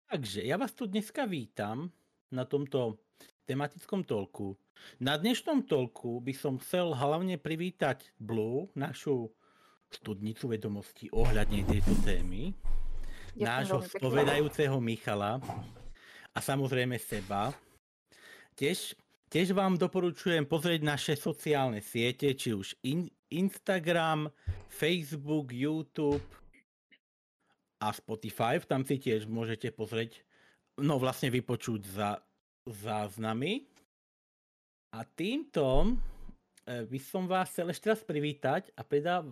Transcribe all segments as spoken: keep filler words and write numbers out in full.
Takže ja vás tu dneska vítam na tomto tematickom tolku. Na dnešnom tolku by som chcel hlavne privítať Blue, našu studnicu vedomostí ohľadne tejto témy, Ďakujem nášho veľmi pekne. spovedajúceho Michala a samozrejme seba. Tiež, tiež vám doporučujem pozrieť naše sociálne siete, či už in, Instagram, Facebook, YouTube a Spotify. Tam si tiež môžete pozrieť, no vlastne vypočuť za záznamy. A týmto by som vás chcel ešte raz privítať a predá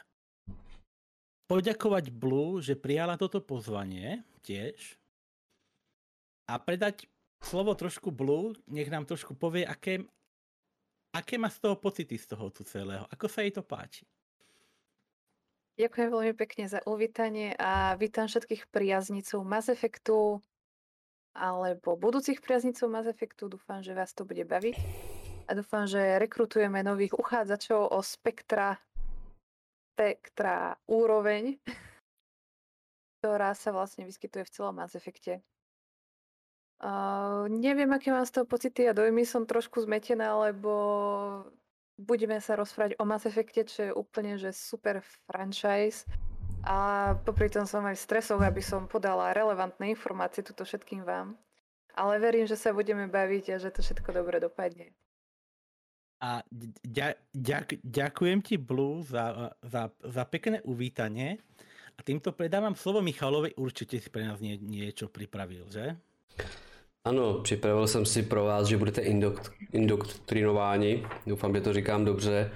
poďakovať Blue, že prijala toto pozvanie tiež. A predať slovo trošku Blue, nech nám trošku povie, aké, aké má z toho pocity z toho tu celého. Ako sa jej to páči. Ďakujem veľmi pekne za uvítanie a vítam všetkých priaznicov Mass Effectu alebo budúcich priaznicov Mass Effectu. Dúfam, že vás to bude baviť a dúfam, že rekrutujeme nových uchádzačov o spektra, spektra úroveň, ktorá sa vlastne vyskytuje v celom Mass Effecte. Uh, neviem, aké mám z toho pocity a dojmy, som trošku zmetená, lebo budeme sa rozprávať o Mass Effecte, čo je úplne že super franchise a popri tom som aj v stresoch, aby som podala relevantné informácie tuto všetkým vám. Ale verím, že sa budeme baviť a že to všetko dobre dopadne. A ďa, ďak, ďakujem ti, Blue, za, za, za pekné uvítanie a týmto predávam slovo Michalovi, určite si pre nás nie, niečo pripravil, že? Ano, připravil jsem si pro vás, že budete indokt, indoktrinováni. Doufám, že to říkám dobře.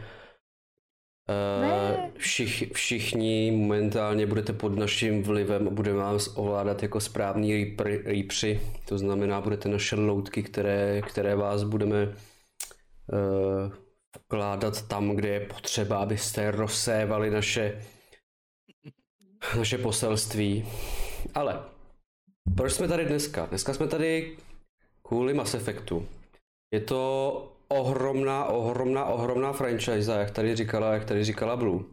E, všich, všichni momentálně budete pod naším vlivem a budeme vás ovládat jako správní rýpři. To znamená, budete naše loutky, které, které vás budeme e, vkládat tam, kde je potřeba, abyste rozsévali naše, naše poselství. Ale proč jsme tady dneska? Dneska jsme tady kvůli Mass Effectu. Je to ohromná, ohromná, ohromná franchise, jak tady říkala, jak tady říkala Blue.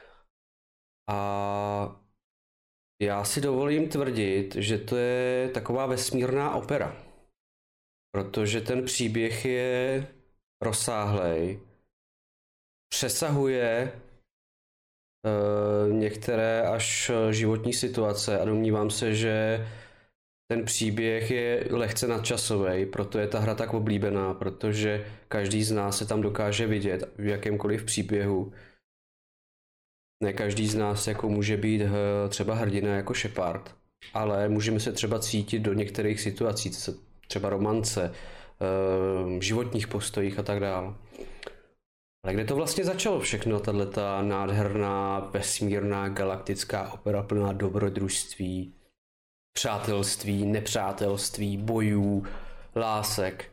A já si dovolím tvrdit, že to je taková vesmírná opera. Protože ten příběh je rozsáhlej, přesahuje uh, některé až životní situace a domnívám se, že ten příběh je lehce nadčasový, proto je ta hra tak oblíbená, protože každý z nás se tam dokáže vidět v jakémkoliv příběhu. Ne každý z nás jako může být třeba hrdina jako Shepard, ale můžeme se třeba cítit do některých situací, třeba romance, životních postojích a tak dále. Ale kde to vlastně začalo všechno, tato nádherná vesmírná galaktická opera plná dobrodružství, přátelství, nepřátelství, bojů, lásek.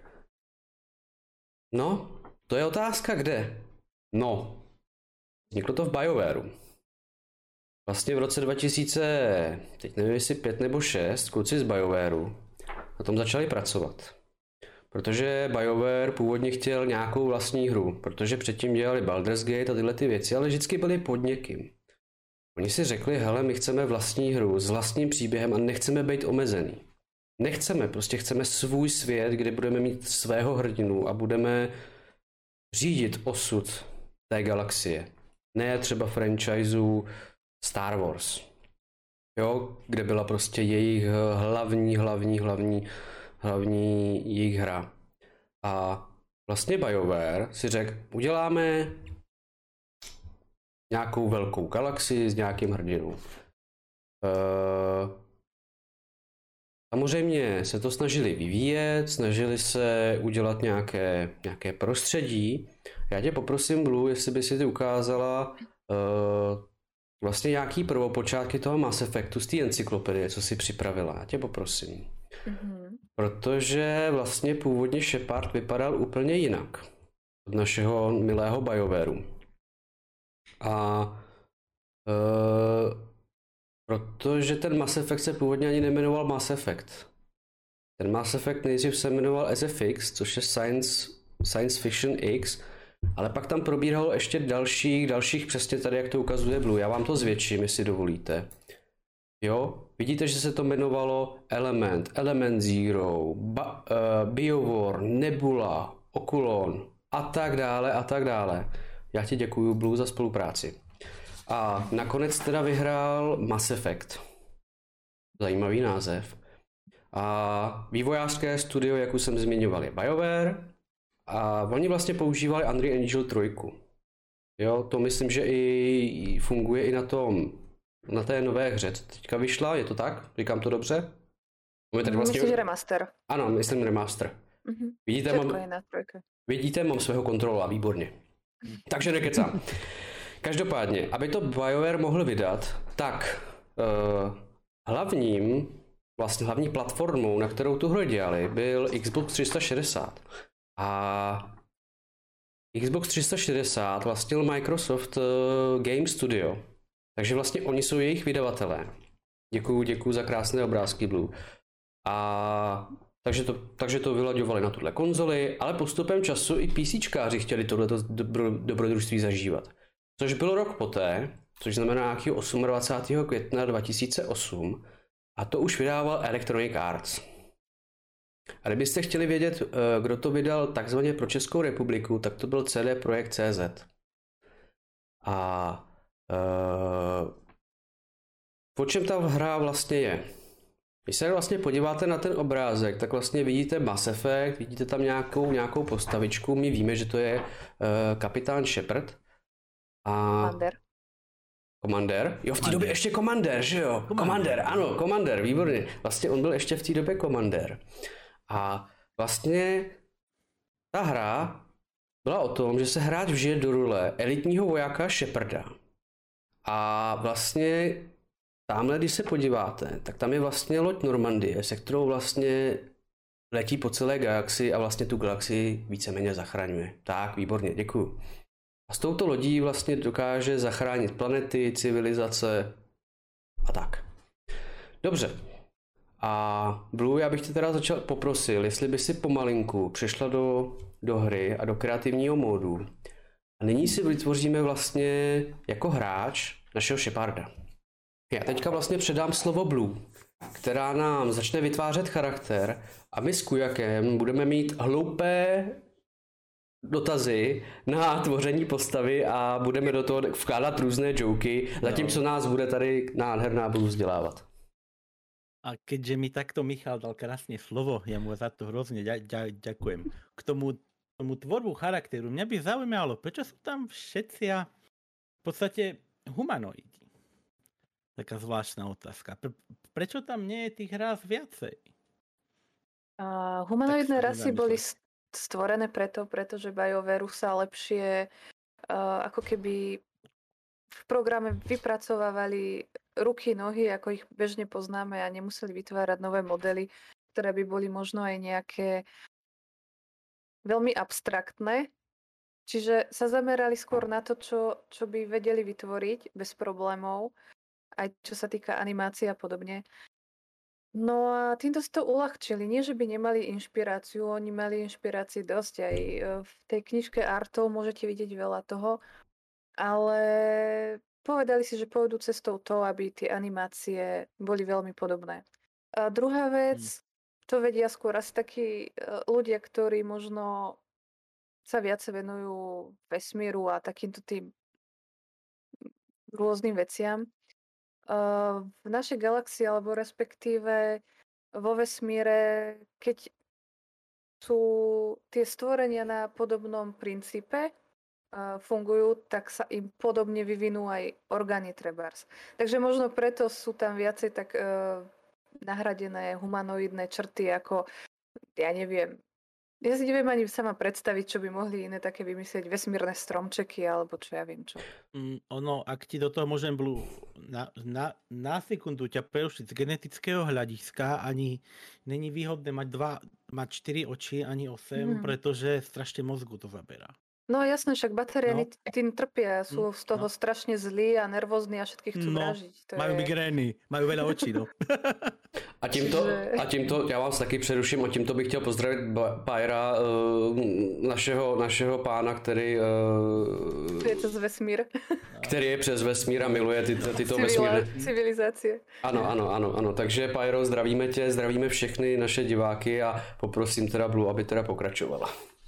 No, to je otázka kde. No, vzniklo to v BioWareu. Vlastně v roce dva tisíce, teď nevím jestli pět nebo šest, kluci z BioWareu na tom začali pracovat. Protože BioWare původně chtěl nějakou vlastní hru, protože předtím dělali Baldur's Gate a tyhle ty věci, ale vždycky byli pod někým. Oni si řekli, hele, my chceme vlastní hru s vlastním příběhem a nechceme být omezený. Nechceme, prostě chceme svůj svět, kde budeme mít svého hrdinu a budeme řídit osud té galaxie. Ne třeba franchisu Star Wars, jo, kde byla prostě jejich hlavní, hlavní, hlavní, hlavní jejich hra. A vlastně BioWare si řekl, uděláme nějakou velkou galaxii s nějakým hrdinou. Uh, samozřejmě se to snažili vyvíjet, snažili se udělat nějaké, nějaké prostředí. Já tě poprosím, Blue, jestli by si ty ukázala uh, vlastně nějaký prvopočátky toho Mass Effectu z té encyklopedie, co si připravila. Já tě poprosím. Mm-hmm. Protože vlastně původně Shepard vypadal úplně jinak od našeho milého BioWareu. A uh, protože ten Mass Effect se původně ani nejmenoval Mass Effect. Ten Mass Effect nejdřív se jmenoval S F X, což je Science, Science Fiction X, ale pak tam probíhalo ještě dalších, dalších přesně tady, jak to ukazuje Blue. Já vám to zvětším, jestli dovolíte. Jo, vidíte, že se to jmenovalo Element, Element Zero, ba, uh, BioWar, Nebula, Oculon a tak dále a tak dále. Já ti děkuju, Blue, za spolupráci. A nakonec teda vyhrál Mass Effect. Zajímavý název. A vývojářské studio, jak už jsem zmiňoval, je BioWare. A oni vlastně používali Unreal Engine tři. Jo, to myslím, že i funguje i na tom, na té nové hře, co teďka vyšla, je to tak? Říkám to dobře? Tady vlastně... Myslíš remaster? Ano, myslím remaster. Mm-hmm. Vidíte, mám... Vidíte, mám svého kontrola, výborně. Takže nekecám. Každopádně, aby to BioWare mohl vydat, tak uh, hlavním, vlastně hlavní platformou, na kterou tu hru dělali, byl Xbox tři sta šedesát. A Xbox tři sta šedesát vlastnil Microsoft uh, Game Studio. Takže vlastně oni jsou jejich vydavatelé. Děkuju, děkuju za krásné obrázky, Blue. A takže to, takže to vylaďovali na tuhle konzoli, ale postupem času i PCčkáři chtěli tohleto dobro, dobrodružství zažívat. Což byl rok poté, což znamená nějakého dvacátého osmého května dva tisíce osm, a to už vydával Electronic Arts. A kdybyste chtěli vědět, kdo to vydal takzvaně pro Českou republiku, tak to byl C D Projekt C Z. A uh, o čem ta hra vlastně je? Když se vlastně podíváte na ten obrázek, tak vlastně vidíte Mass Effect, vidíte tam nějakou, nějakou postavičku, my víme, že to je uh, kapitán Shepard. A... Commander. Commander? Jo, v té době ještě Commander, že jo? Commander, ano, Commander, výborně. Vlastně on byl ještě v té době Commander. A vlastně ta hra byla o tom, že se hráč vžije do role elitního vojáka Sheparda. A vlastně tamhle, když se podíváte, tak tam je vlastně loď Normandie, se kterou vlastně letí po celé galaxii a vlastně tu galaxii víceméně zachraňuje. Tak, výborně, děkuju. A s touto lodí vlastně dokáže zachránit planety, civilizace a tak. Dobře. A Blue, já bych tě teda začal poprosil, jestli by si pomalinku přešla do, do hry a do kreativního módu. A nyní si vytvoříme vlastně jako hráč našeho Sheparda. Já teďka vlastně předám slovo Blue, která nám začne vytvářet charakter a my s Kujakem budeme mít hloupé dotazy na tvoření postavy a budeme do toho vkládat různé joky, zatímco nás bude tady nádherná Blue vzdělávat. A keďže mi takto Michal dal krásne slovo, ja mu za to hrozne ďakujem. K tomu, tomu tvorbu charakteru, mňa by zaujímalo, prečo sú tam všetci a v podstate humanoidi? Taká zvláštna otázka. Pre, prečo tam nie je tých rás viacej? Uh, humanoidné rasy boli stvorené preto, pretože BioWare sa lepšie uh, ako keby v programe vypracovávali ruky, nohy, ako ich bežne poznáme a nemuseli vytvárať nové modely, ktoré by boli možno aj nejaké veľmi abstraktné. Čiže sa zamerali skôr na to, čo, čo by vedeli vytvoriť bez problémov, aj čo sa týka animácie a podobne. No a týmto si to uľahčili. Nie, že by nemali inšpiráciu, oni mali inšpirácie dosť. Aj v tej knižke Artov môžete vidieť veľa toho, ale povedali si, že pôjdu cestou to, aby tie animácie boli veľmi podobné. A druhá vec, hmm. to vedia skôr asi takí ľudia, ktorí možno sa viac venujú vesmíru a takýmto tým rôznym veciam. V našej galaxii, alebo respektíve vo vesmíre, keď sú tie stvorenia na podobnom princípe, fungujú, tak sa im podobne vyvinú aj orgány trebárs. Takže možno preto sú tam viacej tak uh, nahradené humanoidné črty, ako, ja neviem, ja si neviem ani sama predstaviť, čo by mohli iné také vymyslieť, vesmírne stromčeky, alebo čo ja viem čo. Mm, ono, ak ti do toho môžem, Blue, na, na, na sekundu ťa prerušiť z genetického hľadiska, ani není výhodné mať dva, mať štyri oči, ani osem, hmm. pretože strašne mozgu to zaberá. No jasné, však batériany No. t- tým trpia, sú Hm, z toho no. strašne zlí a nervózni a všetkých chcú No, vražiť. To majú je... migrény, majú veľa očí, no. A tímto, Čiže- a tímto, já vás taky přeruším, a tímto bych chtěl pozdravit Pyra, našeho, našeho pána, který, Je to z vesmír. který je přes vesmír a miluje ty, tyto Civila, vesmírné. civilizácie. Ano, ano, ano, ano. Takže Pyro, zdravíme tě, zdravíme všechny naše diváky a poprosím teda Blue, aby teda pokračovala.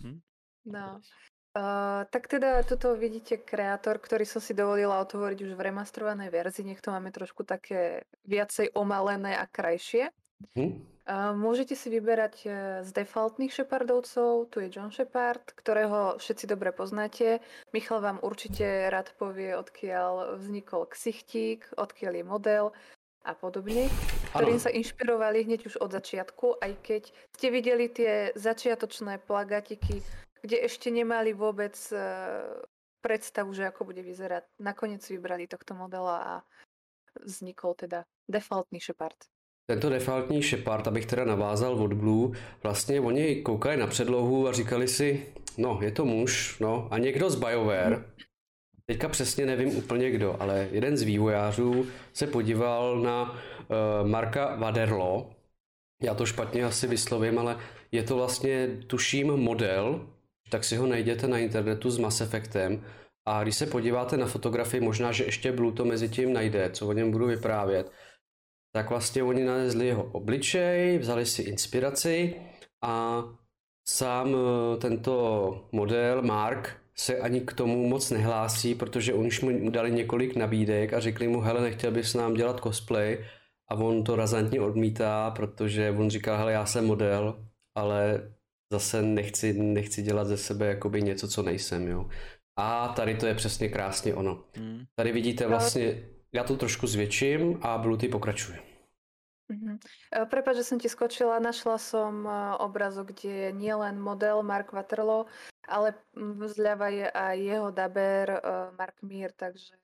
No. Uh, tak teda toto vidíte kreator, ktorý som si dovolila otvoriť už v remastrovanej verzii. Nech to máme trošku také viacej omalené a krajšie. Hm? Uh, môžete si vyberať uh, z defaultných Shepardovcov. Tu je John Shepard, ktorého všetci dobre poznáte. Michal vám určite rád povie, odkiaľ vznikol ksichtík, odkiaľ je model a podobne, ktorým sa inšpirovali hneď už od začiatku, aj keď ste videli tie začiatočné plagatiky, kde ešte nemali vôbec uh, predstavu, že ako bude vyzerať. Nakoniec vybrali tohto modela a vznikol teda defaultní Shepard. Tento defaultní Shepard, abych teda navázal od Blue, vlastně oni koukali na předlohu a říkali si, no je to muž, no a někdo z BioWare, teďka přesně nevím úplně kdo, ale jeden z vývojářů se podíval na uh, Marka Waderlo, já to špatně asi vyslovím, ale je to vlastně, tuším, model, tak si ho najděte na internetu s Mass Effectem a když se podíváte na fotografii, možná, že ještě Blue to mezi tím najde, co o něm budu vyprávět, tak vlastně oni nalezli jeho obličej, vzali si inspiraci a sám tento model Mark se ani k tomu moc nehlásí, protože oni už mu dali několik nabídek a řekli mu, hele, nechtěl bys nám dělat cosplay, a on to razantně odmítá, protože on říká, hele, já jsem model, ale zase nechci, nechci dělat ze sebe jakoby něco, co nejsem, jo. A tady to je přesně krásně ono. Hmm. Tady vidíte vlastně, já to trošku zvětším a Blue, ty pokračuje. Mm-hmm. Prepáč, že som ti skočila, našla som obrazok, kde je nielen model Mark Waterloo, ale zľava je aj jeho daber Mark Meer, takže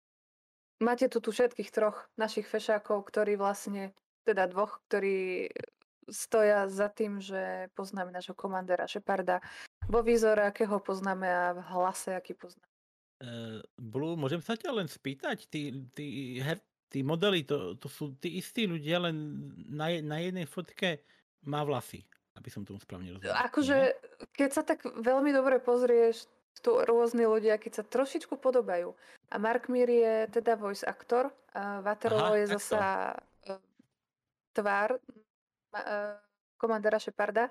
máte tu, tu všetkých troch našich fešákov, ktorí vlastne, teda dvoch, ktorí stoja za tým, že poznáme nášho komandéra Sheparda vo výzore, akého poznáme, a v hlase, aký poznáme. Uh, Blue, môžem sa ťa len spýtať? Tí, tí, her, tí modely, to, to sú tí istí ľudia, len na, na jednej fotke má vlasy, aby som tomu správne rozumel. Akože, keď sa tak veľmi dobre pozrieš, tu rôzni ľudia, keď sa trošičku podobajú. A Mark Meer je teda voice actor, uh, Waterloo je zasa uh, tvár uh, komandéra Sheparda,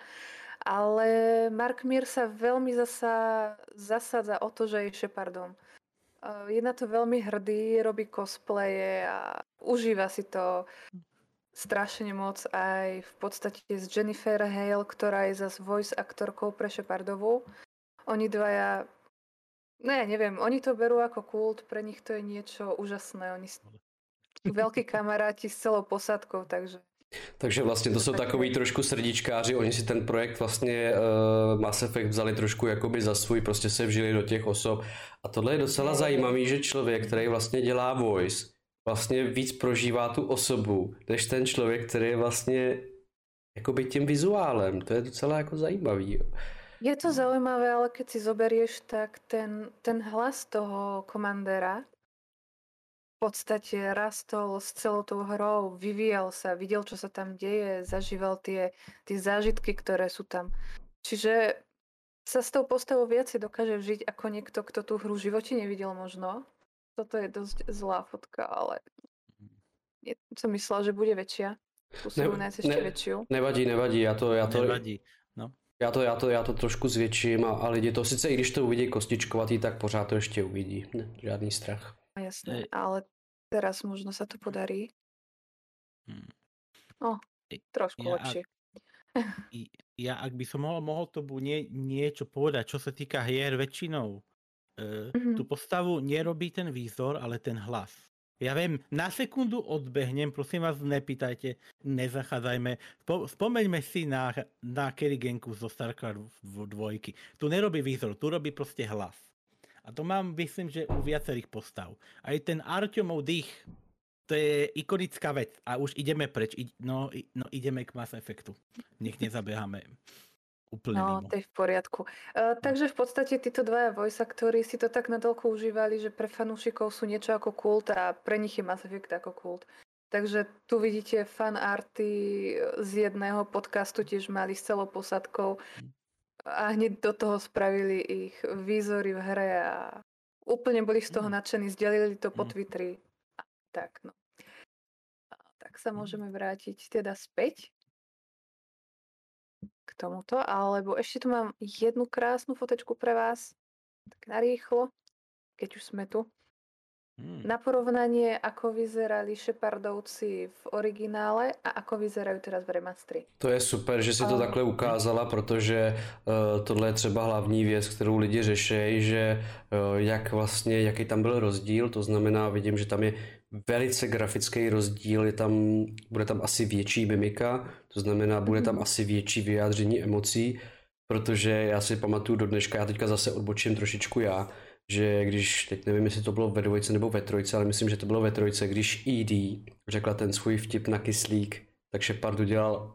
ale Mark Meer sa veľmi zasa zasadza o to, že je Shepardom. Uh, je na to veľmi hrdý, robí cosplaye a užíva si to strašne moc, aj v podstate s Jennifer Hale, ktorá je zase voice aktorkou pre Shepardovú. Oni dvaja, no ja neviem, oni to berú ako kult, pre nich to je niečo úžasné. Oni sú veľkí kamaráti s celou posádkou, takže... Takže vlastně to jsou takový trošku srdíčkáři, oni si ten projekt vlastně uh, Mass Effect vzali trošku jakoby za svůj, prostě se vžili do těch osob. A tohle je docela zajímavý, že člověk, který vlastně dělá voice, vlastně víc prožívá tu osobu, než ten člověk, který je vlastně jakoby tím vizuálem. To je docela jako zajímavý. Jo. Je to zaujímavé, ale keď si zoberieš, tak ten, ten hlas toho komandéra v podstate rastol s celou tou hrou, vyvíjal sa, videl, čo sa tam deje, zažíval tie, tie zážitky, ktoré sú tam. Čiže sa s tou postavou viacej dokáže vžiť ako niekto, kto tú hru v živote nevidel možno. Toto je dosť zlá fotka, ale je, som myslela, že bude väčšia. Musím ne, nájsť ešte ne, väčšiu. Nevadí, nevadí, já to... Já to... Nevadí, no. Já to, já, to, já to trošku zvětším a, a lidi to sice, i když to uvidí kostičkovatý, tak pořád to ještě uvidí. Ne, žádný strach. Jasné, ale teraz možno sa to podarí. No, trošku ja, lepšie. Ak, ja, ak by som mohol, mohol to nie, niečo povedať, čo sa týka hier väčšinou, e, mm-hmm. tú postavu nerobí ten výzor, ale ten hlas. Ja viem, na sekundu odbehnem, prosím vás, nepýtajte, nezachádzajme. Spo, spomeňme si na, na Kerriganku zo StarCraft dvojky. Tu nerobí výzor, tu robí proste hlas. A to mám, myslím, že u viacerých postav. Aj ten Artyomov dých, to je ikonická vec. A už ideme preč. I, no, no ideme k Mass Effectu. Nech nezabeháme. úplne No, mimo. to je v poriadku. Uh, takže v podstate títo dvaja voice aktori si to tak nadoľko užívali, že pre fanúšikov sú niečo ako kult a pre nich je Mass Effect ako kult. Takže tu vidíte fanarty z jedného podcastu, tiež mali s celou posadkou a hneď do toho spravili ich výzory v hre a úplne boli z toho Mm. nadšení, zdelili to po Mm. Twitteri. A tak, no. A tak sa Mm. môžeme vrátiť teda späť k tomuto, alebo ešte tu mám jednu krásnu fotečku pre vás, tak narýchlo, keď už sme tu. Mm. Na porovnanie, ako vyzerali Shepardovci v originále a ako vyzerajú teraz v remastri. To je super, že si to A- takhle ukázala, protože uh, tohle je třeba hlavní věc, kterou lidi řeší, že uh, jak vlastně, jaký tam byl rozdíl, to znamená, vidím, že tam je velice grafický rozdíl, je tam, bude tam asi větší mimika, to znamená, bude tam Mhm. asi větší vyjádření emocí, protože já si pamatuju do dneška, já teďka zase odbočím trošičku já, že když, teď nevím, jestli to bylo ve dvojce nebo ve trojce, ale myslím, že to bylo ve trojce, když E D řekla ten svůj vtip na kyslík, tak Shepard udělal,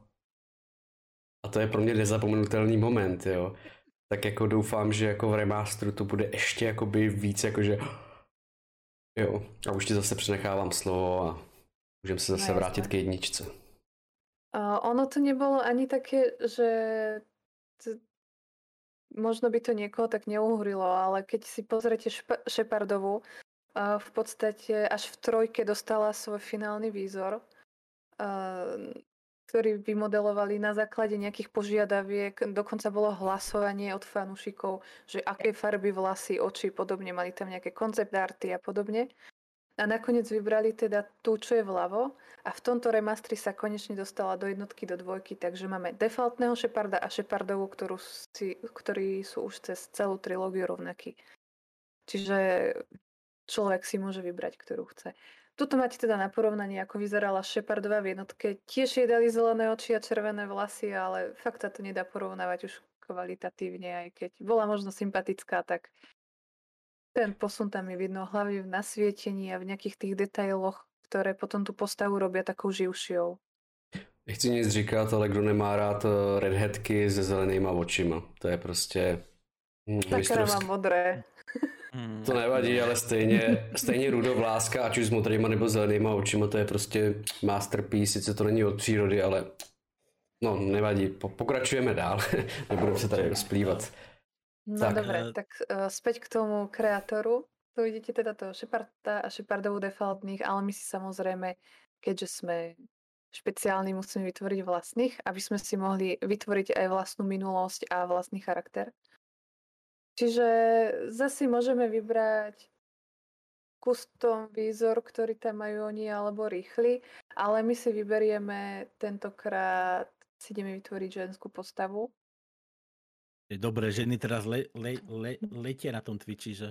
a to je pro mě nezapomenutelný moment, jo. Tak jako doufám, že jako v remasteru to bude ještě jakoby víc, jakože jo. A už ti zase přenechávám slovo a můžeme se zase No, vrátit jasné. k jedničce. A ono to nebolo ani také, že t- možno by to niekoho tak neuhrilo, ale keď si pozriete Špa- Shepardovu, a v podstate až v trojke dostala svoj finálny výzor, a, ktorý vymodelovali na základe nejakých požiadaviek. Dokonca bolo hlasovanie od fanúšikov, že aké farby vlasy, oči, podobne. Mali tam nejaké koncept arty a podobne. A nakoniec vybrali teda tú, čo je vľavo. A v tomto remastri sa konečne dostala do jednotky, do dvojky. Takže máme defaultného Sheparda a Shepardovu, ktorú si, ktorí sú už cez celú trilógiu rovnakí. Čiže človek si môže vybrať, ktorú chce. Tuto máte teda na porovnanie, ako vyzerala Shepardova v jednotke. Tiež jej dali zelené oči a červené vlasy, ale fakt sa to nedá porovnávať už kvalitatívne, aj keď bola možno sympatická, tak ten posun tam je vidno hlavne v nasvietení a v nejakých tých detailoch, ktoré potom tú postavu robia takou živšou. Nechci nic říkat, ale kdo nemá rád eh, redheadky se zelenýma očima, to je prostě hm, Sakra, mistrovský. mám modré. Mm. To nevadí, ale stejně, stejně rudovláska, ať už s modrýma nebo zelenýma očima, to je prostě masterpiece, sice to není od přírody, ale no nevadí, po, pokračujeme dál, nebudeme se tady rozplývat. No Tak. dobre, tak uh, späť k tomu kreatoru. Tu vidíte teda toho Sheparda a Shepardovú defaultných, ale my si samozrejme, keďže sme špeciálni, musíme vytvoriť vlastných, aby sme si mohli vytvoriť aj vlastnú minulosť a vlastný charakter. Čiže zase môžeme vybrať custom výzor, ktorý tam majú oni, alebo rýchly, ale my si vyberieme tentokrát, si ideme vytvoriť ženskú postavu. Je dobré, ženy teraz le, le, le, letia na tom Twitchi, že?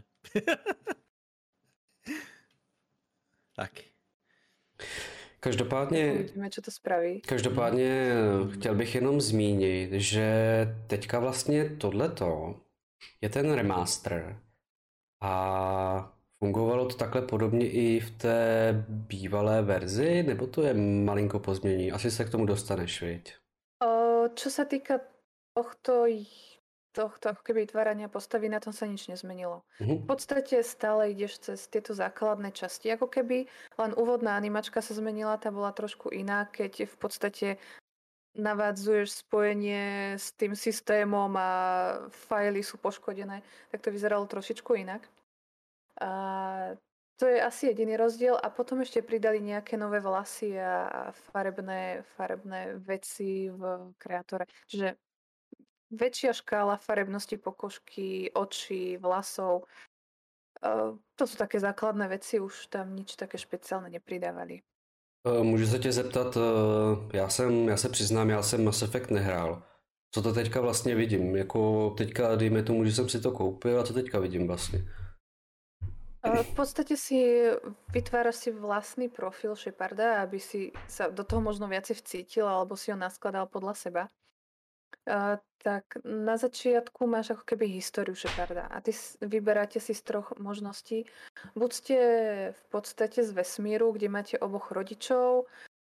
Tak. Každopádně, Uvidíme, čo to spraví. každopádně chtěl bych jenom zmínit, že teďka vlastně tohleto je ten remaster a fungovalo to takhle podobně i v té bývalé verzi, nebo to je malinko pozmění? Asi se k tomu dostaneš, viď? O, čo sa týka tohto, tohto ako keby vytvárania postavy, na tom sa nič nezmenilo. V Mhm. podstate stále ideš cez tieto základné časti, ako keby len úvodná animačka sa zmenila, tá bola trošku iná, keď v podstate navádzuješ spojenie s tým systémom a fajly sú poškodené, tak to vyzeralo trošičku inak. A to je asi jediný rozdiel a potom ešte pridali nejaké nové vlasy a farebné, farebné veci v kreatore. Čiže väčšia škála farebnosti pokožky, očí, vlasov. Uh, to sú také základné veci, už tam nič také špeciálne nepridávali. Eh, Můžu se tě zeptat, eh, já jsem, já se přiznám, já jsem Mass Effect nehrál. Co to teďka vlastně vidím? Jako teďka, dejme tomu, že jsem si to koupil a co teďka vidím vlastně? Uh, v podstate si vytváraš si vlastný profil Sheparda, aby si sa do toho možno viacej vcítil alebo si ho naskladal podľa seba. Uh, tak na začiatku máš ako keby históriu Sheparda a ty s- vyberáte si z troch možností. Buď ste v podstate z vesmíru, kde máte oboch rodičov,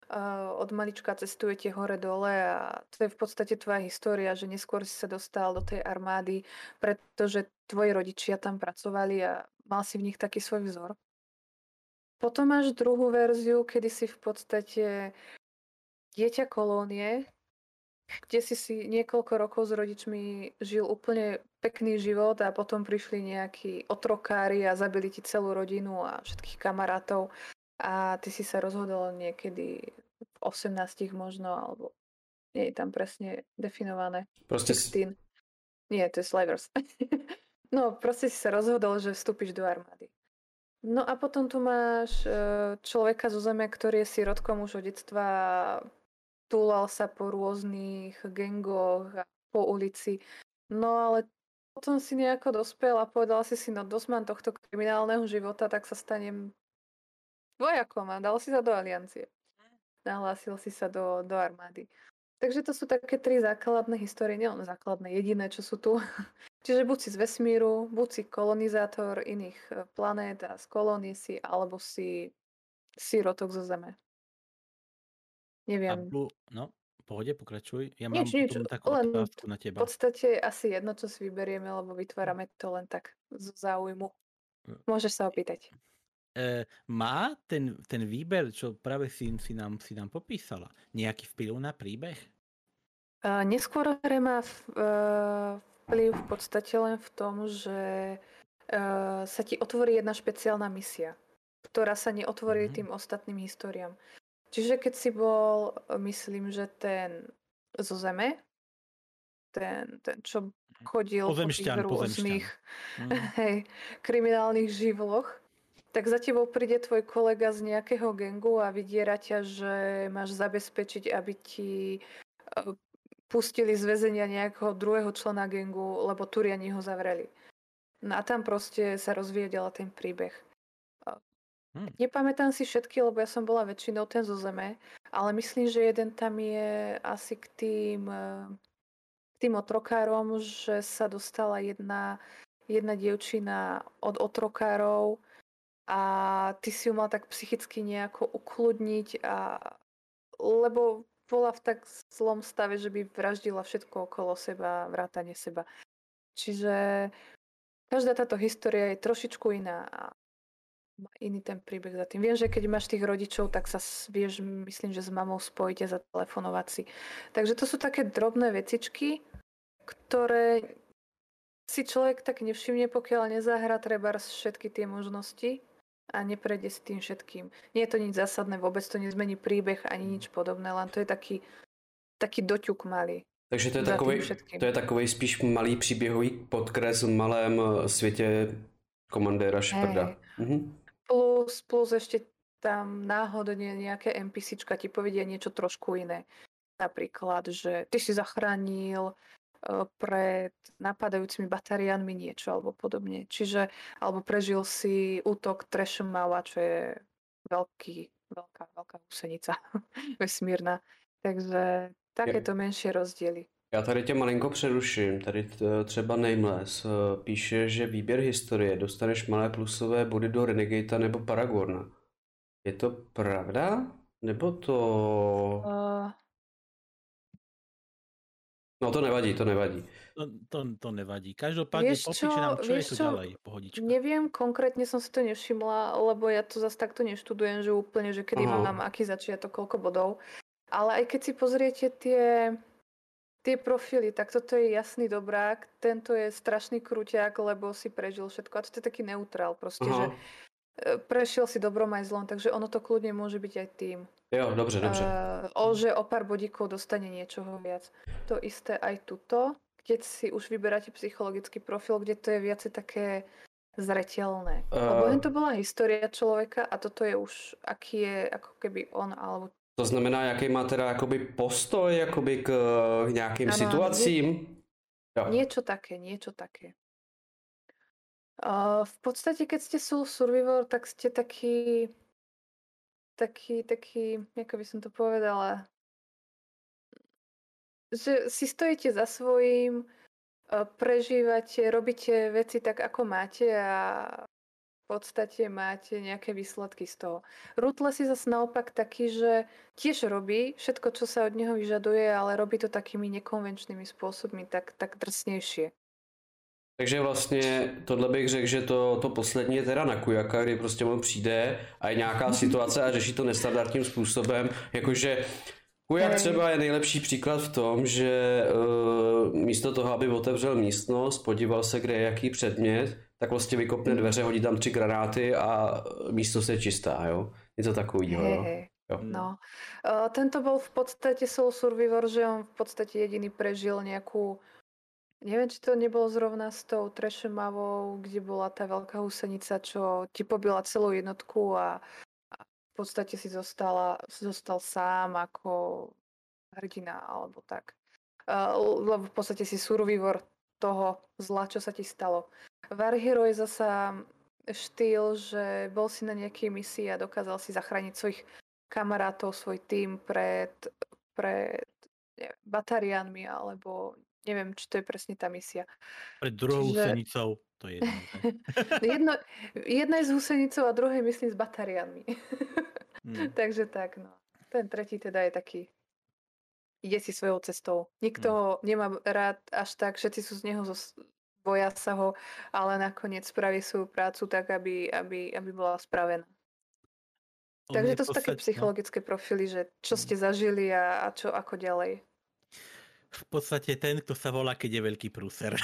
od malička cestujete hore-dole a to je v podstate tvoja história, že neskôr si sa dostal do tej armády, pretože tvoji rodičia tam pracovali a mal si v nich taký svoj vzor. Potom máš druhú verziu, kedy si v podstate dieťa kolónie, kde si si niekoľko rokov s rodičmi žil úplne pekný život a potom prišli nejakí otrokári a zabili ti celú rodinu a všetkých kamarátov a ty si sa rozhodol niekedy v osemnástich možno, alebo nie je tam presne definované. Proste šestnásť. Nie, to je Slavers. No, proste si sa rozhodol, že vstúpiš do armády. No a potom tu máš človeka zo zeme, ktorý je sirotkom už od detstva, túlal sa po rôznych gangoch a po ulici. No ale potom si nejako dospel a povedal si si, no dosť mám tohto kriminálneho života, tak sa stanem vojakom a dal si sa do aliancie. Nahlásil si sa do, do armády. Takže to sú také tri základné histórie, nielen základné, jediné, čo sú tu. Čiže buď si z vesmíru, buď si kolonizátor iných planét a z kolónie si, alebo si sirotok zo Zeme. Neviem. Abu, no, pohode, pokračuj. Ja Nič, mám nič, potom takú len otázku na v teba. podstate asi jedno, čo si vyberieme, lebo vytvárame to len tak z záujmu. Môžeš sa opýtať. E, má ten, ten výber, čo práve si, si, nám, si nám popísala, nejaký vplyv na príbeh? Uh, neskôr hre má v, uh, vplyv v podstate len v tom, že uh, sa ti otvorí jedna špeciálna misia, ktorá sa neotvorí mm-hmm. tým ostatným históriám. Čiže keď si bol, myslím, že ten zo Zeme, ten, ten čo chodil po tých rôznych mm. hej, kriminálnych živloch, tak za tebou príde tvoj kolega z nejakého gangu a vydiera ťa, že máš zabezpečiť, aby ti pustili z väzenia nejakého druhého člena gangu, lebo Turiani ho zavreli. No a tam proste sa rozvíja ďalej ten príbeh. Hmm. Nepamätám si všetky, lebo ja som bola väčšinou ten zo Zeme, ale myslím, že jeden tam je asi k tým, k tým otrokárom, že sa dostala jedna, jedna dievčina od otrokárov a ty si ju mal tak psychicky nejako ukludniť, a, lebo bola v tak zlom stave, že by vraždila všetko okolo seba, vrátane seba. Čiže každá táto história je trošičku iná a má iný ten príbeh za tým. Viem, že keď máš tých rodičov, tak sa vieš, myslím, že s mamou spojiť a zatelefonovať si. Takže to sú také drobné vecičky, ktoré si človek tak nevšimne, pokiaľ nezahra treba všetky tie možnosti a neprejde s tým všetkým. Nie je to nič zásadné, vôbec to nezmení príbeh ani nič podobné, len to je taký, taký doťuk malý. Takže to je, takovej, to je takovej spíš malý příběhový podkres v malém světě komandéra Sheparda. Mhm. Plus, plus ešte tam náhodne nejaké NPCčka ti povedia niečo trošku iné. Napríklad, že ty si zachránil uh, pred napadajúcimi batariánmi niečo alebo podobne. Čiže, alebo prežil si útok Trashmawa, čo je veľký, veľká, veľká úsenica vesmírna. Takže takéto menšie rozdiely. Já tady tě malinko přeruším. Tady třeba Nameless píše, že výběr historie dostaneš malé plusové body do Renegata nebo Paragorna. Je to pravda? Nebo to... Uh... No to nevadí, to nevadí. To, to, to nevadí. Každopádne popíše nám, čo, čo je to ďalej, pohodička. Neviem, konkrétne som si to nevšimla, lebo ja to zase takto neštudujem, že úplne, že kedy Aha. mám aký začiatok, koľko bodov. Ale aj keď si pozriete tie... Tie profily, tak toto je jasný dobrák, tento je strašný krúťák, lebo si prežil všetko. A to je taký neutrál proste, Aha. že prešiel si dobrom aj zlom, takže ono to kľudne môže byť aj tým. Jo, dobře, dobře. Uh, o, že o pár bodíkov dostane niečoho viac. To isté aj tuto, keď si už vyberáte psychologický profil, kde to je viacej také zreteľné. Uh... Lebo to bola história človeka a toto je už, aký je ako keby on, alebo to znamená, jaký má teda jakoby postoj jakoby k nějakým ano, situacím? Nie, niečo také, niečo také. Uh, v podstate, keď ste Soul Survivor, tak ste taký, taký, taký, ako by som to povedala, že si stojíte za svojím, uh, prežívate, robíte veci tak, ako máte a podstate máte nejaké výsledky z toho. Ruthless je zase naopak taký, že tiež robí všetko, čo sa od neho vyžaduje, ale robí to takými nekonvenčnými spôsobmi, tak, tak drsnejšie. Takže vlastně tohle bych řekl, že to, to poslední je teda na Kujaka, kdy prostě on přijde a je nějaká situace a řeší to nestandardním způsobem, jakože Kujak Hej. třeba je nejlepší příklad v tom, že uh, místo toho, aby otevřel místnost, podíval se, kde je jaký předmět, tak vlastně vykopne dveře, hodí tam tři granáty a místnost je čistá, jo? Něco takového, Hej, jo? hej. Jo. No. Uh, tento bol v podstate Soul Survivor, že on v podstate jediný prežil nejakú, neviem, či to nebolo zrovna s tou Trešemavou, kde bola tá veľká husenica, čo ti pobila celú jednotku a, a v podstate si zostala, zostal sám ako hrdina, alebo tak. Uh, lebo v podstate si survivor toho zla, čo sa ti stalo. War Hero je zasa štýl, že bol si na nejakej misii a dokázal si zachrániť svojich kamarátov, svoj tím pred, pred neviem, batariánmi, alebo neviem, či to je presne tá misia. Pred druhou Čiže- husenicou, to je jedno. že? Jedno, jedna je s husenicou a druhé myslím s batariánmi. Hm. Takže tak, no. Ten tretí teda je taký, ide si svojou cestou. Nikto ho nemá rád až tak, všetci sú z neho, zo, boja sa ho, ale nakoniec spraví svoju prácu tak, aby, aby, aby bola spravená. On Takže je to v sú také podstate- no, psychologické profily, že čo ste zažili a, a čo ako ďalej. v podstate ten, kto sa volá, keď je veľký prúser.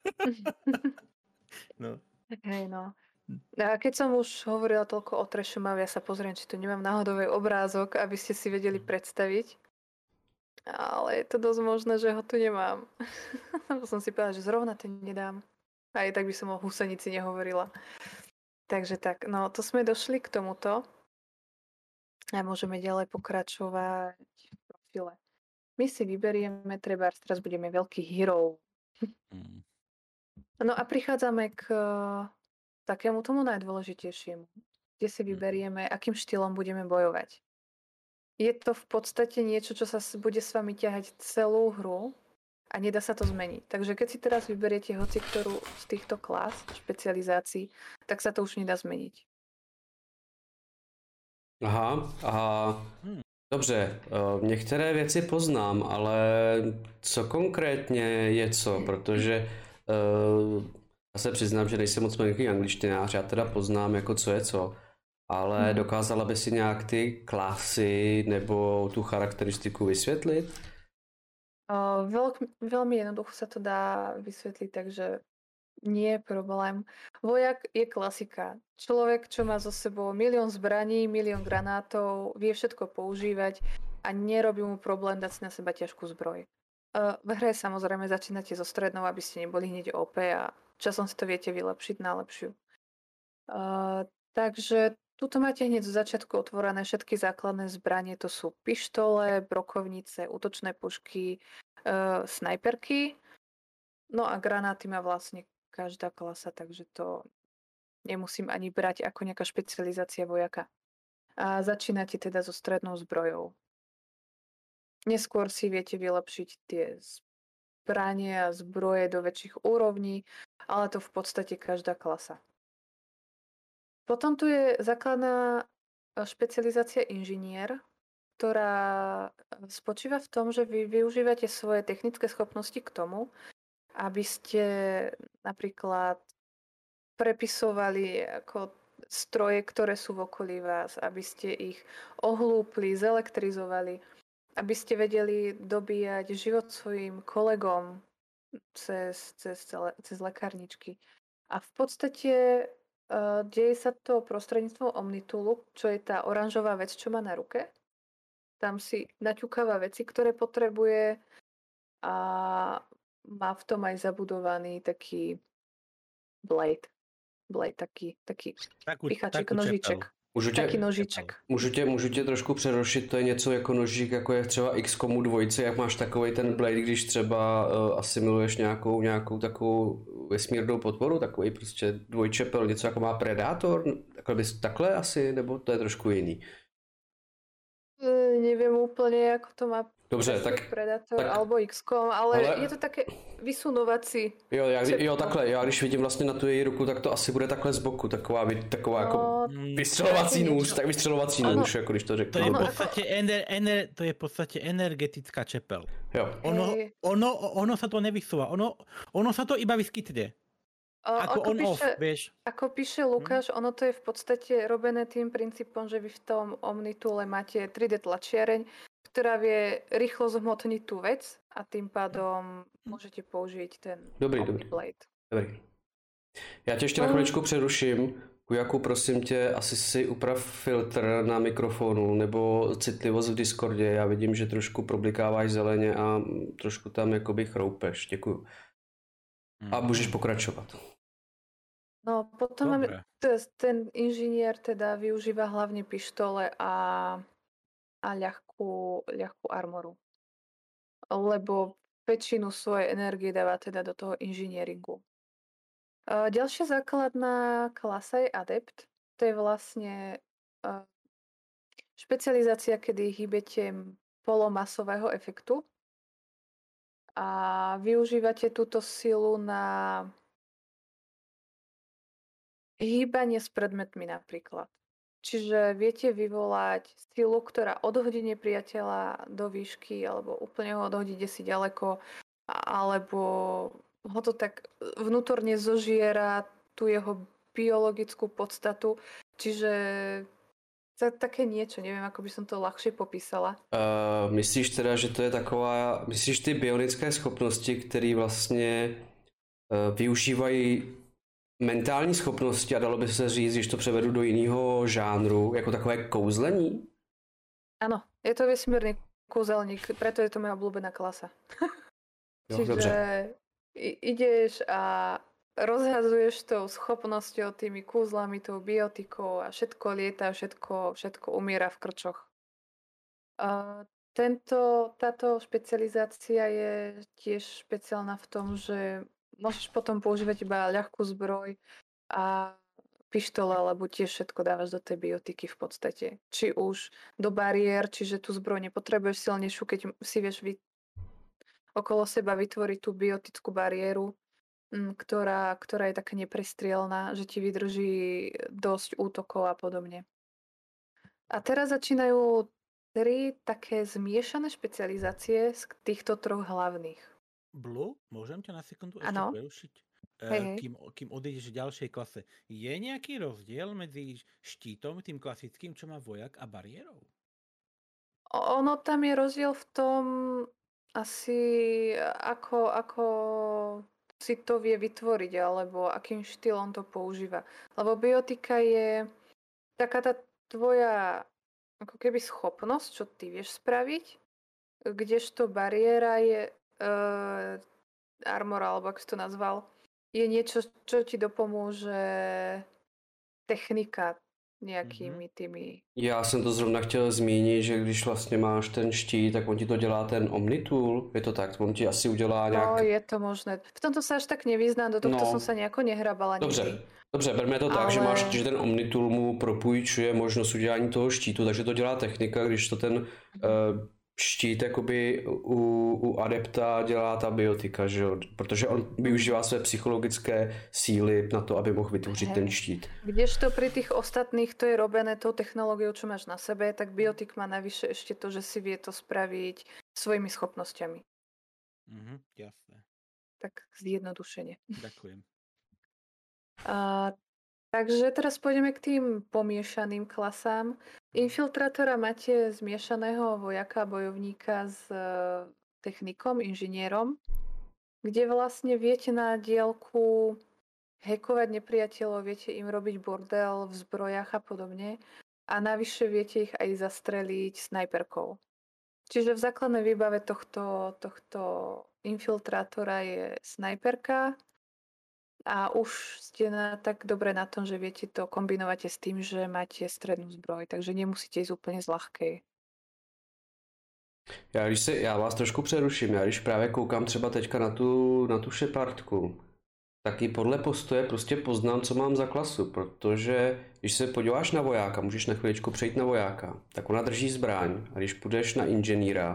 No. Hej, no. A keď som už hovorila toľko o Trešemave, ja sa pozriem, či tu nemám náhodový obrázok, aby ste si vedeli predstaviť. Ale je to dosť možné, že ho tu nemám. Lebo som si povedala, že zrovna ten nedám. Aj tak by som o husenici nehovorila. Takže tak, no to sme došli k tomuto. A môžeme ďalej pokračovať v profile. My si vyberieme, treba teraz budeme veľký hero. Hm. No a prichádzame k eh, takému tomu najdôležitejšiemu, kde si vyberieme, akým štýlom budeme bojovať. Je to v podstate niečo, čo sa s- bude s vami ťahať celú hru a nedá sa to zmeniť. Takže keď si teraz vyberiete hoci ktorú z týchto klás, špecializácií, tak sa to už nedá zmeniť. Aha, aha. Hmm. Dobře, eh, některé věci poznám, ale co konkrétně je co, protože eh, já se přiznám, že nejsem moc velký angličtinář, já teda poznám jako co je co, ale Mhm. dokázala by si nějak ty klasy nebo tu charakteristiku vysvětlit? Uh, veľk, veľmi jednoducho sa to dá vysvetliť, takže nie je problém. Vojak je klasika. Človek, čo má so sebou milión zbraní, milión granátov, vie všetko používať a nerobí mu problém dať si na seba ťažkú zbroj. Uh, v hre samozrejme začínate so strednou, aby ste neboli hneď ó pé a časom si to viete vylepšiť na lepšiu. Uh, takže tuto máte hneď z začiatku otvorené všetky základné zbranie, to sú pištole, brokovnice, útočné pušky, uh, snajperky, no a granáty má vlastne každá klasa, takže to nemusím ani brať ako nejaká špecializácia vojaka. A začínate teda so strednou zbrojou. Neskôr si viete vylepšiť tie zbranie a zbroje do väčších úrovní, ale to v podstate každá klasa. Potom tu je základná eh, špecializácia inžinier, ktorá eh, spočíva v tom, že vy využívate svoje technické schopnosti k tomu, aby ste napríklad prepisovali ako stroje, ktoré sú v okolí vás, aby ste ich ohlúpli, zelektrizovali, aby ste vedeli dobíjať život svojim kolegom cez, cez, cele- cez lekárničky. A v podstate uh, deje sa to prostredníctvom Omnitulu, čo je tá oranžová vec, čo má na ruke. Tam si naťukáva veci, ktoré potrebuje a má v tom aj zabudovaný taký blade. Blade, taký, taký Takú, pichaček, takú nožiček. čepelu. Můžu tě, Taký nožiček. můžu tě, můžu tě trošku přerušit, to je něco jako nožík, jako je třeba X COMu dvojce, jak máš takový ten blade, když třeba uh, asimiluješ nějakou, nějakou takovou vesmírnou podporu, takový prostě dvojčepel, něco jako má Predator, takhle, bys, takhle asi, nebo to je trošku jiný? E, Neviem úplne, ako to má Dobře, tak... Predator tak, alebo iks kom, ale, ale je to také vysunovací. Jo, já, jo, takhle, já když vidím vlastně na tu její ruku, tak to asi bude takhle z boku, taková, taková no, jako vystřelovací nůž, tak vystřelovací ano, nůž, jako když to řeknu. To je v podstatě, ener, ener, to je v podstatě energetická čepel. Jo. Ono, ono, ono sa to nevysúva, ono, ono sa to iba vyskytne. O, ako ako on píše, off, vieš. Ako píše Lukáš, hmm. ono to je v podstate robené tým princípom, že vy v tom Omnitoole máte tri dé tlačiareň, ktorá vie rýchlo zhmotniť tú vec a tým pádom môžete použiť ten dobrý, dobrý. Blade. Dobrý. Já tě ještě na chviličku přeruším. Kujaku, prosím tě, asi si uprav filtr na mikrofonu nebo citlivost v Discordě. Já vidím, že trošku problikáváš zeleně a trošku tam jakoby chroupeš. Děkuju. A můžeš pokračovat. No potom máme, ten inžinier teda využíva hlavne pištole a, a ľahkú, ľahkú armoru. Lebo väčšinu svojej energie dáva teda do toho inžinieringu. Ďalšia základná klasa je adept. To je vlastne špecializácia, kedy hýbete polomasového efektu a využívate túto silu na hýbanie s predmetmi napríklad. Čiže viete vyvolať silu, ktorá odhodí nepriateľa do výšky alebo úplne ho odhodí desi ďaleko, alebo ho to tak vnútorne zožiera tú jeho biologickú podstatu. Čiže také niečo, neviem, ako by som to ľahšie popísala. Uh, myslíš teda, že to je taková, myslíš ty bionické schopnosti, které vlastně uh, využívají mentální schopnosti a dalo by se říct, když to převedu do jiného žánru, jako takové kouzlení? Áno, je to vesmírny kúzelník, preto je to moja obľúbená klasa. Jo, Čiže dobře. ideš a rozhazuješ tou schopnosťou, tými kúzlami, tou biotikou a všetko lieta, všetko, všetko umiera v krčoch. A tento, táto špecializácia je tiež špeciálna v tom, že môžeš potom používať iba ľahkú zbroj a pištole, lebo tiež všetko dávaš do tej biotiky v podstate. Či už do bariér, čiže tú zbroj nepotrebuješ silnejšiu, keď si vieš vy... okolo seba vytvoriť tú biotickú bariéru, ktorá, ktorá je taká neprestrielná, že ti vydrží dosť útokov a podobne. A teraz začínajú tri také zmiešané špecializácie z týchto troch hlavných. Blue, môžem ťa na sekundu ešte ano. prerušiť? Hej, hej. Kým, kým odejdeš v ďalšej klase. Je nejaký rozdiel medzi štítom, tým klasickým, čo má vojak, a bariérou? Ono tam je rozdiel v tom asi ako, ako si to vie vytvoriť, alebo akým štýlom to používa. Lebo biotika je taká tá tvoja ako keby schopnosť, čo ty vieš spraviť, kdežto bariéra je Uh, armor, alebo ako si to nazval, je niečo, čo ti dopomôže technika nejakými tými... Já jsem to zrovna chtěl zmínit, že když vlastně máš ten štít, tak on ti to dělá ten Omnitool, je to tak? On ti asi udělá nějak... No, je to možné. V tomto sa až tak nevyznám, do tohto no. som sa nejako nehrabala. Dobře, nikdy. Dobře, berme to tak, ale... že máš, že ten Omnitool mu propůjčuje možnost udělání toho štítu, takže to dělá technika, když to ten... Uh, štít jakoby u, u adepta dělá ta biotika, že jo? Protože on využívá své psychologické síly na to, aby mohl vytvořit Hej. ten štít. Kdežto pri tých ostatných to je robené tou technológiou, čo máš na sebe, tak biotik má navyše ešte to, že si vie to spraviť svojimi schopnosťami. Mhm, jasné. Tak zjednodušene. Ďakujem. A, takže teraz pôjdeme k tým pomiešaným klasám. Infiltrátora máte zmiešaného vojaka, bojovníka s technikom, inžinierom, kde vlastne viete na diaľku hackovať nepriateľov, viete im robiť bordel v zbrojách a podobne a navyše viete ich aj zastreliť snajperkou. Čiže v základnej výbave tohto, tohto infiltrátora je snajperka, a už ste na, tak dobre na tom, že viete to kombinovate s tým, že máte strednú zbroj, takže nemusíte ísť úplne z ľahkej. Já, když se, já vás trošku přeruším, já když právě koukám třeba teďka na tu, na tu Shepardku, tak i podle postoje prostě poznám, co mám za klasu, protože když se podíváš na vojáka, můžeš na chviličku přejít na vojáka, tak ona drží zbraň a když půjdeš na inženýra, tak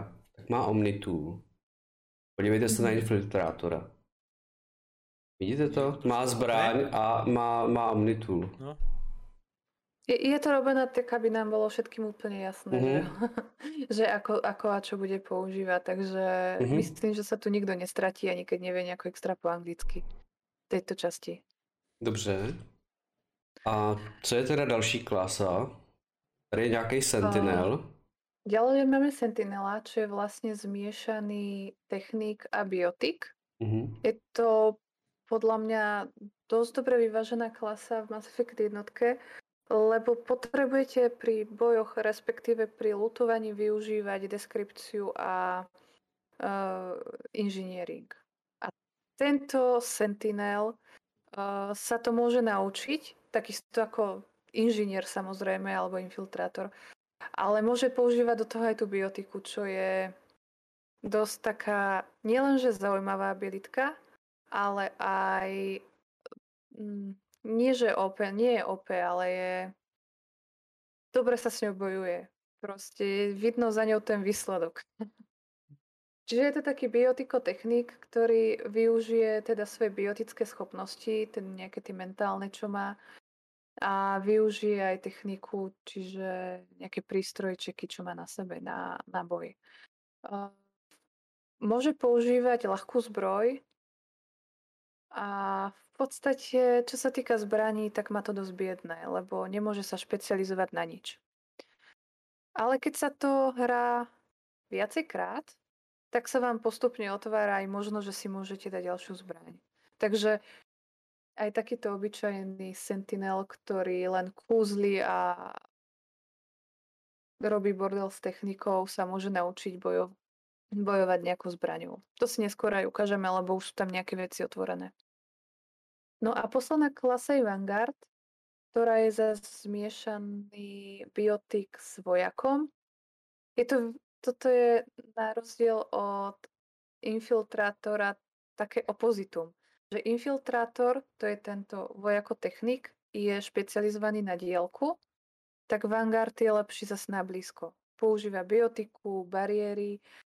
má Omnitool. Podívejte se na Mhm. infiltrátora. Vidíte to? Je to Má trošku zbraň a má, má Omnitool. No. Je, je to robené tak, aby nám bolo všetkým úplne jasné, že, Mhm. že ako, ako a čo bude používať. Takže Mhm. myslím, že sa tu nikto nestratí, ani keď nevie nejako extra po anglicky v tejto časti. Dobře. A co je teda další klasa? Tady je nějaký Sentinel. Ďalej máme Sentinela, čo je vlastne zmiešaný technik a biotik. Mhm. Je to podľa mňa dosť dobre vyvážená klasa v Mass Effect jednotke, lebo potrebujete pri bojoch, respektíve pri lutovaní využívať deskripciu a uh, engineering. A tento Sentinel uh, sa to môže naučiť, takisto ako inžinier samozrejme, alebo infiltrátor, ale môže používať do toho aj tú biotiku, čo je dosť taká nielenže zaujímavá abilitka, ale aj mm, nie, že ó pé, nie je ó pé, ale je dobre sa s ňou bojuje. Proste vidno za ňou ten výsledok. Čiže je to taký biotikotechnik, ktorý využije teda svoje biotické schopnosti, ten nejaké tie mentálne, čo má, a využije aj techniku, čiže nejaké prístrojčeky, čo má na sebe na, na boj. Uh, môže používať ľahkú zbroj a v podstate, čo sa týka zbraní, tak má to dosť biedné, lebo nemôže sa špecializovať na nič. Ale keď sa to hrá viacejkrát, tak sa vám postupne otvára aj možno, že si môžete dať ďalšiu zbraň. Takže aj takýto obyčajný Sentinel, ktorý len kúzli a robí bordel s technikou, sa môže naučiť bojo- bojovať nejakou zbraňou. To si neskôr aj ukážeme, lebo už sú tam nejaké veci otvorené. No a posledná klasa je Vanguard, ktorá je zase zmiešaný biotik s vojakom. Je to, toto je na rozdiel od infiltrátora také opozitum. Že infiltrátor, to je tento vojakotechnik, je špecializovaný na diaľku, tak Vanguard je lepší zase na blízko. Používa biotiku, bariéry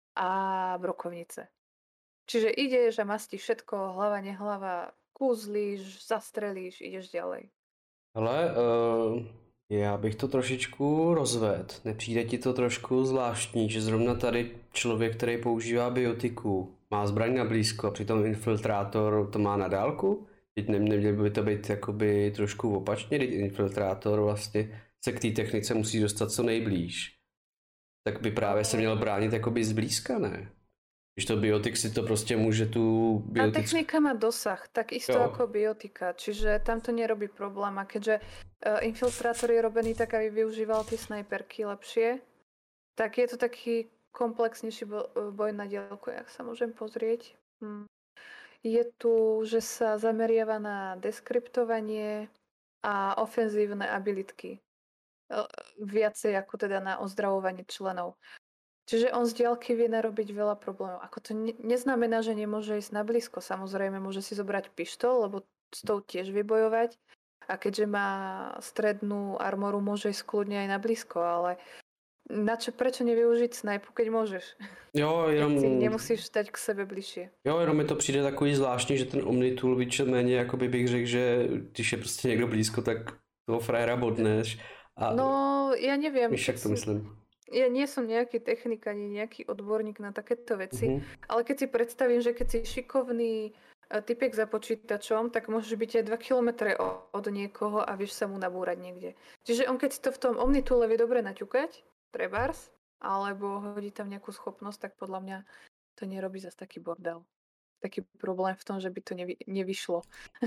a brokovnice. Čiže ideš a mastíš všetko, hlava, nehlava, kúzlíš, zastrelíš, ideš ďalej. Ale uh, já bych to trošičku rozvedl. Nepřijde ti to trošku zvláštní, že zrovna tady člověk, který používá biotiku, má zbraň na blízko a přitom infiltrátor to má na dálku? Teď ne, neměl by to být jakoby trošku opačně, teď infiltrátor vlastně se k té technice musí dostat co nejblíž. Tak by právě se měl bránit jakoby zblízka, ne? Když to biotik si to prostě může tu A biotik... technika má dosah, takisto Jo. ako biotika, čiže tam to nerobí problém. A keďže uh, infiltrátor je robený tak, aby využíval tie snajperky lepšie, tak je to taký komplexnejší bo- boj na diaľku, jak sa môžem pozrieť. Hm. Je tu, že sa zameriava na deskriptovanie a ofenzívne abilitky. Uh, viacej ako teda na ozdravovanie členov. Čiže on z diaľky vie narobiť veľa problémov. Ako to ne- neznamená, že nemôže ísť na blízko. Samozrejme, môže si zobrať pištol, lebo s tou tiež vie bojovať. A keďže má strednú armoru, môže ísť kľudne aj na blízko, ale na čo, prečo nevyužiť snajpu, keď môžeš? Jo, jenom... Keď si nemusíš stať k sebe bližšie. Jo, jenom mi to přijde takový zvláštní, že ten Omnitool víceméně, jakoby bych řekl, že když je prostě někdo blízko, tak toho frajera bodneš. A No, ja neviem. víš, jak to si- myslím. Ja nie som nejaký technik ani nejaký odborník na takéto veci, Mhm. ale keď si predstavím, že keď si šikovný e, typek za počítačom, tak môžeš byť aj dva kilometre o- od niekoho a vieš sa mu nabúrať niekde. Čiže on keď si to v tom Omnitoole vie dobre naťukať, trebárs, alebo hodí tam nejakú schopnosť, tak podľa mňa to nerobí zase taký bordel. Taký problém v tom, že by to nevy, nevyšlo.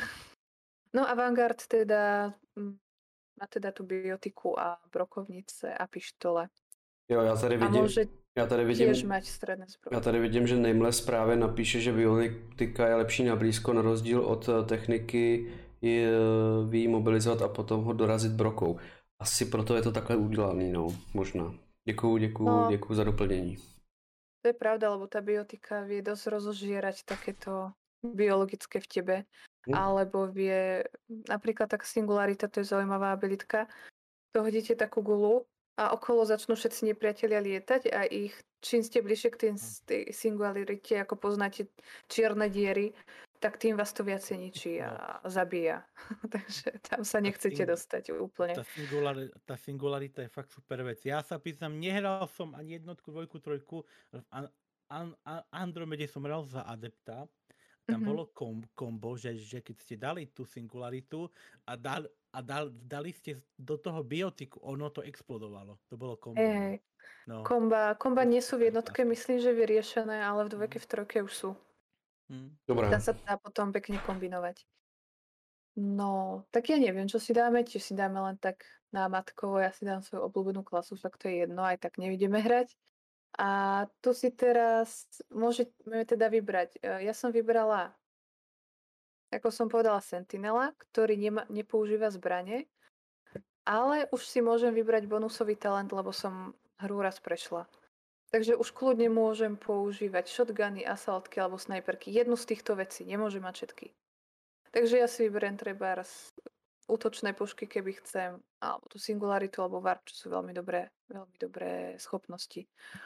No a Vanguard teda mm, má teda tú biotiku a brokovnice a pištole. Jo, já tady A vidím, môže já tady vidím, tiež mať stredné zbroj. já tady vidím, že Nameless právě napíše, že biotika je lepší na blízko na rozdíl od eh, techniky je, ví mobilizovat a potom ho dorazit brokou. Asi proto je to takhle udělaný, no, možná. Děkuju, děkuju, No. děkuju za doplnění. To je pravda, lebo tá biotika vie dosť rozožierať takéto biologické v tebe. Hm. Alebo vie, napríklad tak Singularita, to je zaujímavá abilitka. To hodíte takú gulu a okolo začnú všetci nepriatelia lietať a ich, čím ste bližšie k tým, tej singularite, ako poznáte čierne diery, tak tým vás to viacej ničí a zabíja. Takže tam sa nechcete sing- dostať úplne. Tá, singulari- tá singularita je fakt super vec. Ja sa pýtam, nehral som ani jednotku, dvojku, trojku. V An- An- An- Andromede som hral za adepta. Tam Mhm. bolo kom- kombo, že, že keď ste dali tú singularitu a, dal, a dal, dali ste do toho biotiku, ono to explodovalo. To bolo kombo. Hej, no. hej. No. Komba, komba To nie sú v super jednotke, krásne. myslím, že vyriešené, ale v dvojke, v trojke už sú. Hm. Dobré. Tam sa dá potom pekne kombinovať. No, tak ja neviem, čo si dáme, či si dáme len tak námatkovo, ja si dám svoju obľúbenú klasu, však to je jedno, aj tak nevidíme hrať. A tu si teraz môžeme teda vybrať. E, Ja som vybrala, ako som povedala, Sentinela, ktorý nema, nepoužíva zbrane, ale už si môžem vybrať bonusový talent, lebo som hru raz prešla. Takže už kľudne môžem používať shotguny, asaltky alebo snajperky. Jednu z týchto vecí, nemôžem mať všetky. Takže ja si vyberiem trebárs útočné pušky, keby chcem, alebo tú singularitu, alebo warp, čo sú veľmi dobré, veľmi dobré schopnosti.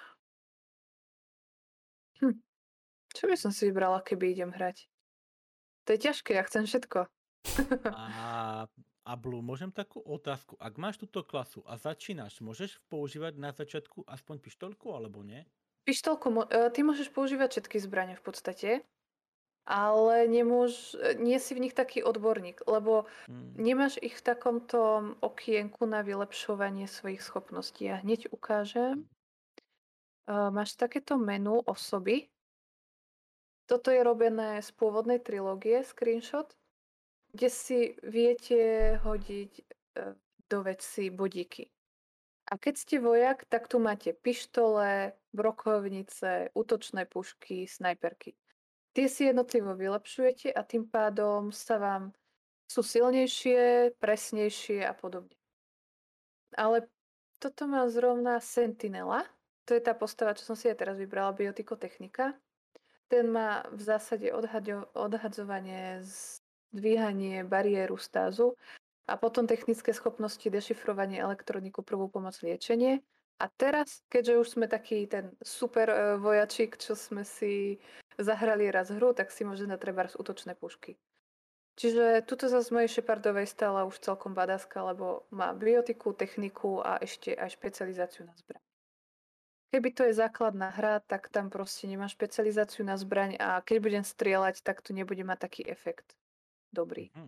Hm. Čo by som si vybrala, keby idem hrať? To je ťažké, ja chcem všetko. A, a Blue, môžem takú otázku. Ak máš túto klasu a začínaš, môžeš používať na začiatku aspoň pištolku, alebo nie? Pištolku, mo- e, ty môžeš používať všetky zbrane v podstate, ale nemôž, e, nie si v nich taký odborník, lebo Hm. nemáš ich v takomto okienku na vylepšovanie svojich schopností. Ja hneď ukážem. E, Máš takéto menu osoby. Toto je robené z pôvodnej trilógie, screenshot, kde si viete hodiť e, do veci bodíky. A keď ste vojak, tak tu máte pištole, brokovnice, útočné pušky, snajperky. Tie si jednotlivo vylepšujete a tým pádom sa vám sú silnejšie, presnejšie a podobne. Ale toto má zrovna Sentinela. To je tá postava, čo som si aj teraz vybrala, biotikotechnika. Ten má v zásade odhaďo- odhadzovanie, zdvíhanie bariéru stázu a potom technické schopnosti, dešifrovanie elektroniku, prvú pomoc, liečenie. A teraz, keďže už sme taký ten super e, vojačik, čo sme si zahrali raz hru, tak si môžeme dať trebárs útočné pušky. Čiže tuto zase z mojej Shepardovej stála už celkom badaska, lebo má biotiku, techniku a ešte aj špecializáciu na zbraň. Keby to je základná hra, tak tam proste nemá špecializáciu na zbraň a keď budem strieľať, tak to nebude mať taký efekt dobrý. Mhm.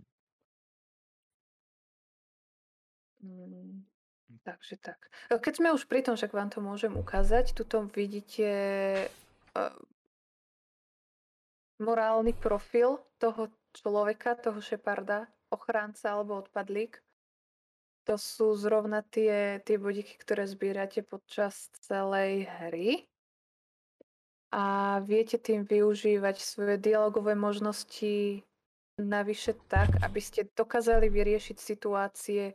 Mm, takže tak. Keď sme už pri tom, však vám to môžem ukázať, tuto vidíte uh, morálny profil toho človeka, toho Sheparda, ochránca alebo odpadlík. To sú zrovna tie, tie bodíky, ktoré zbierate počas celej hry. A viete tým využívať svoje dialogové možnosti navyše tak, aby ste dokázali vyriešiť situácie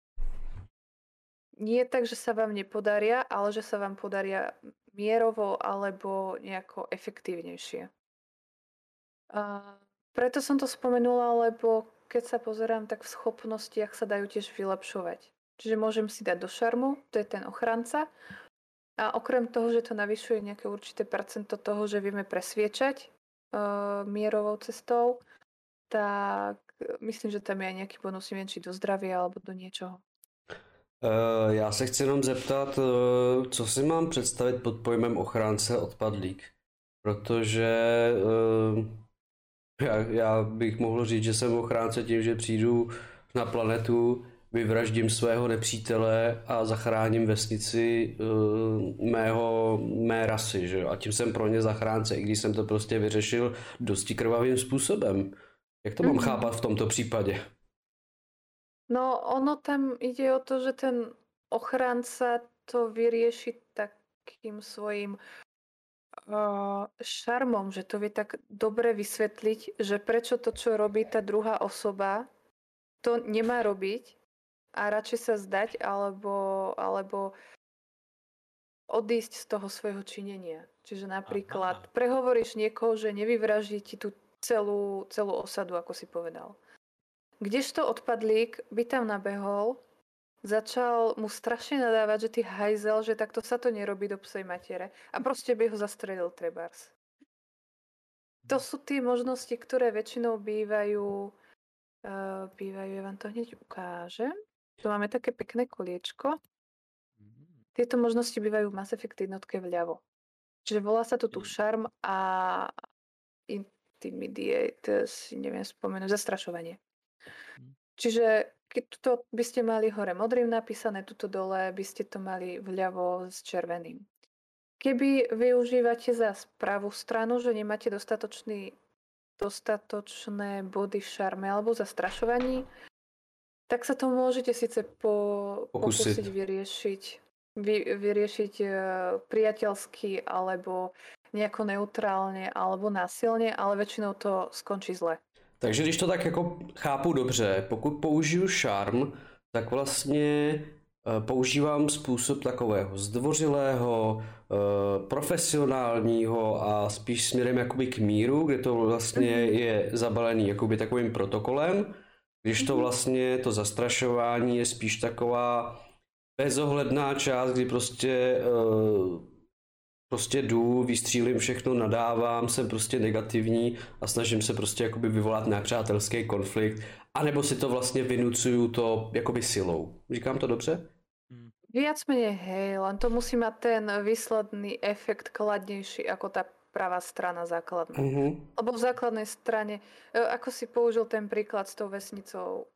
nie tak, že sa vám nepodaria, ale že sa vám podaria mierovo alebo nejako efektívnejšie. A preto som to spomenula, lebo keď sa pozerám, tak v schopnostiach sa dajú tiež vylepšovať. Čiže môžem si dať do šarmu, to je ten ochranca. A okrem toho, že to navyšuje nejaké určité percento toho, že vieme presviečať uh, mierovou cestou, tak myslím, že tam je aj nejaký bonus, neviem, či do zdravia alebo do niečoho. Uh, já se chci jenom zeptat, uh, co si mám představit pod pojmem ochránce odpadlík. Protože uh, já, já bych mohl říct, že jsem ochránce tím, že přijdu na planetu, vyvraždím svého nepřítele a zachráním vesnici uh, mého, mé rasy, že? A tím jsem pro ně zachránce, i když jsem to prostě vyřešil dosti krvavým způsobem. Jak to mám Mhm. chápat v tomto případě? No, ono tam ide o to, že ten ochránca to vyrieši takým svojím uh, šarmom, že to vie tak dobre vysvetliť, že prečo to, čo robí tá druhá osoba, to nemá robiť a radšej sa zdať alebo, alebo odísť z toho svojho činenia. Čiže napríklad Aha. prehovoríš niekoho, že nevyvraždí ti tú celú, celú osadu, ako si povedal. Kdežto odpadlík by tam nabehol začal mu strašne nadávať, že ty hajzel, že takto sa to nerobí do psej matere. A proste by ho zastrelil trebárs. To sú tie možnosti, ktoré väčšinou bývajú, uh, bývajú, ja vám to hneď ukážem. Tu máme také pekné koliečko. Tieto možnosti bývajú v Mass Effect jednotke vľavo. Čiže volá sa to tu šarm a intimidate, si neviem spomenúť, zastrašovanie. Čiže keď to by ste mali hore modrým napísané, tuto dole by ste to mali vľavo s červeným. Keby využívate za pravú stranu, že nemáte dostatočný, dostatočné body v šarme alebo zastrašovaní, tak sa to môžete síce po, pokúsiť vyriešiť, vy, vyriešiť uh, priateľsky alebo nejako neutrálne alebo násilne, ale väčšinou to skončí zle. Takže když to tak jako chápu dobře, pokud použiju šarm, tak vlastně používám způsob takového zdvořilého, profesionálního a spíš směrem jakoby k míru, kde to vlastně je zabalený jakoby takovým protokolem, když to vlastně to zastrašování je spíš taková bezohledná část, kdy prostě prostě jdu, vystřílím všechno, nadávám, jsem prostě negativní a snažím se prostě jakoby vyvolat nepřátelský konflikt, anebo si to vlastně vynucuju to jakoby silou. Říkám to dobře? Viac menej hej, len to musí mať ten výsledný efekt kladnejší ako tá pravá strana základná. Uh-huh. Lebo v základnej strane, ako si použil ten príklad s tou vesnicou,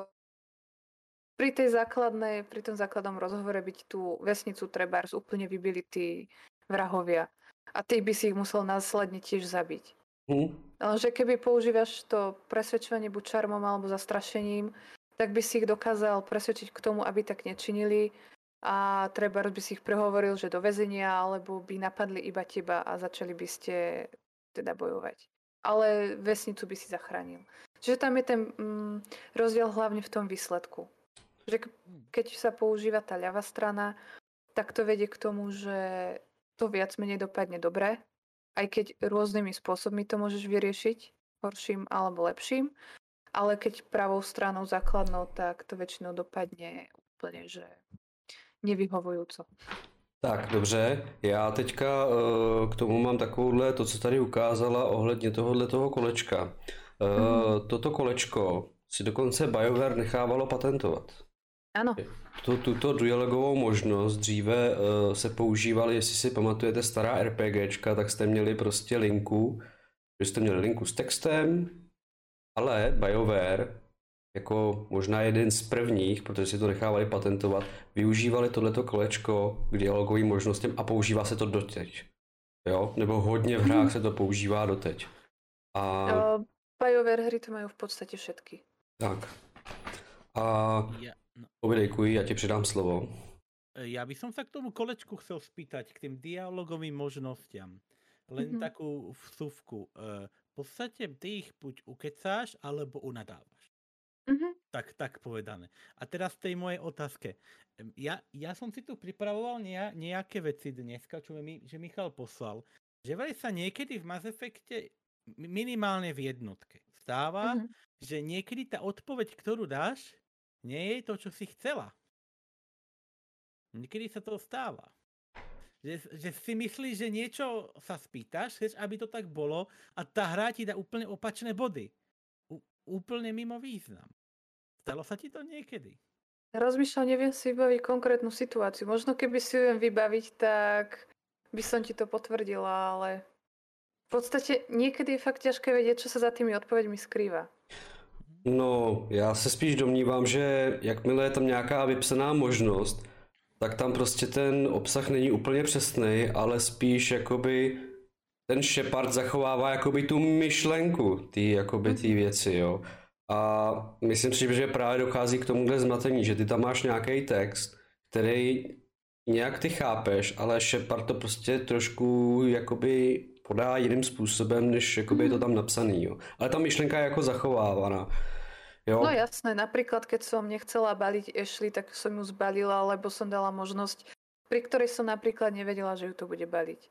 pri tej základnej, pri tom základnom rozhovore byť tú vesnicu trebárs úplne vybili tí vrahovia. A ty by si ich musel následne tiež zabiť. Uh-huh. Lenže keby používaš to presvedčovanie buď čarmom alebo zastrašením, tak by si ich dokázal presvedčiť k tomu, aby tak nečinili a trebárs by si ich prehovoril, že do väzenia, alebo by napadli iba teba a začali by ste teda bojovať. Ale vesnicu by si zachránil. Čiže tam je ten mm, rozdiel hlavne v tom výsledku. Že keď sa používa tá ľavá strana, tak to vedie k tomu, že to viac menej dopadne dobre, aj keď rôznymi spôsobmi to môžeš vyriešiť, horším alebo lepším, ale keď pravou stranou základnou, tak to väčšinou dopadne úplne, že nevyhovujúco. Tak, dobře. Já teďka uh, k tomu mám takovouhle, to, co tady ukázala ohledně tohohle toho kolečka. Uh, mm. Toto kolečko si dokonce BioWare nechávalo patentovat. Ano. Tuto dialogovou možnost dříve uh, se používaly, jestli si pamatujete stará RPGčka, tak jste měli prostě linku, že jste měli linku s textem, ale BioWare jako možná jeden z prvních, protože si to nechávali patentovat, využívali tohleto kolečko k dialogovým možnostem a používá se to doteď. Jo? Nebo hodně v hrách se to používá doteď. A... Uh, BioWare hry to mají v podstatě všetky. Tak. A ja, no. Povidejkuj, ja ti předám slovo. Ja by som sa k tomu kolečku chcel spýtať, k tým dialogovým možnostiam. Len mm-hmm. takú vsuvku. V podstate ty ich buď ukecáš, alebo unadávaš. Mm-hmm. Tak, tak povedané. A teraz tej mojej otázke. Ja, ja som si tu pripravoval nejak, nejaké veci dneska, čo mi že Michal poslal. Že vraj sa niekedy v Mass Effecte, minimálne v jednotke, stáva, mm-hmm. že niekedy tá odpoveď, ktorú dáš, nie je to, čo si chcela. Niekedy sa to stáva. Že, že si myslíš, že niečo sa spýtaš, chceš, aby to tak bolo a tá hra ti dá úplne opačné body. Úplne mimo význam. Stalo sa ti to niekedy? Rozmýšľam, neviem si vybaviť konkrétnu situáciu. Možno keby si ju viem vybaviť, tak by som ti to potvrdila, ale v podstate niekedy je fakt ťažké vedieť, čo sa za tými odpoveďmi skrýva. No, já se spíš domnívám, že jakmile je tam nějaká vypsaná možnost, tak tam prostě ten obsah není úplně přesný, ale spíš jakoby ten Shepard zachovává jakoby tu myšlenku ty jakoby ty věci, jo. A myslím si, že právě dochází k tomuhle zmatení, že ty tam máš nějaký text, který nějak ty chápeš, ale Shepard to prostě trošku jakoby podá jiným způsobem, než jakoby je to tam napsaný, jo. Ale ta myšlenka je jako zachovávaná. Jo. No jasné, napríklad keď som nechcela baliť Ashley, tak som ju zbalila, lebo som dala možnosť, pri ktorej som napríklad nevedela, že ju to bude baliť.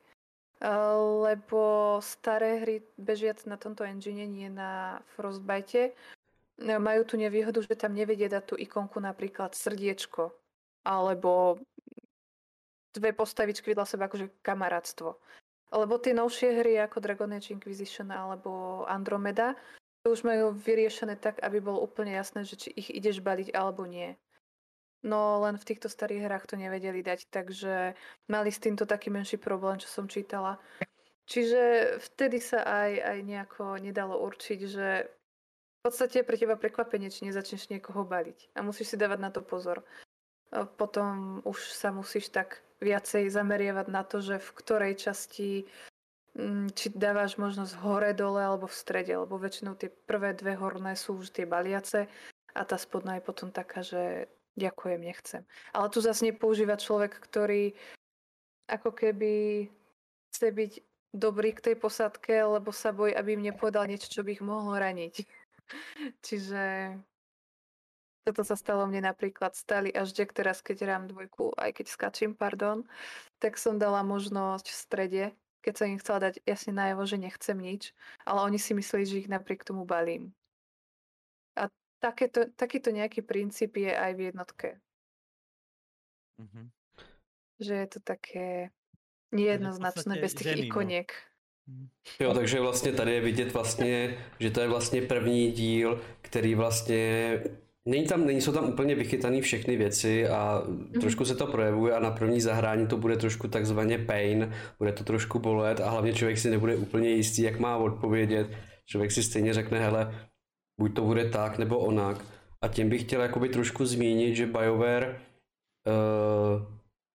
Lebo staré hry bežiac na tomto engine, nie na Frostbite, majú tú nevýhodu, že tam nevedia dať tú ikonku napríklad srdiečko alebo dve postavičky vedľa seba akože kamarátstvo. Lebo tie novšie hry ako Dragon Age Inquisition alebo Andromeda to už majú vyriešené tak, aby bolo úplne jasné, že či ich ideš baliť alebo nie. No len v týchto starých hrách to nevedeli dať, takže mali s týmto taký menší problém, čo som čítala. Čiže vtedy sa aj, aj nejako nedalo určiť, že v podstate je pre teba prekvapenie, či nezačneš niekoho baliť. A musíš si dávať na to pozor. A potom už sa musíš tak viacej zameriavať na to, že v ktorej časti či dávaš možnosť hore, dole alebo v strede, lebo väčšinou tie prvé dve horné sú už tie baliace a tá spodná je potom taká, že ďakujem, nechcem. Ale tu zase nepoužíva človek, ktorý ako keby chce byť dobrý k tej posádke, lebo sa bojí, aby im nepovedal niečo, čo by ich mohlo raniť. Čiže toto sa stalo mne napríklad stali až Jack teraz, keď hrám dvojku, aj keď skačím, pardon, tak som dala možnosť v strede, keď som im chcela dať jasne najavo, že nechcem nič, ale oni si mysleli, že ich napriek tomu balím. A takéto, takýto nejaký princíp je aj v jednotke. Mm-hmm. Že je to také nejednoznačné bez těch ženy, ikoniek. No. Jo, takže vlastně tady je vidět vlastně, že to je vlastně první díl, který vlastně není tam, nejsou tam úplně vychytaný všechny věci a mm-hmm. trošku se to projevuje a na první zahrání to bude trošku takzvaně pain, bude to trošku bolet a hlavně člověk si nebude úplně jistý, jak má odpovědět. Člověk si stejně řekne, hele, buď to bude tak nebo onak. A tím bych chtěl jakoby trošku zmínit, že BioWare uh,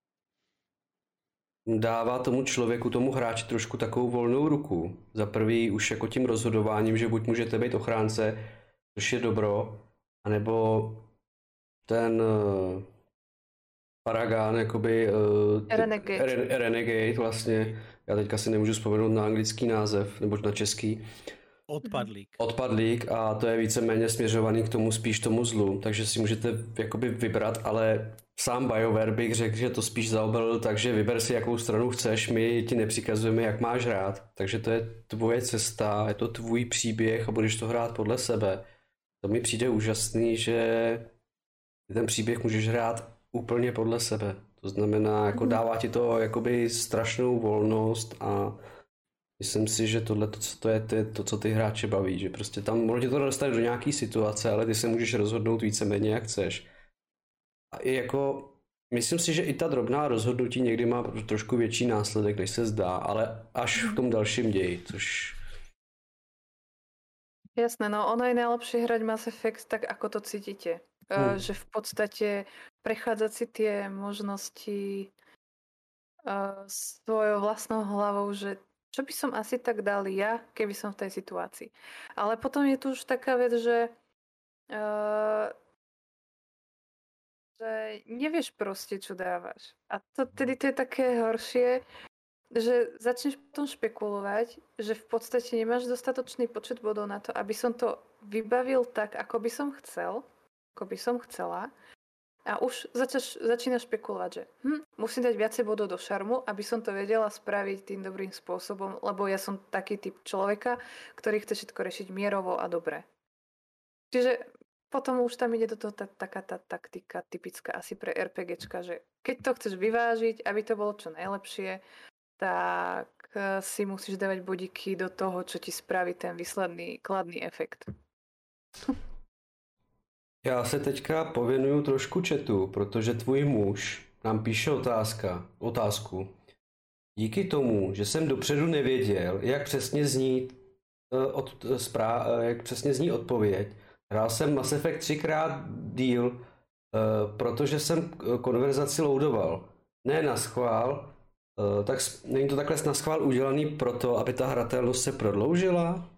dává tomu člověku, tomu hráči trošku takovou volnou ruku. Za prvý už jako tím rozhodováním, že buď můžete být ochránce, což je dobro, anebo ten uh, Paragon, jakoby uh, Renegade. Re, Renegade vlastně, já teďka si nemůžu vzpomenout na anglický název, nebo na český. Odpadlík. Odpadlík a to je víceméně směřovaný k tomu spíš tomu zlu, takže si můžete jakoby vybrat, ale sám BioWare bych řekl, že to spíš zaobalil, takže vyber si jakou stranu chceš, my ti nepřikazujeme, jak máš hrát, takže to je tvoje cesta, je to tvůj příběh a budeš to hrát podle sebe. To mi přijde úžasný, že ten příběh můžeš hrát úplně podle sebe, to znamená, jako dává ti to jakoby strašnou volnost a myslím si, že tohle to, to, je, to je to, co ty hráče baví, že prostě tam možná to dostane do nějaký situace, ale ty se můžeš rozhodnout víceméně jak chceš. A i jako, myslím si, že i ta drobná rozhodnutí někdy má trošku větší následek, než se zdá, ale až v tom dalším ději, což... Jasné, no ono je najlepšie hrať Mass Effect tak, ako to cítite. Hmm. Uh, že v podstate prechádzať si tie možnosti uh, svojou vlastnou hlavou, že čo by som asi tak dal ja, keby som v tej situácii. Ale potom je tu už taká vec, že uh, že nevieš proste, čo dávaš. A to, tedy to je také horšie, že začneš potom špekulovať, že v podstate nemáš dostatočný počet bodov na to, aby som to vybavil tak, ako by som chcel, ako by som chcela. A už začaš, začínaš špekulovať, že hm, musím dať viacej bodov do šarmu, aby som to vedela spraviť tým dobrým spôsobom, lebo ja som taký typ človeka, ktorý chce všetko riešiť mierovo a dobre. Čiže potom už tam ide do toho tá, taká tá taktika typická asi pre RPGčka, že keď to chceš vyvážiť, aby to bolo čo najlepšie, tak si musíš dávať bodíky do toho, čo ti spraví ten výsledný kladný efekt. Já se teďka pověnuju trošku chatu, protože tvůj muž nám píše otázka, otázku. Díky tomu, že jsem dopředu nevěděl, jak přesně zní, od, zpráv, jak přesně zní odpověď, hrál jsem Mass Effect třikrát díl, protože jsem konverzaci loadoval. Ne na schvál, tak není to takhle na schvál udělaný proto, aby ta hratelnost se prodloužila?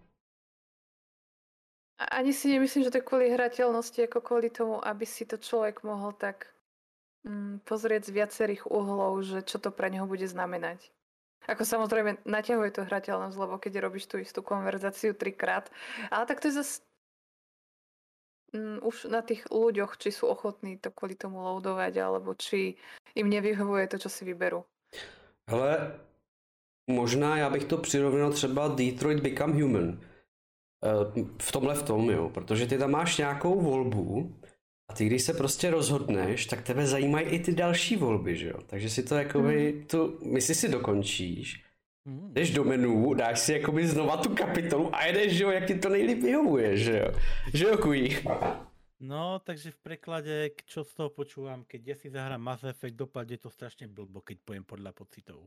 Ani si nemyslím, že to je kvôli hrateľnosti, ako kvôli tomu, aby si to človek mohol tak mm, pozrieť z viacerých uhlov, že čo to pre neho bude znamenať. Ako samozrejme naťahuje to hrateľnosť, lebo keď robíš tú istú konverzáciu trikrát. Ale tak to je zase mm, už na tých ľuďoch, či sú ochotní to kvôli tomu loadovať, alebo či im nevyhovuje to, čo si vyberú. Ale možná já bych to přirovnal třeba Detroit Become Human. v tomhle v tom, jo, protože ty tam máš nějakou volbu a ty, když se prostě rozhodneš, tak tebe zajímají i ty další volby, že jo, takže si to jakoby, hmm. tu misi si dokončíš, hmm. jdeš do menu, dáš si jakoby znova tu kapitolu a jedeš, že jo, jak ti to nejlíp vyhovuje, že jo, že jo, kují. No, takže v preklade, čo z toho počúvam, keď ja si zahrám Mass Effect, dopadne to strašne blbo, keď pojem podľa pocitov.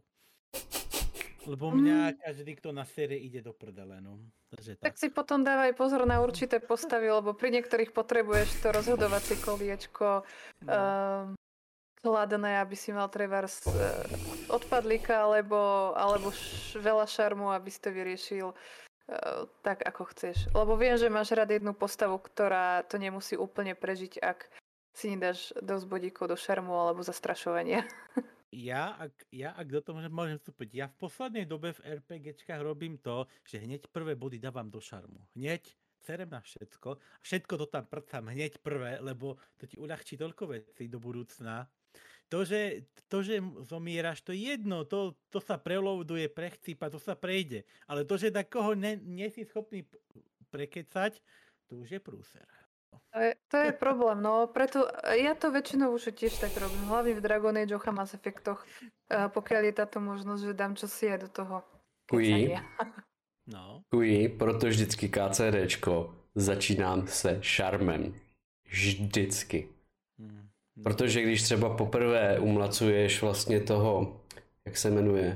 Lebo mňa každý, kto na série ide do prdele, no. Takže tak. Tak si potom dávaj pozor na určité postavy, lebo pri niektorých potrebuješ to rozhodovacie koliečko no. um, kladné, aby si mal trebárs uh, odpadlíka, alebo, alebo š- veľa šarmu, aby si to vyriešil tak, ako chceš. Lebo viem, že máš rád jednu postavu, ktorá to nemusí úplne prežiť, ak si nedáš dosť bodíkov do šarmu alebo zastrašovania. Ja, ak, ja, ak do toho môžem vstúpiť, ja v poslednej dobe v RPGčkách robím to, že hneď prvé body dávam do šarmu. Hneď serem na všetko. Všetko to tam prcám hneď prvé, lebo to ti uľahčí toľko vecí do budúcna. To, že, to, že zomieraš, to je jedno, to, to sa preloaduje, prechcípa, to sa prejde. Ale to, že takoho ne, nie si schopný prekecať, to už je prúser. To je, to je problém, no preto ja to väčšinou už tiež tak robím, hlavne v Dragon Age a Mass Effectoch, pokiaľ je táto možnosť, že dám čosi aj do toho kecania. No. Kují, proto vždycky KCDčko začínám se šarmem. Vždycky. Hmm. Protože když třeba poprvé umlacuješ vlastně toho, jak se jmenuje,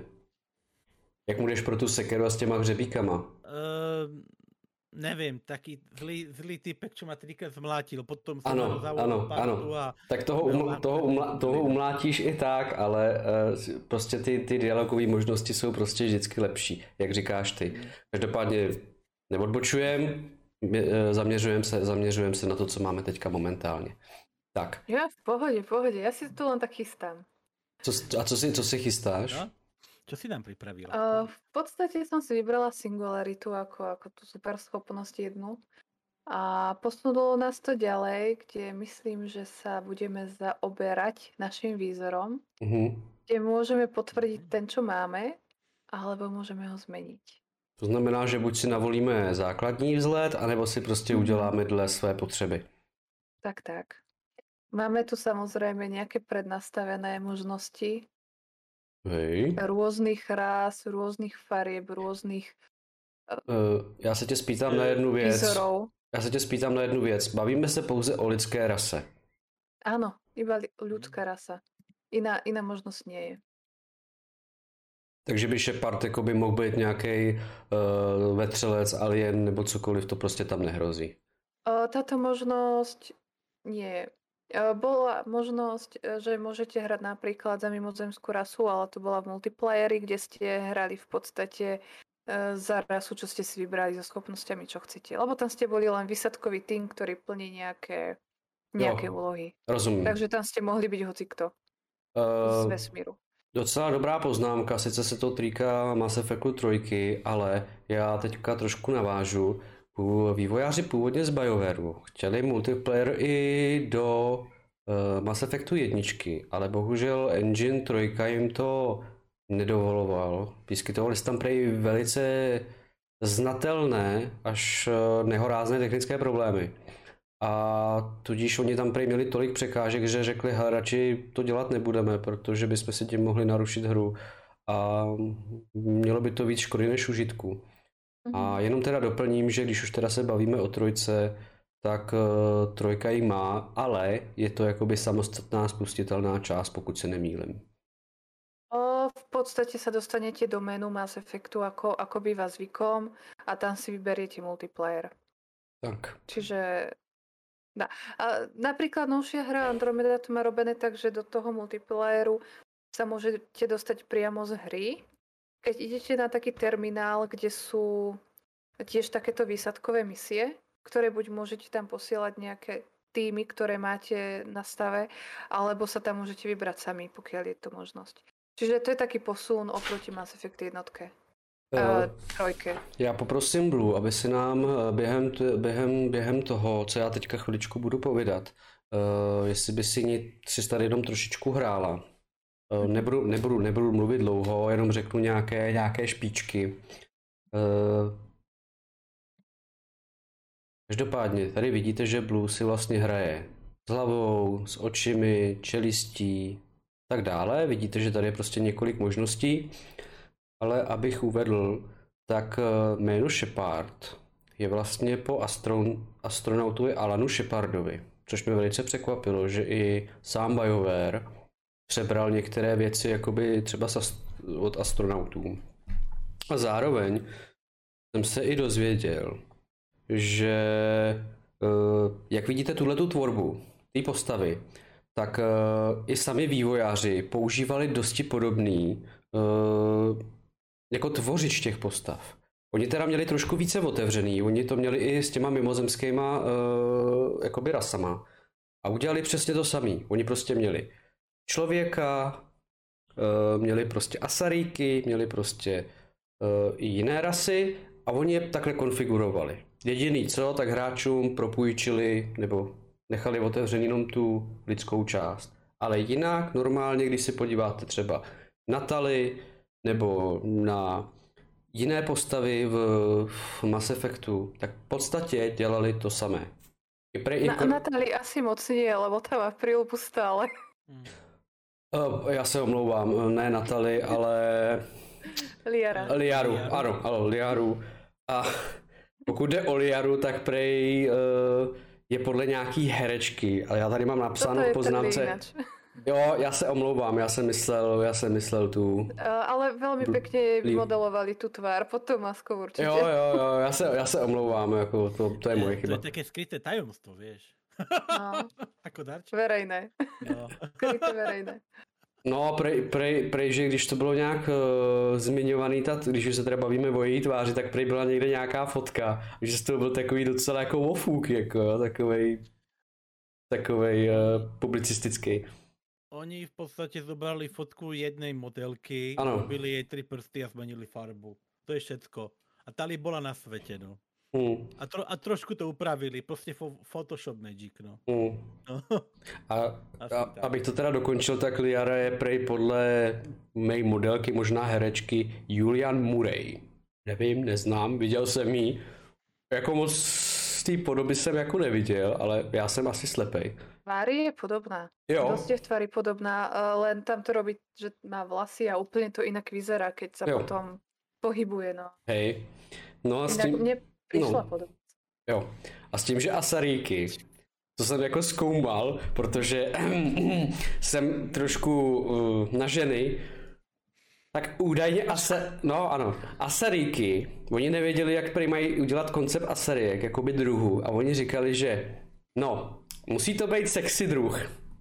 jak mu jdeš pro tu sekeru a s těma hřebíkama? Uh, nevím, taký zlý, zlý typek, čo ma trikrát zmlátil, potom jsem ano, ano, ano. A... Tak toho, umla, toho, umla, toho umlátíš i tak, ale uh, prostě ty, ty dialogové možnosti jsou prostě vždycky lepší, jak říkáš ty. Každopádně neodbočujem, zaměřujem se, zaměřujem se na to, co máme teďka momentálně. Tak. Ja v pohode, v pohode. Ja si to len tak chystám. Co, a co si, co si chystáš? No? Čo si nám pripravila? Uh, v podstate som si vybrala Singularitu ako, ako tú super schopnosť jednu. A posunulo nás to ďalej, kde myslím, že sa budeme zaoberať našim výzorom, uh-huh. kde môžeme potvrdiť ten, čo máme, alebo môžeme ho zmeniť. To znamená, že buď si navolíme základní vzhled, anebo si prostě uh-huh. uděláme dle své potřeby. Tak, tak. Máme tu samozrejme nejaké prednastavené možnosti. Hej. Rôznych rás, rôznych farieb, rôznych uh, Já se tě spýtám na jednu věc. Výzorov. Já se tě spýtám na jednu věc. Bavíme se pouze o lidské rase. Áno, iba ľudská rasa. Iná, iná možnosť nie je. Takže by Shepard jako by mohl být nějaký uh, vetřelec, alien nebo cokoliv, to prostě tam nehrozí. Uh, táto možnosť nie je. Bola možnosť, že môžete hrať napríklad za mimozemskú rasu, ale to bola v multiplayeri, kde ste hrali v podstate za rasu, čo ste si vybrali so schopnosťami, čo chcete. Lebo tam ste boli len výsadkový tým, ktorý plní nejaké, nejaké jo, úlohy. Rozumím. Takže tam ste mohli byť hocikto uh, z vesmíru. Docela dobrá poznámka, sice se to týká Mass Effectu trojky, ale já teďka trošku navážu. Vývojáři původně z BioWareu chtěli multiplayer i do uh, Mass Effectu jedničky, ale bohužel Engine trojka jim to nedovoloval. Vyskytovaly se tam prej velice znatelné až uh, nehorázné technické problémy. A tudíž oni tam prej měli tolik překážek, že řekli, hele, radši to dělat nebudeme, protože bychom si tím mohli narušit hru a mělo by to víc škody než užitku. A jenom teda doplním, že když už teda se bavíme o trojce, tak uh, trojka ji má, ale je to jakoby samostatná spustitelná část, pokud se nemýlim. O, v podstate sa dostanete do menu Mass Effectu, ako, ako býva zvykom, a tam si vyberiete multiplayer. Tak. Čiže dá. A napríklad novšia hra Andromeda to má robené tak, že do toho multiplayeru sa môžete dostať priamo z hry. Keď idete na taký terminál, kde sú tiež takéto výsadkové misie, ktoré buď môžete tam posielať nejaké týmy, ktoré máte na stave, alebo sa tam môžete vybrať sami, pokiaľ je to možnosť. Čiže to je taký posun oproti Mass Effect jednotke. Uh, trojke. Já poprosím Blue, aby si nám během, během, během toho, co já teďka chviličku budu povídat, uh, jestli by si ni, si tady jenom trošičku hrála. Uh, nebudu, nebudu, nebudu mluvit dlouho, jenom řeknu nějaké, nějaké špičky. Uh, Každopádně, tady vidíte, že Blue si vlastně hraje s hlavou, s očimi, čelistí, tak dále. Vidíte, že tady je prostě několik možností, ale abych uvedl, tak jméno Shepard je vlastně po astron, astronautovi Alanu Shepardovi, což mě velice překvapilo, že i sám BioWare přebral některé věci jakoby třeba od astronautů. A zároveň jsem se i dozvěděl, že jak vidíte tuhletu tvorbu té postavy, tak i sami vývojáři používali dosti podobný jako tvořič těch postav. Oni teda měli trošku více otevřený, oni to měli i s těma mimozemskýma jakoby rasama a udělali přesně to samý. Oni prostě měli člověka, měli prostě asaríky, měli prostě i jiné rasy a oni je takhle konfigurovali. Jediný co, tak hráčům propůjčili nebo nechali otevřený jenom tu lidskou část. Ale jinak normálně, když si podíváte třeba na Tali nebo na jiné postavy v, v Mass Effectu, tak v podstatě dělali to samé. Na, na Tali asi moc nie, lebo tam má príľubu stále. Uh, já se omlouvám, ne Natali, ale... Liara. Liaru, Liaru. ano, ano, Liaru. A pokud jde o Liaru, tak prej uh, je podle nějaký herečky, ale já tady mám napsáno v poznámce... Jo, já se omlouvám, já jsem myslel, já jsem myslel tu... Uh, ale velmi pěkně vymodelovali tu tvár pod tou maskou určitě. Jo, jo, jo, já se, já se omlouvám, jako to, to je moje chyba. To je také skryté tajomstvo, vieš. No. Ako darček. Verejné. No. Skryté verejné. No, prej, prej, prej, že když to bylo nějak uh, zmiňovaný, ta, když už se teda bavíme o její tváři, tak prej byla někde nějaká fotka, že to byl takový docela jako ofůk, jako takovej, takovej uh, publicistický. Oni v podstate zobrali fotku jednej modelky, ano. Robili jej tri prsty a zmenili farbu. To je všetko. A Tali bola na svete, no. Hmm. A, tro, a trošku to upravili, prostě fo, Photoshop Magic, no. Hmm. no. A, a abych to teda dokončil, tak Liara je prej podle mé modelky, možná herečky, Julianne Murray. Nevím, neznám, viděl jsem jí. Jako moc z té podoby jsem jako neviděl, ale já jsem asi slepej. Tvári je podobná. Jo. Dosť je v tvári podobná, len tam to robí, že má vlasy a úplne to inak vyzerá, keď sa jo. potom pohybuje, no. Hej. No a s inak tím... mne prišla no. podobná. Jo. A s tím, že asaríky, to jsem jako zkoumal, protože jsem trošku uh, na ženy, tak údajně asa... no ano, asaríky, oni nevěděli, jak prý mají udělat koncept asarík, jakoby druhu, a oni říkali, že no, musí to být sexy druh.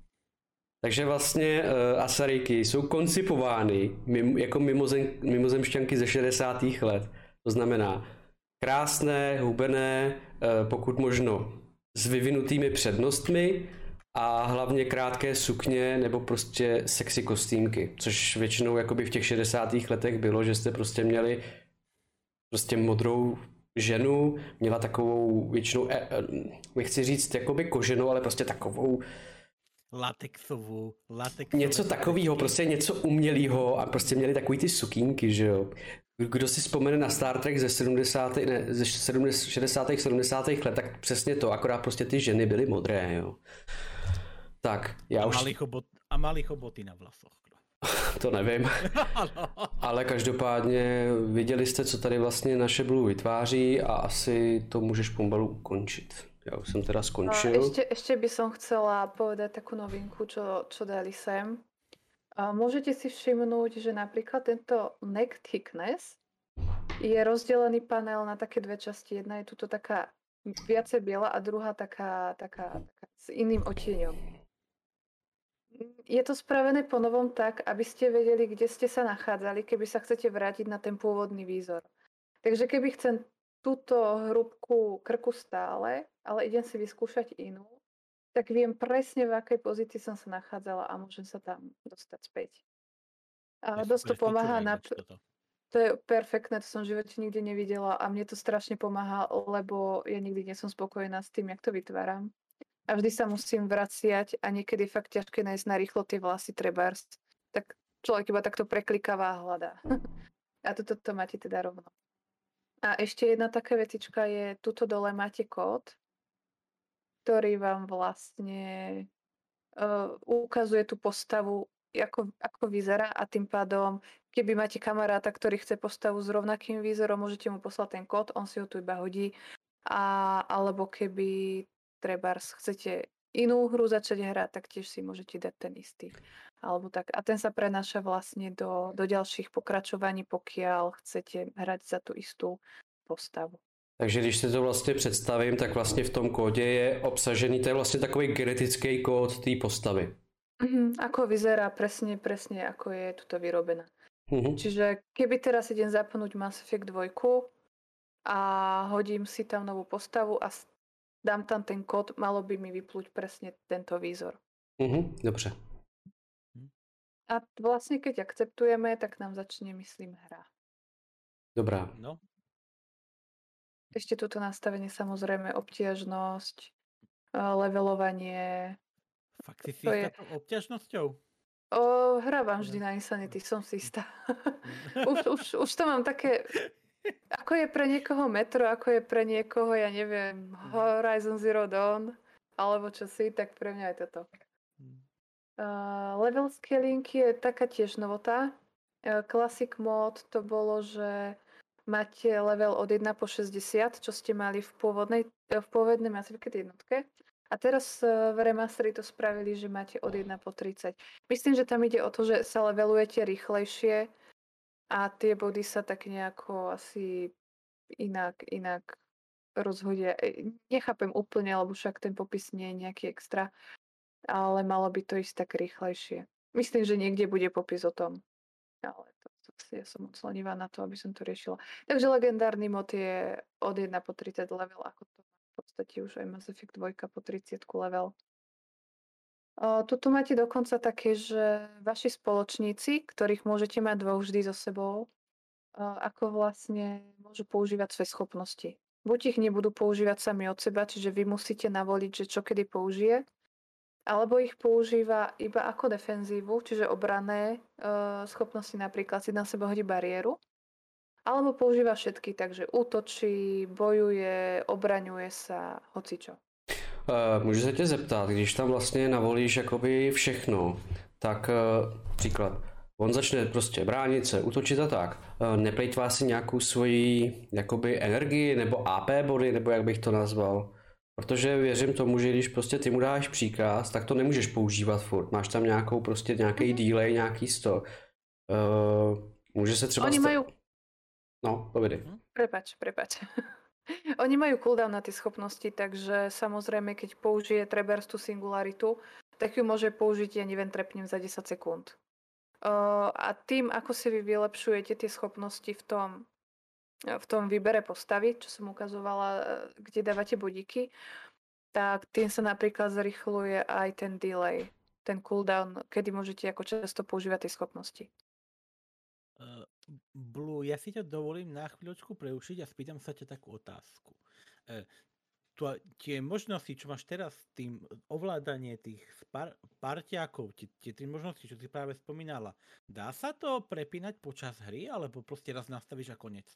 Takže vlastně uh, asaríky jsou koncipovány mimo, jako mimozem, mimozemšťanky ze šedesátých let. To znamená krásné, hubené, uh, pokud možno s vyvinutými přednostmi a hlavně krátké sukně nebo prostě sexy kostýmky, což většinou jakoby v těch šedesátých letech bylo, že jste prostě měli prostě modrou ženu, měla takovou většinou, eh, nechci říct jakoby koženou, ale prostě takovou latexovou, latexovou. Něco takového, prostě něco umělého a prostě měli takový ty sukínky, že jo. Kdo si vzpomene na Star Trek ze sedmdesátých, ne, ze šedesátých, sedmdesátých let, tak přesně to, akorát prostě ty ženy byly modré, jo. Tak, já a už... Mali chobot, a mali choboty na vlasoch. To nevím. Ale každopádně viděli jste, co tady vlastně naše Blue vytváří a asi to můžeš pomalu ukončit. Já už jsem teda skončil. Ešte, ešte by som chcela povedať takú novinku, čo, čo dali sem. Môžete si všimnúť, že napríklad tento neck thickness je rozdelený panel na také dve časti. Jedna je tuto taká viacej biela a druhá taká, taká, taká s iným odtieňom. Je to spravené po novom tak, aby ste vedeli, kde ste sa nachádzali, keby sa chcete vrátiť na ten pôvodný výzor. Takže keby chcem túto hrúbku krku stále, ale idem si vyskúšať inú, tak viem presne, v akej pozícii som sa nachádzala a môžem sa tam dostať späť. A dosť to pomáha na... To je perfektné, to som v živote nikdy nevidela a mne to strašne pomáha, lebo ja nikdy nie som spokojná s tým, jak to vytváram. A vždy sa musím vraciať a niekedy fakt ťažké nájsť na rýchlo tie vlasy trebárs. Tak človek iba takto preklikáva a hľadá. A toto to máte teda rovno. A ešte jedna taká vecička je, tuto dole máte kód, ktorý vám vlastne uh, ukazuje tú postavu, ako, ako vyzerá a tým pádom, keby máte kamaráta, ktorý chce postavu s rovnakým výzorom, môžete mu poslať ten kód, on si ho tu iba hodí. A, alebo keby trebárs chcete inú hru začať hrať, tak tiež si môžete dať ten istý. Alebo tak. A ten sa prenáša vlastne do, do ďalších pokračovaní, pokiaľ chcete hrať za tú istú postavu. Takže když si to vlastně představím, tak vlastně v tom kódě je obsažený, to je vlastně takový genetický kód té postavy. Mhm, ako vyzerá presne, presne ako je tuto vyrobená. Mhm. Čiže keby teraz idem zapnúť Mass Effect dva a hodím si tam novú postavu a s- dám tam ten kód, malo by mi vyplúť presne tento výzor. Mhm, dobře. A vlastne keď akceptujeme, tak nám začne, myslím, hra. Dobrá. No, Ešte toto nastavenie, samozrejme, obtiažnosť, eh, levelovanie. fakt si si To je- istá tou obťažnosťou? O, hrávam vždy na Insanity, som si istá. už, už, už to mám také, ako je pre niekoho Metro, ako je pre niekoho, ja neviem, Horizon Zero Dawn, alebo čo si, tak pre mňa je toto. Uh, level scaling je taká tiež novota. Uh, Classic mod to bolo, že máte level od jeden po šesťdesiat, čo ste mali v pôvodnej, eh, v pôvodnej Mass Effect jednotke. A teraz uh, v remasteri to spravili, že máte od jeden po tridsať. Myslím, že tam ide o to, že sa levelujete rýchlejšie a tie body sa tak nejako asi inak, inak rozhodia. E, Nechápem úplne, lebo však ten popis nie je nejaký extra, ale malo by to ísť tak rýchlejšie. Myslím, že niekde bude popis o tom. Ale to, to ja som moc lenivá na to, aby som to riešila. Takže legendárny mod je od jeden po tridsať level, ako to má v podstate už aj Mass Effect dva po tridsať level. O, tuto máte dokonca také, že vaši spoločníci, ktorých môžete mať dvoch vždy so sebou, o, ako vlastne môžu používať svoje schopnosti. Buď ich nebudú používať sami od seba, čiže vy musíte navoliť, že čo kedy použije, alebo ich používa iba ako defenzívu, čiže obranné e, schopnosti, napríklad si na seba hodí bariéru, alebo používa všetky, takže útočí, bojuje, obraňuje sa, hocičo. Uh, můžu se tě zeptat, když tam vlastně navolíš jakoby všechno, tak uh, příklad, on začne prostě bránit se, útočit a tak. Uh, neplejtvá si nějakou svoji jakoby energii nebo A P body, nebo jak bych to nazval? Protože věřím tomu, že když prostě ty mu dáš příkaz, tak to nemůžeš používat furt. Máš tam nějakou prostě nějaký Mhm. delay, nějaký sto. Uh, může se třeba... Oni sta- majú... No, povědej. Prepač, prepač. Oni majú cooldown na tie schopnosti, takže samozrejme, keď použije trebárs tú singularitu, tak ju môže použiť, ja neviem, trepnem za desať sekúnd. Uh, a tým, ako si vy vylepšujete tie schopnosti v tom, v tom výbere postavy, čo som ukazovala, eh, kde dávate bodíky, tak tým sa napríklad zrychluje aj ten delay, ten cooldown, kedy môžete ako často používať tie schopnosti. Uh, Blue, ja si ťa dovolím na chvíľočku preušiť a spýtam sa ťa takú otázku. Uh, tu, tie možnosti, čo máš teraz s tým ovládanie tých par, parťákov, tie, tie tri možnosti, čo si práve spomínala, dá sa to prepínať počas hry, alebo proste raz nastavíš a konec?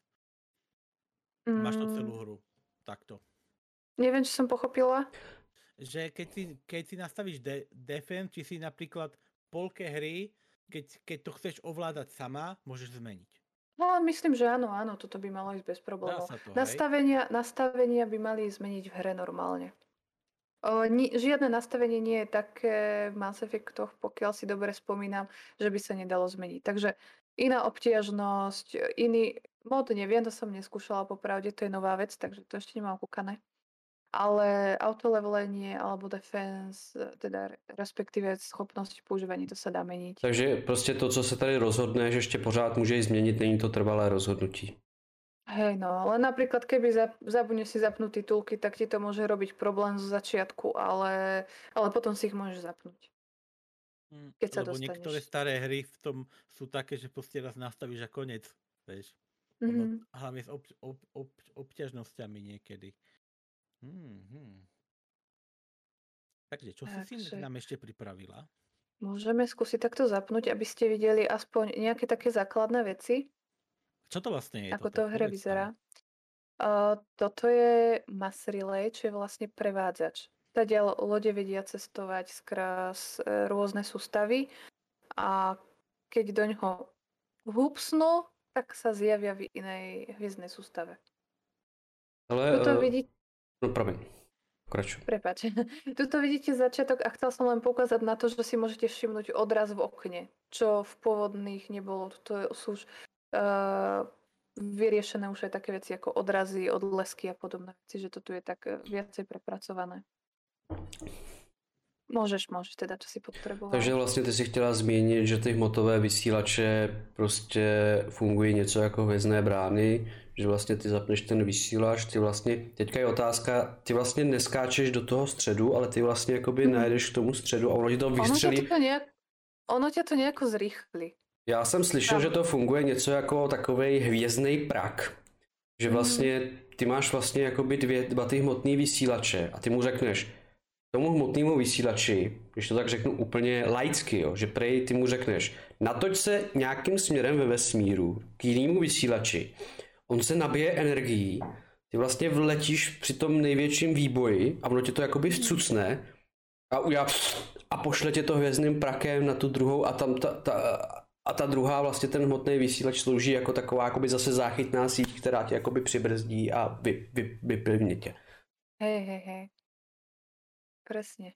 Máš to celú Mm, hru. Takto. neviem, či som pochopila. Že keď si, keď si nastavíš de, defense, či si napríklad v polke hry, keď, keď to chceš ovládať sama, môžeš zmeniť. No, myslím, že áno, áno, toto by malo ísť bez Dá problémov. sa to, hej? Nastavenia, nastavenia by mali zmeniť v hre normálne. O, ni, žiadne nastavenie nie je také v Mass Effectoch, pokiaľ si dobre spomínam, že by sa nedalo zmeniť. Takže iná obtiažnosť, iný mod, neviem, to som neskúšala popravde, to je nová vec, takže to ešte nemám kúkané. Ale autolevelenie alebo defense, teda respektíve schopnosť používania, to sa dá meniť. Takže prostě to, co se tady rozhodneš, ještě pořád můžeš změnit, není to trvalé rozhodnutí. Hej, no, ale napríklad keby zap, zabudneš si zapnúť titulky, tak ti to môže robiť problém zo začiatku, ale, ale potom si ich môžeš zapnúť. Hm, Keď sa lebo dostaneš. niektoré staré hry v tom sú také, že proste raz nastavíš a konec, vieš. Ono, Mhm. hlavne s ob, ob, ob, obťažnosťami niekedy. Hmm, hmm. Takže, čo si si Takže nám ešte pripravila? môžeme skúsiť takto zapnúť, aby ste videli aspoň nejaké také základné veci, Čo to vlastne je ako toto? to v hre Povedz vyzerá. nám. Uh, toto je mass relay, čo je vlastne prevádzač. Tadiaľ lode vedia cestovať skrz e, rôzne sústavy a keď do ňoho húpsnú, tak sa zjavia v inej hviezdnej sústave. Ale, Tuto uh, vidíte, no promiň, pokračuj. prepáč, tuto vidíte začiatok a chcel som len poukázať na to, že si môžete všimnúť odraz v okne, čo v pôvodných nebolo. Toto sú už uh, vyriešené už aj také veci ako odrazy, odlesky a podobné veci, že to tu je tak eh, viacej prepracované. Môžeš, môžeš teda, čo si potreboval. Takže vlastně ty si chtěla zmínit, že ty hmotové vysílače prostě fungují něco jako hvězdné brány, že vlastně ty zapneš ten vysílač, ty vlastně, teďka je otázka, ty vlastně neskáčeš do toho středu, ale ty vlastně jakoby Mhm. najedeš k tomu středu a ono ti to Ono ťa vystřelí. to nejak, ono ťa to nejako zrýchli. Já jsem slyšel, Tam. že to funguje něco jako takovej hvězdný prak. Že vlastně ty máš vlastně jakoby dvě, dva ty hmotný vysílače a ty mu řekneš tomu hmotnému vysílači, když to tak řeknu úplně laicky, jo, že prej ty mu řekneš natoč se nějakým směrem ve vesmíru k jinému vysílači, on se nabije energií, ty vlastně vletíš při tom největším výboji a ono tě to jakoby vcucne a, udělá a pošle tě to hvězdným prakem na tu druhou a tam ta, ta, a ta druhá vlastně ten hmotný vysílač slouží jako taková jakoby zase záchytná síť, která tě jakoby přibrzdí a vy, vy, vyplivne tě. Hej, hej, hej. Presne.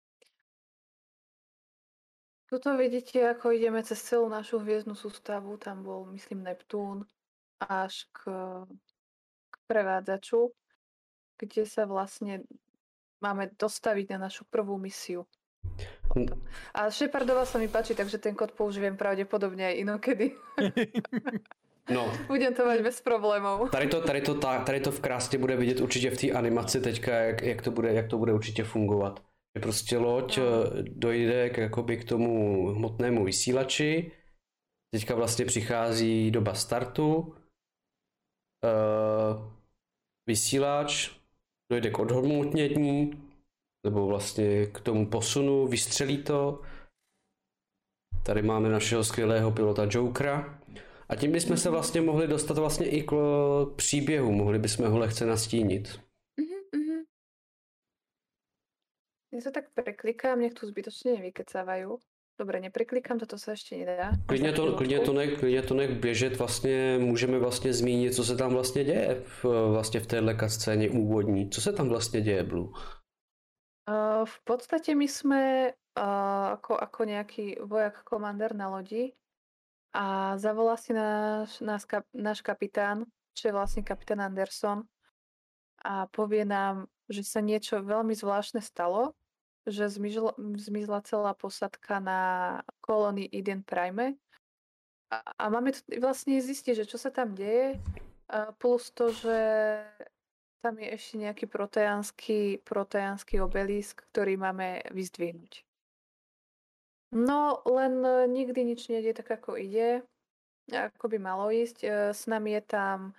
Tuto vidíte, ako ideme cez celú našu hviezdnu sústavu. Tam bol, myslím, Neptún až k, k prevádzaču, kde sa vlastne máme dostaviť na našu prvú misiu. A Shepardova sa mi páči, takže ten kód použijem pravdepodobne aj inokedy. No, Budem to mať bez problémov. tady to, tady to, ta- tady to v krásně bude vidět určitě v té animaci teďka, jak, jak, to bude, jak to bude určitě fungovat. Že prostě loď No. eh, dojde k, jakoby k tomu hmotnému vysílači, teďka vlastně přichází doba startu, eh, vysílač dojde k odhmotnění, nebo vlastně k tomu posunu, vystřelí to. Tady máme našeho skvělého pilota Jokera. A tím bychom se vlastně mohli dostat vlastně i k k příběhu, mohli bychom ho lehce nastínit. Mhm, mhm. Ja sa tak preklikám, nech tu zbytočne nevykecávajú. Dobre, nepreklikám, toto sa ešte nedá. Klidně to, klidně to, nech, klidně to nech běžet, vlastně můžeme vlastně zmínit, co se tam vlastně děje v, vlastně v téhle scéně úvodní. Co se tam vlastně děje, Blue? Uh, v podstate my sme uh, ako, ako nejaký vojak komandér na lodi a zavolá si náš, náš, kap, náš kapitán, čo je vlastne kapitán Anderson a povie nám, že sa niečo veľmi zvláštne stalo, že zmizla, zmizla celá posadka na kolónii Eden Prime a, a máme tu vlastne zistiť, že čo sa tam deje, uh, plus to, že tam je ešte nejaký proteánsky, proteánsky obelisk, ktorý máme vyzdvihnúť. No, len e, nikdy nič nejde tak, ako ide, ako by malo ísť. E, S nami je tam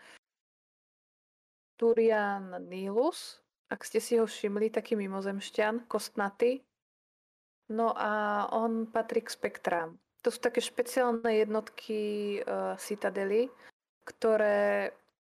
Turian Nilus, ak ste si ho všimli, taký mimozemšťan, kostnatý. No a on patrí k spektrám. To sú také špeciálne jednotky e, Citadely, ktoré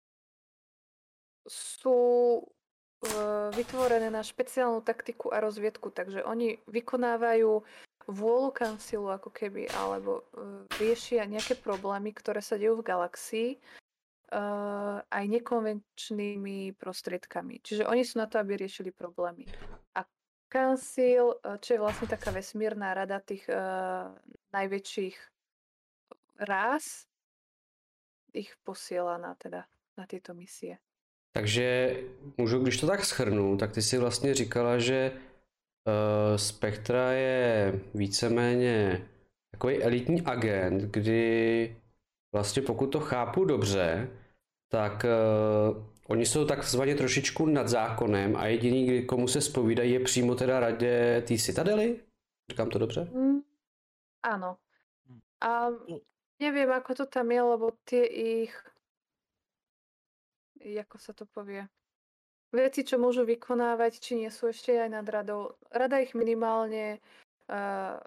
sú uh, vytvorené na špeciálnu taktiku a rozviedku, takže oni vykonávajú vôľu kancilu ako keby, alebo uh, riešia nejaké problémy, ktoré sa dejú v galaxii uh, aj nekonvenčnými prostriedkami. Čiže oni sú na to, aby riešili problémy. A kancil, uh, čo je vlastne taká vesmírna rada tých uh, najväčších rás, ich posiela na, teda, na tieto misie. Takže můžu, když to tak shrnu, tak ty si vlastně říkala, že uh, Spectra je víceméně takový elitní agent, kdy vlastně pokud to chápu dobře, tak uh, oni jsou takzvaně trošičku nad zákonem a jediný, komu se zpovídají, je přímo teda radě té Citadely? Říkám to dobře? Mm, áno. A neviem, ako to tam je, lebo tie ich, ako sa to povie, veci, čo môžu vykonávať, či nie sú ešte aj nad radou. Rada ich minimálne uh,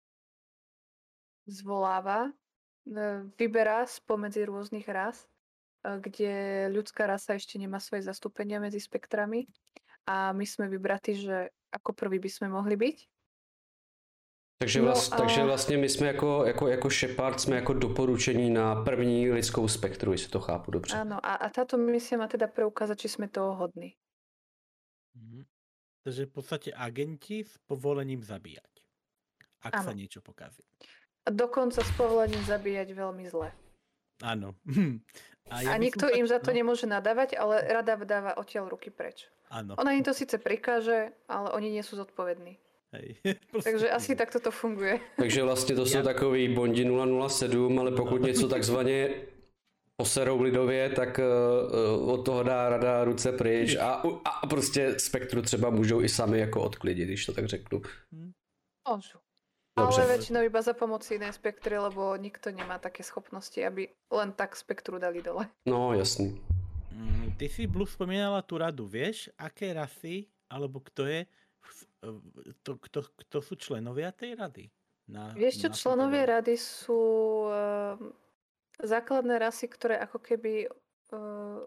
zvoláva, uh, vyberá spomedzi rôznych ras kde ľudská rasa ešte nemá svoje zastúpenia medzi spektrami a my sme vybratí, že ako prvý by sme mohli byť. Takže, vlast, no a... takže vlastně my jsme jako, jako, jako Shepard jsme jako doporučení na první lidskou spektru, jestli to chápu dobře. Áno, a, a táto misia má teda preukázať, či sme toho hodní. Mhm. Takže v podstate agenti s povolením zabíjať, ak Áno. sa niečo pokazí. A dokonca s povolením zabíjať veľmi zle. Áno. A, ja a nikto im za to no. nemôže nadávať, ale rada dáva odtiaľ ruky preč. Áno. Ona im to síce prikáže, ale oni nie sú zodpovední. Hej. Takže asi takto to funguje. Takže vlastně to jsou ja. takový Bondi nula nula sedm, ale pokud no. něco takzvaně poserou lidově, tak uh, od toho dá rada ruce pryč a, a prostě spektru třeba můžou i sami jako odklidit, když to tak řeknu. Môžu. Ale väčšinou iba za pomoci inej spektry, lebo nikto nemá také schopnosti, aby len tak spektru dali dole. No, jasný. Mm, ty si Blue spomínala tú radu, vieš, aké rasy, alebo kto je, to, kto, kto sú členovia tej rady? Na, vieš čo, členovia rady sú uh, základné rasy, ktoré ako keby uh,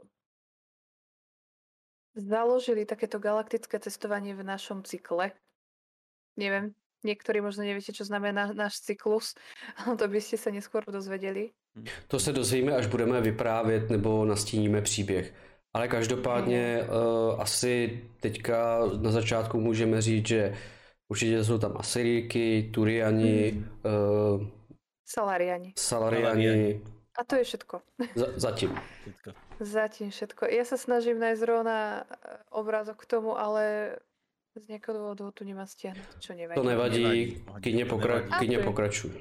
založili takéto galaktické cestovanie v našom cykle. Neviem, niektorí možno neviete, čo znamená náš cyklus, ale to by ste sa neskôr dozvedeli. To se dozvíme, až budeme vyprávět nebo nastíníme příběh. Ale každopádně mm. uh, asi teďka na začátku můžeme říct, že určitě jsou tam Asyríky, Turiani, mm. uh, Salariani. Salariani. A to je všetko. Za, zatím. Zatím všetko. Ja sa snažím nájsť zrovna obrázok k tomu, ale z nejakého dôvodu tu nemá stiahnuť, čo nevadí. To nevadí, kyne, pokra- kyne pokračuj.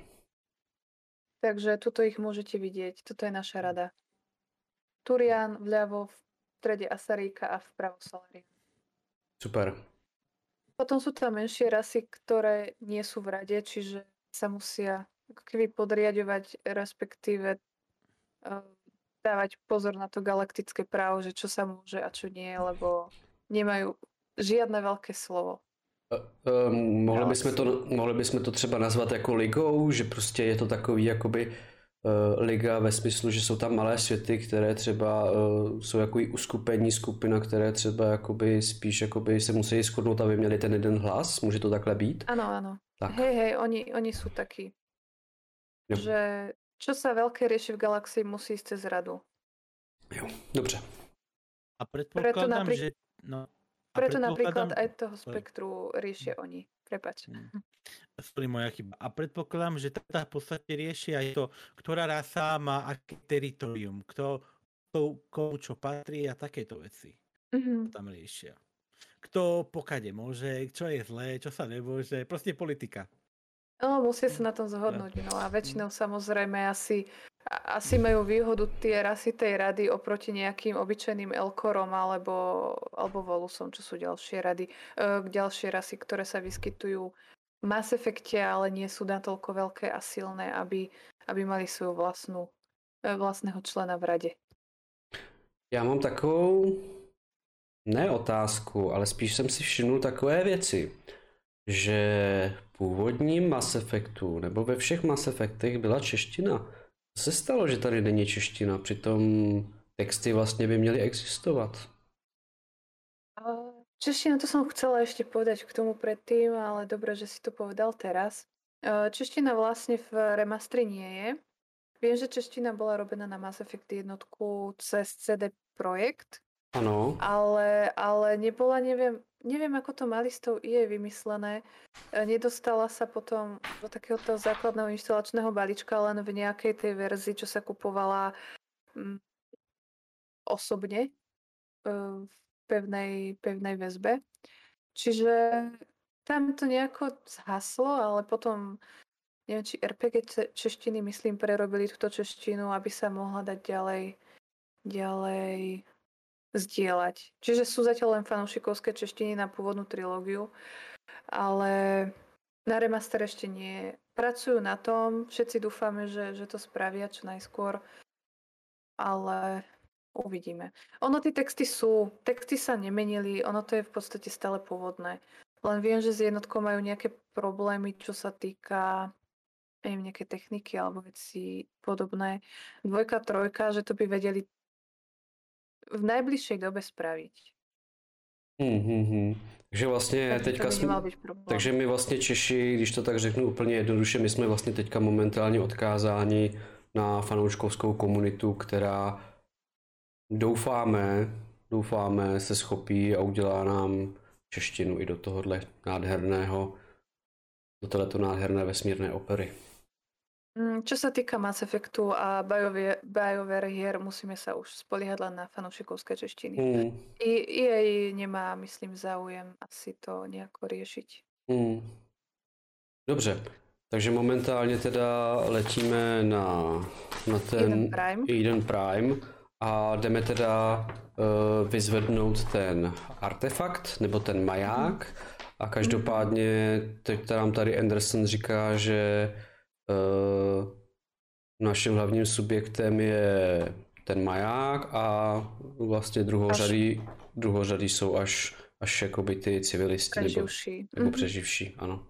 Takže tuto ich môžete vidieť. Toto je naša rada. Turian vľavo, v strede Asaríka a vpravo Salarian. Super. Potom sú tam menšie rasy, ktoré nie sú v rade, čiže sa musia ako keby podriadovať, respektíve uh, dávať pozor na to galaktické právo, že čo sa môže a čo nie, lebo nemajú žiadne veľké slovo. Uh, um, mohli, bychom to, mohli bychom to třeba nazvat jako ligou, že prostě je to takový jakoby uh, liga ve smyslu, že jsou tam malé světy, které třeba uh, jsou jako uskupení skupina, které třeba jakoby spíš jakoby se musí shodnout, aby měli ten jeden hlas. Může to takhle být? Áno, áno. Tak. Hej, hej, oni, oni sú takí. Jo. Že čo sa veľké rieši v galaxii, musí ísť cez radu. Jo, dobře. A predpokladám, napríklad... že... No. Preto napríklad aj toho spektru riešia oni. Prepač. Sorry, moja chyba. A predpokladám, že teda v podstate riešia aj to, ktorá rasa má aké teritorium, kto, komu čo patrí a takéto veci. Mm-hmm. Tam riešia. Kto pokade môže, čo je zlé, čo sa nemôže. Proste politika. No, musia sa na tom zhodnúť. No a väčšinou samozrejme asi, asi majú výhodu tie rasy tej rady oproti nejakým obyčajným Elkorom alebo, alebo Volusom, čo sú ďalšie rady, e, ďalšie rasy, ktoré sa vyskytujú v Mass Effecte, ale nie sú natoľko veľké a silné, aby, aby mali svoju vlastnú, vlastného člena v rade. Já mám takovou, ne otázku, ale spíš jsem si všimnul takové věci, že v původním Mass Effectu nebo ve všech Mass Effectech byla čeština. Co se stalo, že tady není čeština? Přitom texty vlastně by měly existovat. Čeština, to som chcela ešte povedať k tomu predtým, ale dobre, že si to povedal teraz. Čeština vlastne v remastri nie je. Viem, že čeština bola robená na Mass Effect jednotku cez cé dé Projekt. Áno. Ale, ale nebola, neviem, neviem, ako to mali s tou í á vymyslené. Nedostala sa potom do takéhoto základného inštalačného balíčka len v nejakej tej verzii, čo sa kupovala mm, osobne v pevnej, pevnej väzbe. Čiže tam to nejako zhaslo, ale potom neviem, či er pé gé češtiny, myslím, prerobili túto češtinu, aby sa mohla dať ďalej ďalej zdieľať. Čiže sú zatiaľ len fanúšikovské češtiny na pôvodnú trilógiu, ale na remaster ešte nie. Pracujú na tom, všetci dúfame, že, že to spravia čo najskôr, ale uvidíme. Ono, tie texty sú, texty sa nemenili, ono to je v podstate stále pôvodné. Len viem, že s jednotkou majú nejaké problémy, čo sa týka neviem, nejaké techniky alebo veci podobné. Dvojka, trojka, že to by vedeli v najbližšej dobe spraviť. Hmm, hmm, hmm. Takže vlastně Takže to teďka by jsme, nemal byť problém. takže my vlastně Češi, když to tak řeknu úplně jednoduše, my jsme vlastně teďka momentálně odkázáni na fanouškovskou komunitu, která doufáme, doufáme se schopí a udělá nám češtinu i do tohohle nádherného, do tohleto nádherné vesmírné opery. Mm, Čo sa týka Mass Effectu a BioWare, BioWare hier, musíme sa už spoliehať len na fanúšikovské češtiny. Hmm, I E A nemá, myslím, záujem asi to nejako riešiť. hmm. Dobře, takže momentálně teda letíme na, na ten Eden Prime. Eden Prime a jdeme teda uh, vyzvednout ten artefakt nebo ten maják a každopádně teď nám tady Anderson říká, že uh, naším hlavním subjektem je ten maják a vlastně druhořadý, druhořadý jsou až, až jakoby ty civilisti nebo, Preživší. nebo Mhm. přeživší, ano.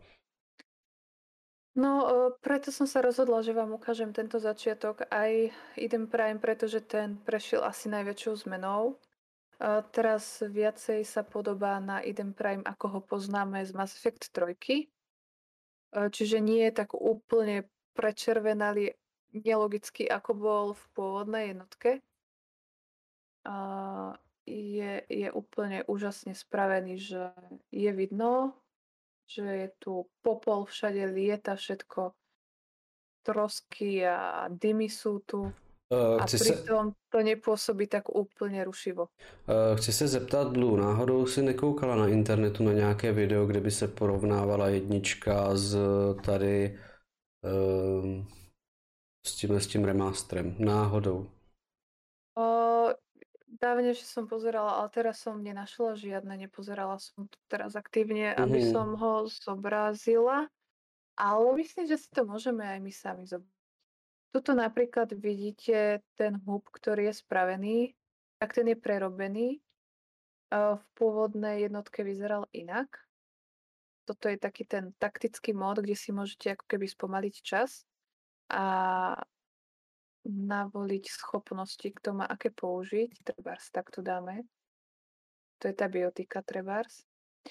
No, e, preto som sa rozhodla, že vám ukážem tento začiatok aj Eden Prime, pretože ten prešiel asi najväčšou zmenou. E, Teraz viacej sa podobá na Eden Prime, ako ho poznáme z Mass Effect tri. E, Čiže nie je tak úplne prečervenalý, nelogický, ako bol v pôvodnej jednotke. A je, je úplne úžasne spravený, že je vidno, že je tu popol, všade lieta všetko, trosky a dymy sú tu Uh, a chci, se, pritom to nepôsobí tak úplne rušivo. uh, chci se zeptat, Blue, náhodou si nekoukala na internetu na nějaké video, kde by se porovnávala jednička s tady uh, s tím, s tím remasterem? Náhodou. O, dávne, že som pozerala, ale teraz som nenašla žiadne, nepozerala som to teraz aktívne, aby Mhm. som ho zobrazila, ale myslím, že si to môžeme aj my sami zobrať. Tuto napríklad vidíte ten hub, ktorý je spravený, tak ten je prerobený. Uh, V pôvodnej jednotke vyzeral inak. Toto je taký ten taktický mód, kde si môžete ako keby spomaliť čas a navoliť schopnosti, kto má aké použiť. Trebárs, tak to dáme. To je tá biotika trebárs.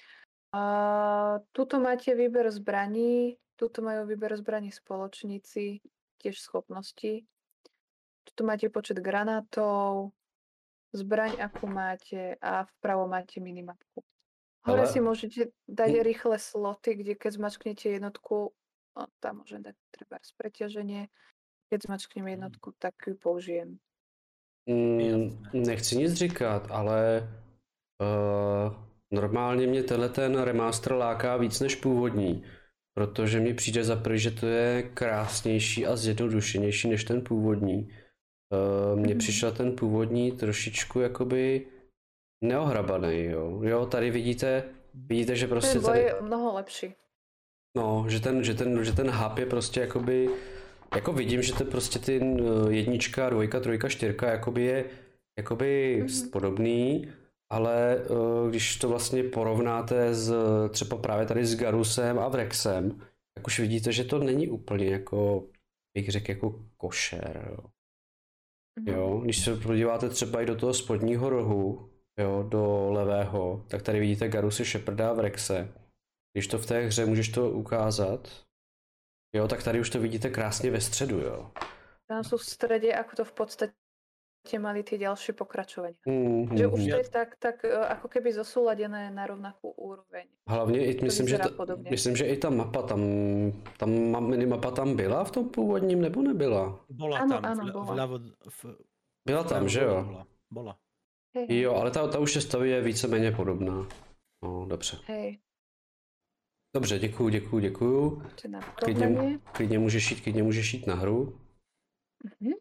A tuto máte výber zbraní, tuto majú výber zbraní spoločníci, tiež schopnosti. Tuto máte počet granátov, zbraň, akú máte a vpravo máte minimapku. Hore Ale- si môžete dať rýchle sloty, kde keď zmačknete jednotku, no, tam môžem dať treba preťaženie. Keď zmačknem jednotku, tak ju použijem. Mm, Jasné. nechci nic říkat, ale uh, normálně mě tenhle ten remaster láká víc než původní, protože mi přijde za prvý, že to je krásnější a zjednodušenější než ten původní. Uh, mně Mhm. přišel ten původní trošičku jakoby neohrabaný, jo. Jo, tady vidíte, vidíte, že prostě Ten boj tady, je mnoho lepší. no, že ten, že ten, že ten hub je prostě jakoby, jako vidím, že to prostě ty uh, jednička, dvojka, trojka, čtyřka jakoby je jakoby Mhm. podobný, ale uh, když to vlastně porovnáte s třeba právě tady s Garusem a Vrexem, tak už vidíte, že to není úplně jako, bych řekl, jako košer, jo. Mhm. Jo, když se podíváte třeba i do toho spodního rohu, jo, do levého, tak tady vidíte Garusy, Sheparda a Vrexe. Když to v té hře můžeš to ukázat, jo, tak tady už to vidíte krásně ve středu, jo. Tam sú v strede, ako to v podstate mali tie ďalšie pokračovania. Mm, Že mm, už mm. to je tak, tak e, ako keby zosúladené na rovnakú úroveň. Hlavně i, To myslím, že vyzerá ta, podobně. myslím, že i ta mapa tam, tam ma- minimapa tam byla v tom původním, nebo nebyla? Bola Áno, tam, áno, vľa- bola. vľavo, v, Byla tam, vľavo že dole jo? Bola. bola. Hej, hej. Jo, ale ta, ta už je stavě víceméně podobná. No, dobře. Hej, Dobře, děkuju, děkuju, děkuju. to je na Klidně, porovnanie. klidně můžeš jít, klidně můžeš jít na hru. Mhm.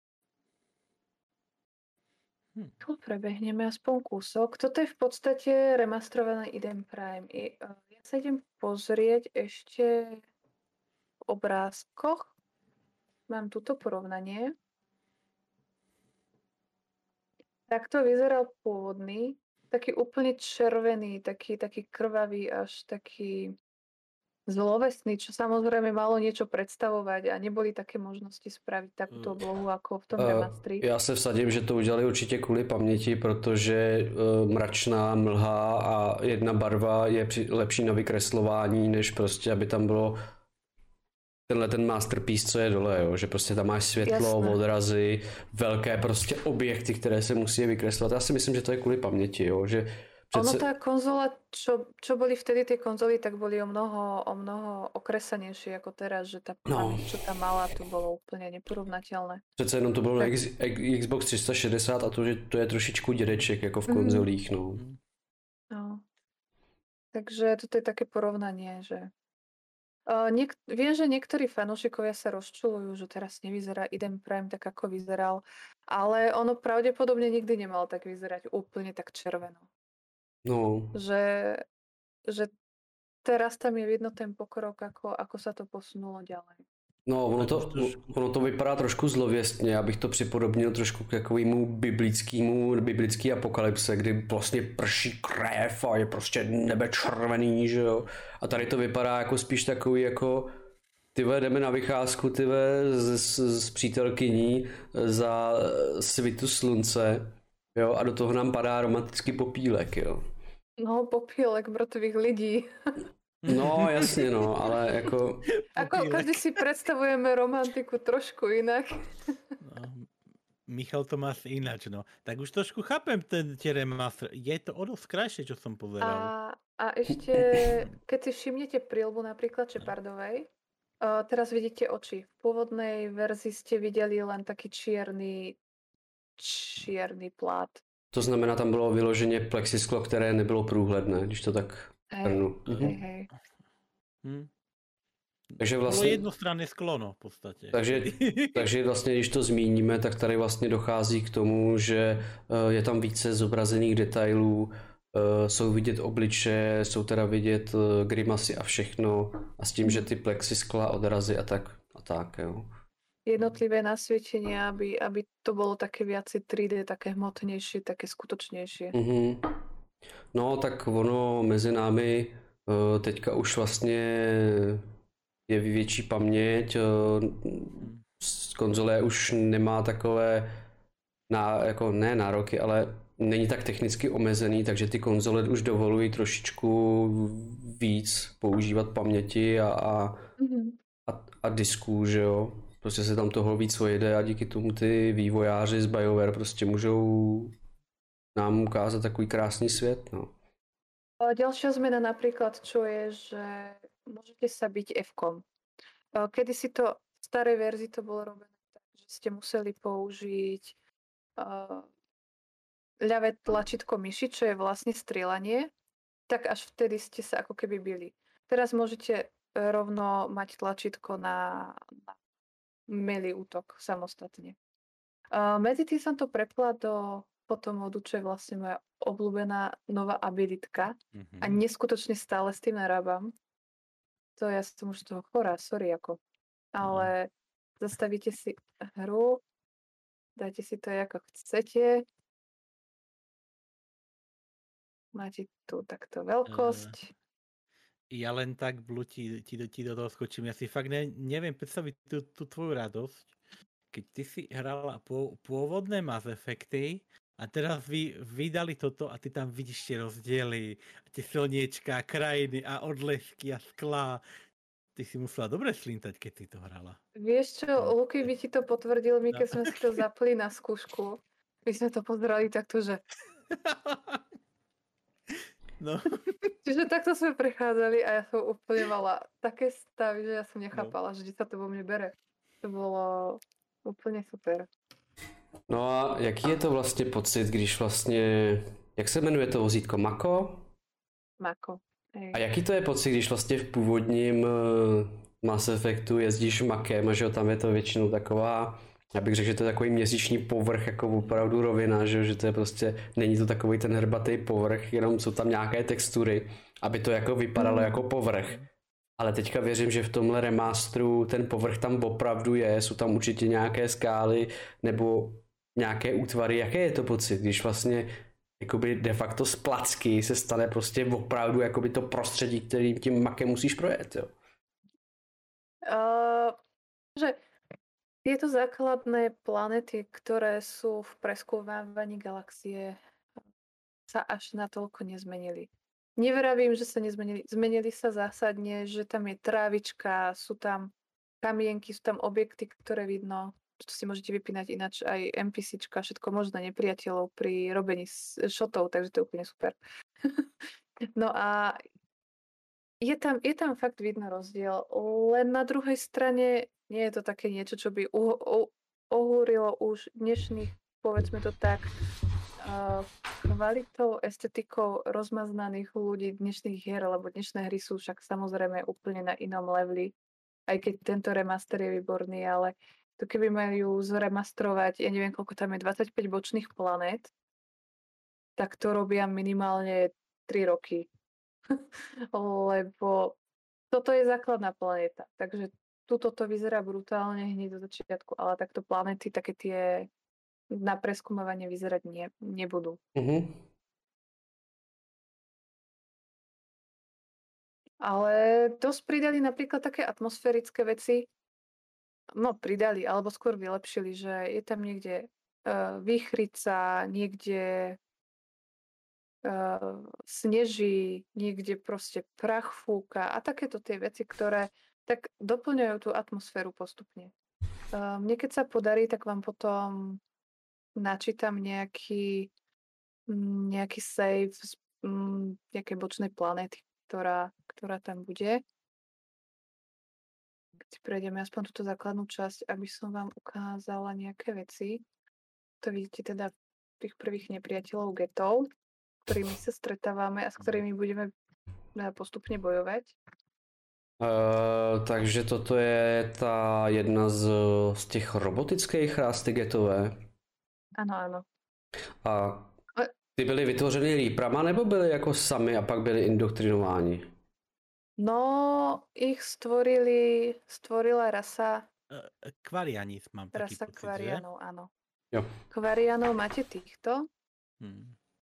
Hm. Tu prebehneme aspoň kúsok. Toto je v podstate remastrovaný Eden Prime. I, uh, ja sa idem pozrieť ešte v obrázkoch. Mám tuto porovnanie. Takto vyzeral pôvodný. Taký úplne červený, taký, taký krvavý, až taký zlovestný, čo samozrejme malo niečo predstavovať a neboli také možnosti spraviť takúto oblohu ako v tom remastri. Já se vsadím, že to udělali určitě kvůli paměti, protože uh, mračná mlha a jedna barva je při, lepší na vykreslování, než prostě, aby tam bylo tenhle ten masterpiece, co je dole, jo? Že prostě tam máš světlo, Jasné. odrazy, velké prostě objekty, které se musí vykreslovat. Já si myslím, že to je kvůli paměti, jo? Že Ono přece... tá konzola, čo, čo boli vtedy tie konzoly, tak boli o mnoho, o mnoho okresanejšie ako teraz, že tá No. pamäť, čo tam mala, to bolo úplne neporovnateľné. Přece jenom to bylo na X, Xbox tři sta šedesát a to, že to je trošičku dědeček, jako v konzolích, no. No. Takže toto je také porovnanie, že uh, niek- viem, že niektorí fanúšikovia sa rozčulujú, že teraz nevyzerá Eden Prime tak, ako vyzeral, ale ono pravdepodobne nikdy nemalo tak vyzerať úplne tak červeno. No, Že, že teraz tam je vidno ten pokrok, ako, ako sa to posunulo ďalej. no ono, Tak to, už trošku. ono to vypadá trošku zlověstně, abych to připodobnil trošku k takovému biblickému, biblický apokalypse, kdy vlastně prší krev a je prostě nebe červený, že jo. A tady to vypadá jako spíš takový jako tyhle jdeme na vycházku tyhle s, s, s přítelkyní za svitu slunce, jo, a do toho nám padá romantický popílek, jo. No, popílek mŕtvych lidí. No, jasně, no, ale jako... Ako Popílek. každý si predstavujeme romantiku trošku inak. No, Michal to má asi ináč, no. Tak už trošku chápem ten tie remaster. Je to o dosť krajšie, čo som A, pozeral. a ešte, keď si všimnete príľbu napríklad Shepardovej, uh, teraz vidíte oči. V pôvodnej verzii ste videli len taký čierny, čierny plát. To znamená, tam bylo vyloženě plexisklo, které nebylo průhledné, když to tak Hej, hrnu. hej, hej. Hm. Takže Bolo vlastně, jednostranné sklo, no, v podstate. takže, takže vlastně, když to zmíníme, tak tady vlastně dochází k tomu, že eh, je tam více zobrazených detailů, eh, jsou vidět obličeje, jsou teda vidět eh, grimasy a všechno, a s tím, že ty plexiskla, odrazy a tak, a tak, jo. Jednotlivé nasvietenia, aby, aby to bolo také viacej tri dé, také hmotnejšie, také skutočnejšie. Mhm. No, tak ono mezi námi eh, teďka už vlastně je větší paměť, eh, s- konzole už nemá takové ná, jako ne nároky, ale není tak technicky omezený, takže ty konzole už dovolují trošičku víc používat paměti a, a, Mhm. a, a disků, že jo. Prostě se tam toho víc vojede a díky tomu ty vývojáři z BioWare prostě můžou nám ukázat takový krásný svět, no. A ďalšia zmena napríklad, čo je, že môžete sa byť F-kom. Kedy si to v starej verzii to bolo robené tak, že ste museli použiť uh, ľavé tlačítko myši, čo je vlastne strieľanie, tak až vtedy ste sa ako keby bili. Teraz môžete rovno mať tlačítko na, na melee útok samostatne. Uh, medzi tým som to prepla do potom modu, čo je vlastne moja obľúbená nová abilitka Mhm. a neskutočne stále s tým narábam. To ja som už z toho chorá, sorry ako. Ale zastavíte si hru, dajte si to ako chcete. Máte tu takto veľkosť. Ja len tak blúti, ti, do- ti do toho skočím. Ja si fakt ne, neviem predstaviť tú, tú tvoju radosť, keď ty si hrala pô, pôvodné Mass Effecty a teraz vy vydali toto a ty tam vidíš tie rozdiely, tie slniečka, krajiny a odlesky a sklá. Ty si musela dobre slintať, keď si to hrala. Vieš čo, Luky by ti to potvrdil, my keď sme si to zapli na skúšku, my sme to pozerali takto, že No, čiže takto sme prechádzali a ja som úplne mala také stavy, že ja som nechápala, že sa to vo mne bere. To bolo úplne super. No a jaký je to vlastně pocit, když vlastně, jak se jmenuje to vozítko, Mako? Mako. Hej. A jaký to je pocit, když vlastně v původním eh, Mass Effectu jezdíš Makem a že jo, tam je to většinou taková, já bych řekl, že to je takový měsíční povrch, jako opravdu rovina, že, jo, že to je prostě, není to takový ten hrbatý povrch, jenom jsou tam nějaké textury, aby to jako vypadalo jako povrch. Ale teďka věřím, že v tomhle remasteru ten povrch tam opravdu je, jsou tam určitě nějaké skály nebo nějaké útvary. Jaké je to pocit, když vlastně jakoby de facto z placky se stane prostě opravdu jakoby to prostředí, kterým tím makem musíš projet, jo? Uh, že tieto základné planety, ktoré sú v preskúmávaní galaxie, sa až natoľko nezmenili. Nevravím, že sa nezmenili. Zmenili sa zásadne, že tam je trávička, sú tam kamienky, sú tam objekty, ktoré vidno. To si môžete vypínať ináč aj NPCčka, všetko možné nepriateľov pri robení šotov, takže to je úplne super. No a je tam, je tam fakt vidno rozdiel, len na druhej strane nie je to také niečo, čo by uh, uh, ohúrilo už dnešných, povedzme to tak, uh, kvalitou, estetikou rozmaznaných ľudí dnešných hier, lebo dnešné hry sú však samozrejme úplne na inom leveli, aj keď tento remaster je výborný, ale to keby majú zremastrovať, ja neviem, koľko tam je, dvadsaťpäť bočných planét, tak to robia minimálne tri roky. Lebo toto je základná planéta, takže tuto to vyzerá brutálne hneď do začiatku, ale takto planéty, také tie na preskúmovanie vyzerať nie, nebudú. Uh-huh. Ale dosť pridali napríklad také atmosférické veci, no pridali, alebo skôr vylepšili, že je tam niekde uh, výchrica, niekde Uh, sneží, niekde proste prach fúka a takéto tie veci, ktoré tak doplňujú tú atmosféru postupne. Uh, mne keď sa podarí, tak vám potom načítam nejaký nejaký save z um, nejakej bočnej planéty, ktorá, ktorá tam bude. Keď si prejdeme aspoň túto základnú časť, aby som vám ukázala nejaké veci. To vidíte teda tých prvých nepriateľov getov, ktorými sa stretávame a s ktorými budeme postupne bojovať. Uh, takže toto je ta jedna z, z těch robotických rásty getové? Ano, ano. A ty byly vytvořeny líprama nebo byly jako sami a pak byly indoktrinováni? No, ich stvorili, stvorila rasa... Kvarianis mám taký rasa pocit, kvarianov, že? áno. Jo. Kvarianov máte týchto. Hmm.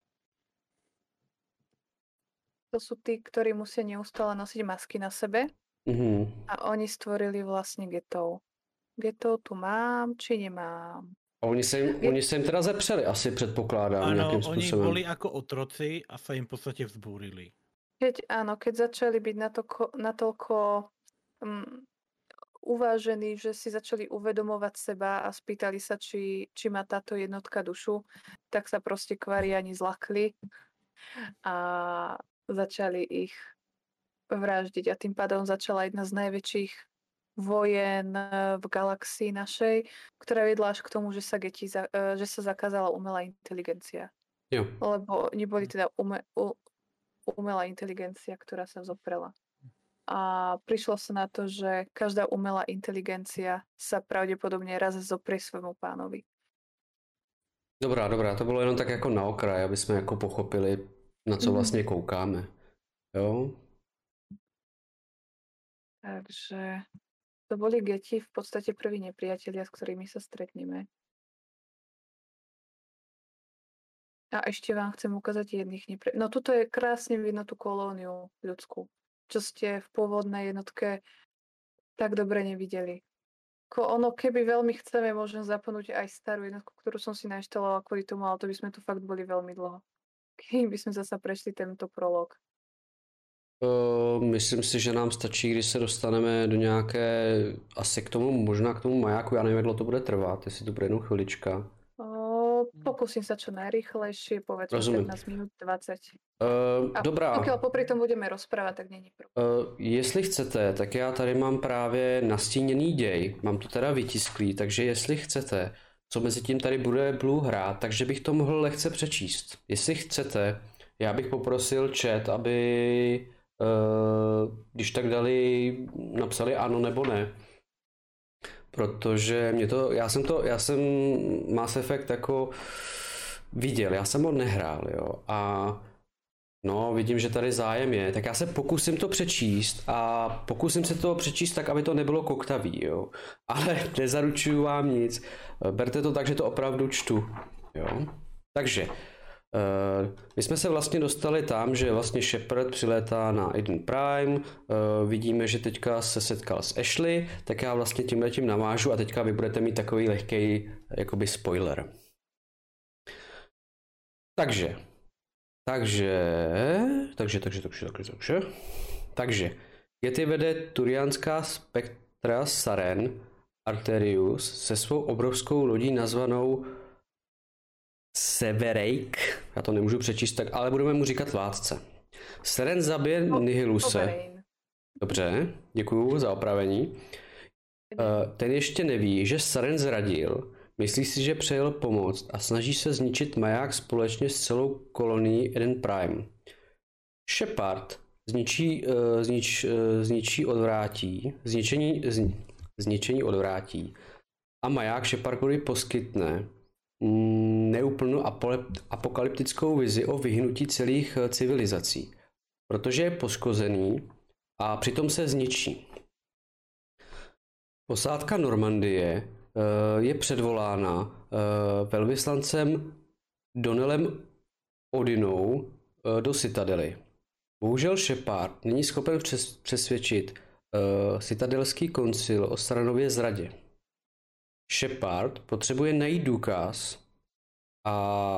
To sú tí, ktorí musia neustále nosiť masky na sebe. Mm-hmm. A oni stvorili vlastne getov. Getov tu mám, či nemám. A oni sa im, Get... oni sa im teda zepřeli, asi predpokladám. Áno, oni boli ako otroci a sa im v podstate vzbúrili. Keď, áno, keď začali byť natoľko, natoľko um, uvážení, že si začali uvedomovať seba a spýtali sa, či, či má táto jednotka dušu, tak sa proste kvariani zlakli a začali ich vraždiť a tým pádom začala jedna z najväčších vojen v galaxii našej, ktorá vedla až k tomu, že sa, geti, že sa zakázala umelá inteligencia. Jo. Lebo neboli teda ume, umelá inteligencia, ktorá sa zoprela. A prišlo sa na to, že každá umelá inteligencia sa pravdepodobne raz zoprie svojmu pánovi. Dobrá, dobrá, to bylo jenom tak jako na okraj, aby jsme jako pochopili, na co vlastně koukáme. Jo? Takže to boli geti v podstate prví nepriatelia, s ktorými sa stretneme. A ešte vám chcem ukázať jedných nepriateľov. No tuto je krásne vidno tú kolóniu ľudskú, čo ste v pôvodnej jednotke tak dobre nevideli. Ko ono, keby veľmi chceme, môžem zapnúť aj starú jednotku, ktorú som si nainštalovala kvôli tomu, ale to by sme tu fakt boli veľmi dlho. Kým by sme zasa prešli tento prolog. Uh, myslím si, že nám stačí, když se dostaneme do nějaké, asi k tomu, možná k tomu majáku, já nevím, jak dlouho to bude trvat, jestli to bude jenom chvilička. Uh, pokúsim sa čo najrýchlejšie, povedzme pätnásť minút, dvadsať. Uh, A dobrá. Pokiaľ popri tom budeme rozprávať, tak není problém. Uh, jestli chcete, tak já tady mám právě nastíněný děj, mám to teda vytisklý, takže jestli chcete, co mezi tím tady bude Blue hrát, takže bych to mohl lehce přečíst. Jestli chcete, já bych poprosil chat, aby uh, když tak dali, napsali ano nebo ne. Protože mě to, já jsem to, já jsem Mass Effect jako viděl, já jsem ho nehrál, jo, a no, vidím, že tady zájem je, tak já se pokusím to přečíst a pokusím se to přečíst tak, aby to nebylo koktavý, jo, ale nezaručuju vám nic, berte to tak, že to opravdu čtu, jo, takže Uh, my jsme se vlastně dostali tam, že vlastně Shepard přilétá na Eden Prime, uh, vidíme, že teďka se setkal s Ashley, tak já vlastně tímhletím navážu a teďka vy budete mít takový lehký jakoby spoiler. Takže, takže, takže, takže, takže, takže, takže, takže, Getty vede turianská spektra Saren Arterius se svou obrovskou lodí nazvanou Severake, já to nemůžu přečíst, tak, ale budeme mu říkat vládce. Saren zabije no, Nihiluse. Sovereign. Dobře, děkuju za opravení. Uh, ten ještě neví, že Saren zradil, myslí si, že přejel pomoct a snaží se zničit maják společně s celou kolonií Eden Prime. Shepard zničí, uh, znič, uh, zničí odvrátí, zničení, zni, zničení odvrátí a maják Shepardovi poskytne neúplnou apokalyptickou vizi o vyhnutí celých civilizací, protože je poškozený a přitom se zničí. Posádka Normandie je předvolána velvyslancem Donnellem Odinou do Citadely. Bohužel Shepard není schopen přesvědčit Citadelský koncil o Saranově zradě. Shepard potřebuje najít důkaz a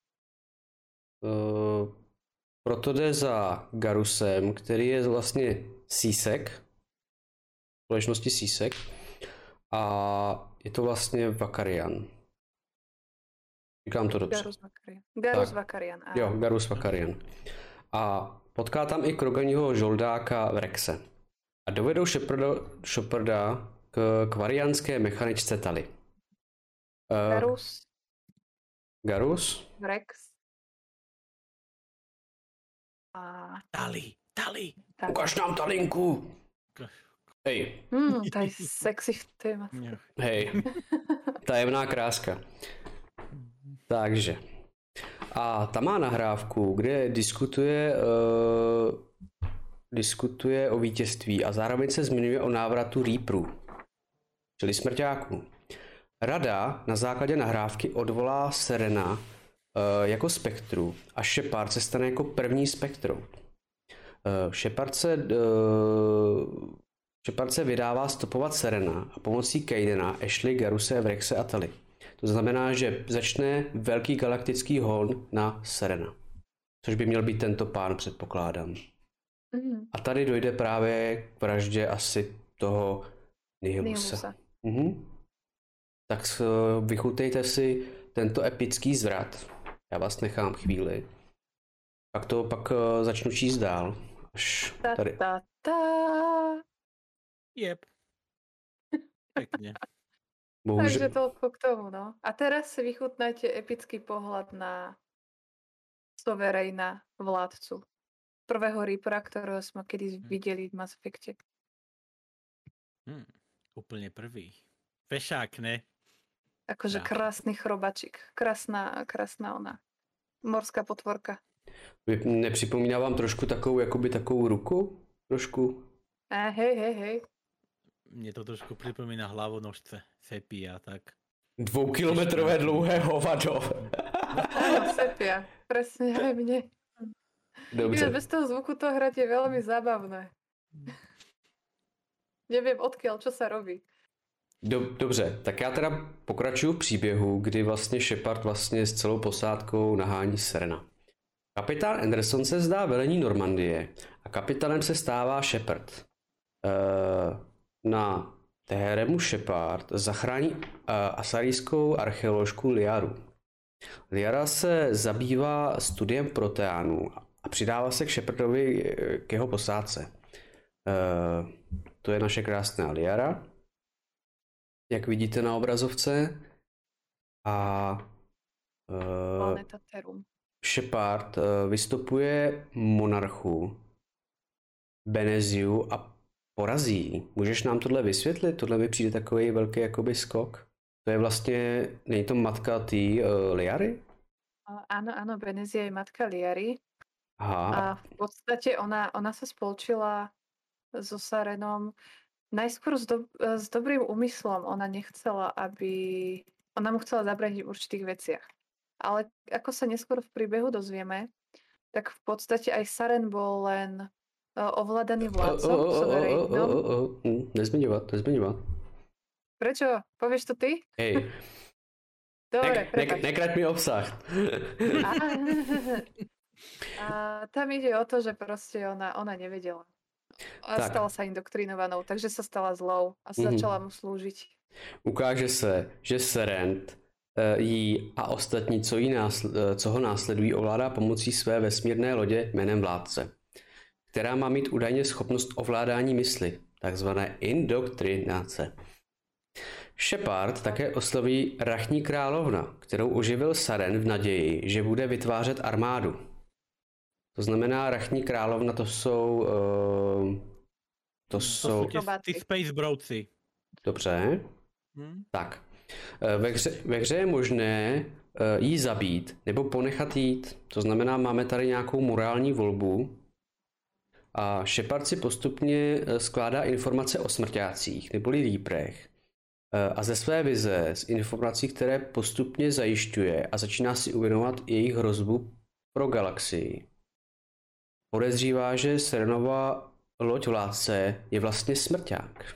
uh, proto jde za Garusem, který je vlastně Sisek, společnosti Sisek, a je to vlastně Vakarian. Říkám to dobře. Garus Vakarian. Garus Vakarian. Jo, Garus Vakarian. A potká tam i Kroganiho žoldáka v Rexe. A dovedou Sheparda, Sheparda k kvariánské mechaničce Tali. Uh, Garus. Garus. Rex. A... Tali, Tali. Tak. Ukaž nám Talinku. Hej. Hmm, to je sexy téma. Hej. Tajemná kráska. Takže. A ta má nahrávku, kde diskutuje uh, diskutuje o vítězství a zároveň se zmiňuje o návratu Reaperů, čili smrťáků. Rada na základě nahrávky odvolá Serena uh, jako spektru a Shepard se stane jako první spektru. Uh, Shepard, se, uh, Shepard se vydává stopovat Serena a pomocí Kaidena, Ashley, Garuse, Vrexe a Tali. To znamená, že začne velký galaktický hon na Serena. Což by měl být tento pán, předpokládám. Mm. A tady dojde právě k vraždě asi toho Nihiluse. Nihiluse. Mhm. Tak vychutejte si tento epický zvrat. Já vás nechám chvíli. Pak to pak začnu číst dál. Až Ta, tady. ta, ta. Jep. Pekne. Bohužel. Takže toľko k tomu, no. A teraz si vychutnajte epický pohľad na Sovereigna, vládcu. Prvého Reapera, ktorého sme kedy videli v Mass Effecte. Hmm, úplne prvý. Fešák, ne? Akože Tak. krásny chrobačik. Krásná, krásná ona. Morská potvorka. Nepřipomíná vám trošku takovou, jakoby takovou ruku? Trošku? A hej, hej, hej. Mne to trošku pripomína hlavonožce Sepia, tak. Dvoukilometrové dlouhé hovado. Áno, Sepia. Presne aj mne. Dobře. Bez toho zvuku to hrať je veľmi zábavné. Neviem odkiaľ, čo sa robí. Dobře, tak já teda pokračuju v příběhu, kdy vlastně Shepard vlastně s celou posádkou nahání Serena. Kapitán Anderson se zdá velení Normandie a kapitánem se stává Shepard. Uh, na Teheremu Shepard zachrání uh, asarijskou archeoložku Liaru. Liara se zabývá studiem proteánů a přidává se k Shepardovi k jeho posádce. Uh, to je naše krásná Liara, jak vidíte na obrazovce. A uh, Shepard uh, vystupuje monarchu Beneziu a porazí. Můžeš nám tohle vysvětlit? Tohle mi přijde takový velký jakoby skok. To je vlastně, není to matka té uh, Liary? Áno, áno, Benezia je matka Liary. Aha. A v podstate ona, ona sa spolčila so Sarenom najskôr s, do, s dobrým úmyslom. Ona nechcela, aby... Ona mu chcela zabrániť v určitých veciach. Ale ako sa neskôr v príbehu dozvieme, tak v podstate aj Saren bol len uh, ovládaný vládcom, suverénnom. Nezmiňovať, nezmiňovať. Prečo? Povieš to ty? Hej. Dobre, ne, ne, nekrať mi obsah. A, a tam ide o to, že proste ona, ona nevedela. A tak. stala sa indoktrinovanou, takže sa stala zlou a mm-hmm. začala mu slúžiť. Ukáže se, že Serent jí a ostatní, co, jí násl- co ho následují, ovládá pomocí své vesmírné lodě jménem Vládce, která má mít údajně schopnost ovládání mysli, takzvané indoktrinace. Shepard také osloví Rachní královna, kterou oživil Saren v naději, že bude vytvářet armádu. To znamená, Rachní královna to jsou... Uh, to, to jsou... ty Space Brouci. Dobře. Hmm. Tak. Ve hře, ve hře je možné uh, jí zabít nebo ponechat jít. To znamená, máme tady nějakou morální volbu. A Shepard si postupně skládá informace o smrťácích neboli Reaperech. Uh, a ze své vize, z informací, které postupně zajišťuje a začíná si uvědomovat jejich hrozbu pro galaxii. Podezřívá, že Serenova loď Vládce je vlastně smrťák.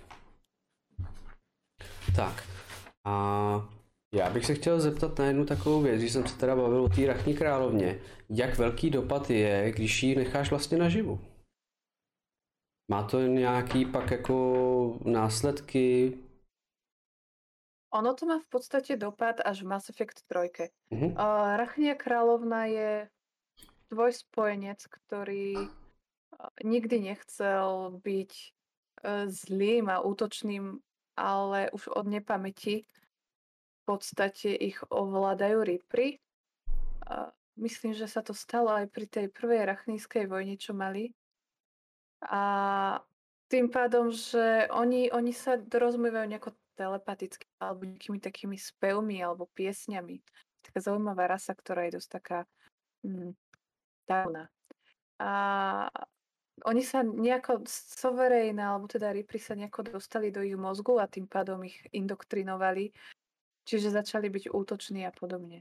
Tak. A já bych se chtěl zeptat na jednu takovou věc, když jsem se teda bavil o té Rachní královně. Jak velký dopad je, když ji necháš vlastně naživu? Má to nějaký pak jako následky? Ono to má v podstate dopad až v Mass Effect tri. Uh-huh. Uh, Rachnia kráľovna je tvoj spojenec, ktorý uh, nikdy nechcel byť uh, zlým a útočným, ale už od nepamäti v podstate ich ovládajú Reapery. Uh, myslím, že sa to stalo aj pri tej prvej rachnískej vojne, čo mali. A tým pádom, že oni, oni sa dorozumievajú nejako telepaticky alebo nejakými takými spevmi alebo piesňami. Taká zaujímavá rasa, ktorá je dosť taká hm, dávna. A oni sa nejako sovereign, alebo teda Reapery sa nejako dostali do ich mozgu a tým pádom ich indoktrinovali. Čiže začali byť útoční a podobne.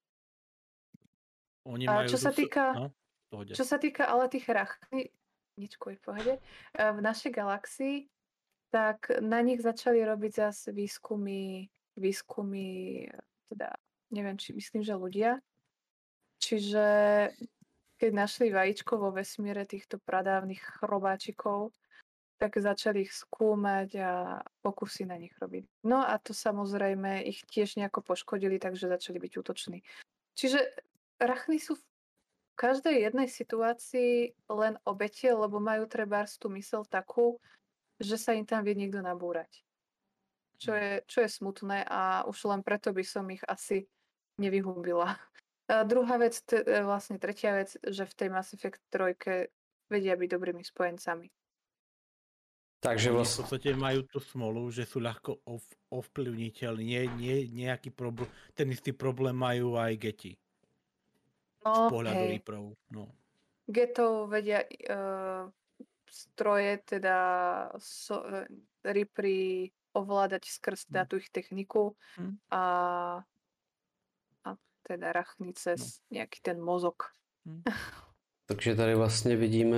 Oni a majú čo sa týka, no, čo sa týka ale tých rachní, ničko je v pohode, v našej galaxii, tak na nich začali robiť zase výskumy, výskumy, teda neviem, či myslím, že ľudia. Čiže keď našli vajíčko vo vesmíre týchto pradávnych chrobáčikov, tak začali ich skúmať a pokusy na nich robiť. No a to samozrejme ich tiež nejako poškodili, takže začali byť útoční. Čiže rachny sú v každej jednej situácii len obete, lebo majú trebárs tú myseľ takú, že sa im tam vie niekto nabúrať. Čo je, čo je smutné a už len preto by som ich asi nevyhubila. A druhá vec, t- vlastne tretia vec, že v tej Mass Effect tri vedia byť dobrými spojencami. Takže vlastne... v podstate majú tú smolu, že sú ľahko ov- ovplyvniteľní. Nie, nie, nejaký problém, ten istý problém majú aj geti. No, z pohľadu hej. Reaperov. No. Getov vedia uh, stroje, teda so, uh, Reapery ovládať skrz hmm. tú ich techniku hmm. a, a teda rachny cez no. nejaký ten mozog. Hmm. Takže tady vlastně vidíme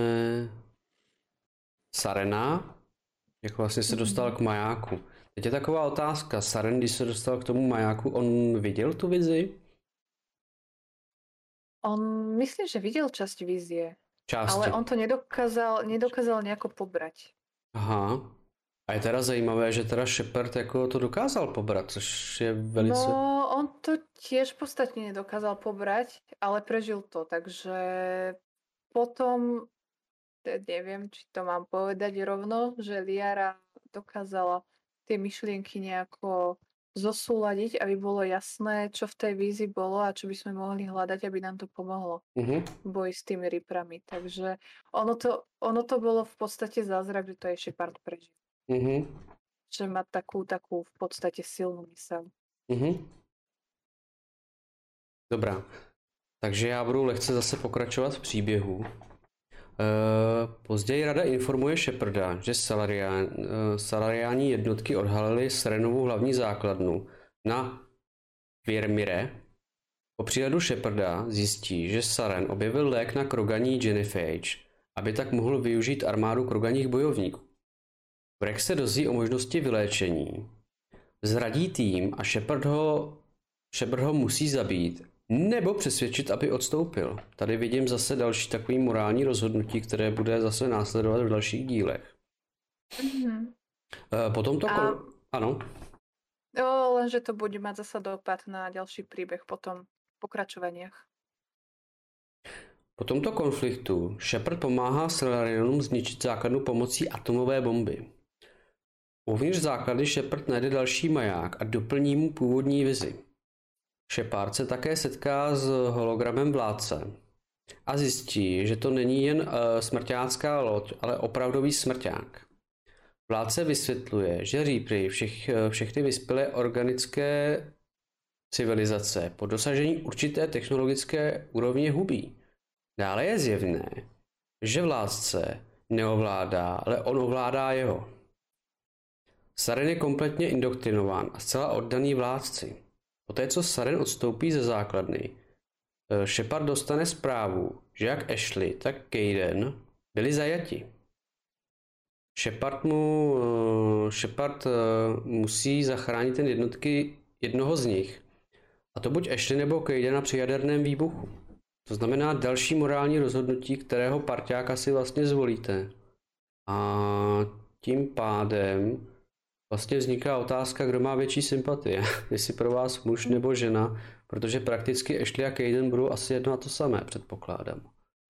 Sarena, jak vlastně se dostal k majáku. Teď je taková otázka, Saren, když se dostal k tomu majáku, on viděl tu vizi? On, myslím, že videl časť vízie, Části. Ale on to nedokázal, nedokázal nejako pobrať. Aha. A je teda zajímavé, že teda Shepard jako to dokázal pobrat, což je velice... No, on to tiež podstatne nedokázal pobrať, ale prežil to, takže potom, neviem, či to mám povedať rovno, že Liara dokázala tie myšlienky nejako zosúladiť, aby bolo jasné, čo v tej vízi bolo a čo by sme mohli hľadať, aby nám to pomohlo uh-huh. v boji s tými Reaperami. Takže ono to, ono to bolo v podstate zázrak, že to je Shepard prežil. Uh-huh. Že má takú, takú v podstate silnú myseľ. Uh-huh. Dobrá. Takže já budu lehce zase pokračovat v příběhu. Uh, později rada informuje Sheparda, že Salarián, uh, salariáni jednotky odhalili Serenovu hlavní základnu na Virmire Po příledu Sheparda zjistí, že Saren objevil lék na kroganí Genophage, aby tak mohl využít armádu kroganích bojovníků. Rex se dozví o možnosti vyléčení, zradí tým a Shepard ho, Shepard ho musí zabít nebo přesvědčit, aby odstoupil. Tady vidím zase další takový morální rozhodnutí, které bude zase následovat v dalších dílech. Mm-hmm. Potom to... A... Kon... Ano. Jo, lenže to bude mať zasa dopad na ďalší príbeh potom v pokračovaniach. Po tomto konfliktu Shepard pomáhá Salarianům zničit základnu pomocí atomové bomby. Uvnitř základny Shepard najde další maják a doplní mu původní vizi. Shepard se také setká s hologramem vládce a zjistí, že to není jen uh, smrťácká loď, ale opravdový smrťák. Vládce vysvětluje, že Reapery všech, všechny vyspělé organické civilizace po dosažení určité technologické úrovně hubí. Dále je zjevné, že vládce neovládá, ale on ovládá jeho. Saren je kompletně indoktrinován a zcela oddaný vládci. Poté, co Saren odstoupí ze základny, Shepard dostane zprávu, že jak Ashley, tak Kaidan byli zajati. Shepard mu Shepard musí zachránit ten jednotky jednoho z nich. A to buď Ashley nebo Kaidana při jaderném výbuchu. To znamená další morální rozhodnutí, kterého parťáka si vlastně zvolíte. A tím pádem vlastně vzniká otázka, kdo má větší sympatie. Jestli pro vás muž nebo žena, protože prakticky Ashley a Kaidan budou asi jedno a to samé, předpokládám.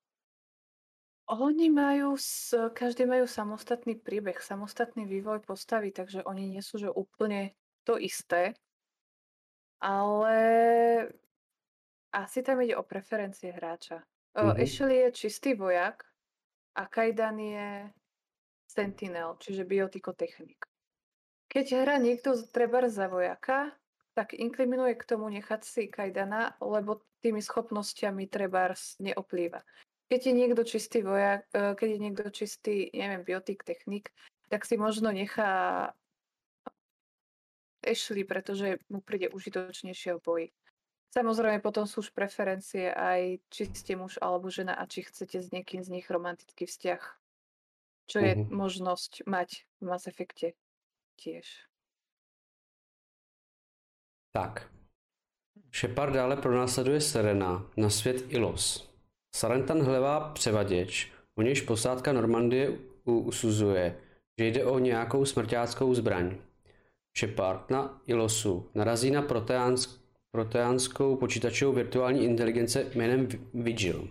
Oni majú, každý majú samostatný príbeh, samostatný vývoj postavy, takže oni nie sú že úplne to isté, ale asi tam ide o preferencie hráča. Mm-hmm. Ashley je čistý vojak a Kaidan je sentinel, čiže biotykotechnik. Keď hrá niekto treba za vojaka, tak inklinuje k tomu nechať si Kaidana, lebo tými schopnosťami trebárs neoplýva. Keď je niekto čistý vojak, keď je niekto čistý, neviem, biotik, technik, tak si možno nechá Ashley, pretože mu príde užitočnejšie v boji. Samozrejme, potom sú už preferencie aj či ste muž alebo žena a či chcete s niekým z nich romantický vzťah. Čo je uh-huh. možnosť mať v Mass Effecte tiež. Tak. Shepard dále pronásleduje Sarena na svět Ilos. Saren tam hledá převaděč, u nějž posádka Normandie usuzuje, že jde o nějakou smrťáckou zbraň. Shepard na Ilosu narazí na proteánsk, proteánskou počítačovou virtuální inteligence jménem Vigil.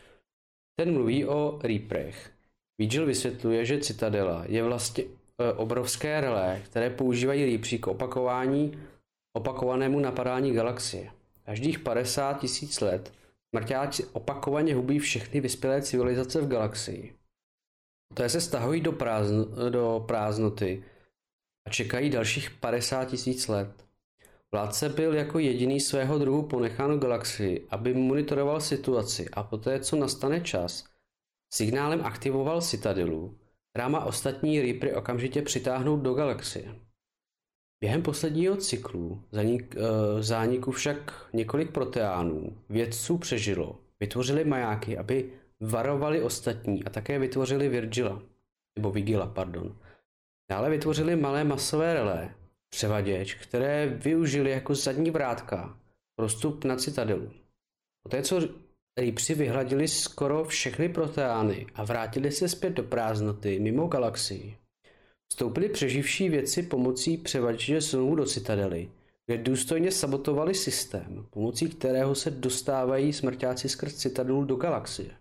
Ten mluví o Reaperech. Vigil vysvětluje, že Citadela je vlastně e, obrovské relé, které používají Reaperi k opakování, opakovanému napadání galaxie. Každých padesát tisíc let smrťáci opakovaně hubí všechny vyspělé civilizace v galaxii. Poté se stahují do, prázdno, do prázdnoty a čekají dalších padesát tisíc let. Vládce byl jako jediný svého druhu ponechán v galaxii, aby monitoroval situaci a poté, co nastane čas, signálem aktivoval Citadelu, která má ostatní Reapery okamžitě přitáhnout do galaxie. Během posledního cyklu zánik, uh, zániku však několik proteánů vědců přežilo, vytvořili majáky, aby varovali ostatní a také vytvořili Virgila, nebo Vigila, pardon. Dále vytvořili malé masové relé, převaděč, které využili jako zadní vrátka pro vstup na Citadelu. Poté, co Reaperi vyhladili skoro všechny proteány a vrátili se zpět do prázdnoty mimo galaxii, vstoupili přeživší vědci pomocí převaděče znovu do Citadely, kde důstojně sabotovali systém, pomocí kterého se dostávají smrťáci skrz Citadelu do galaxie.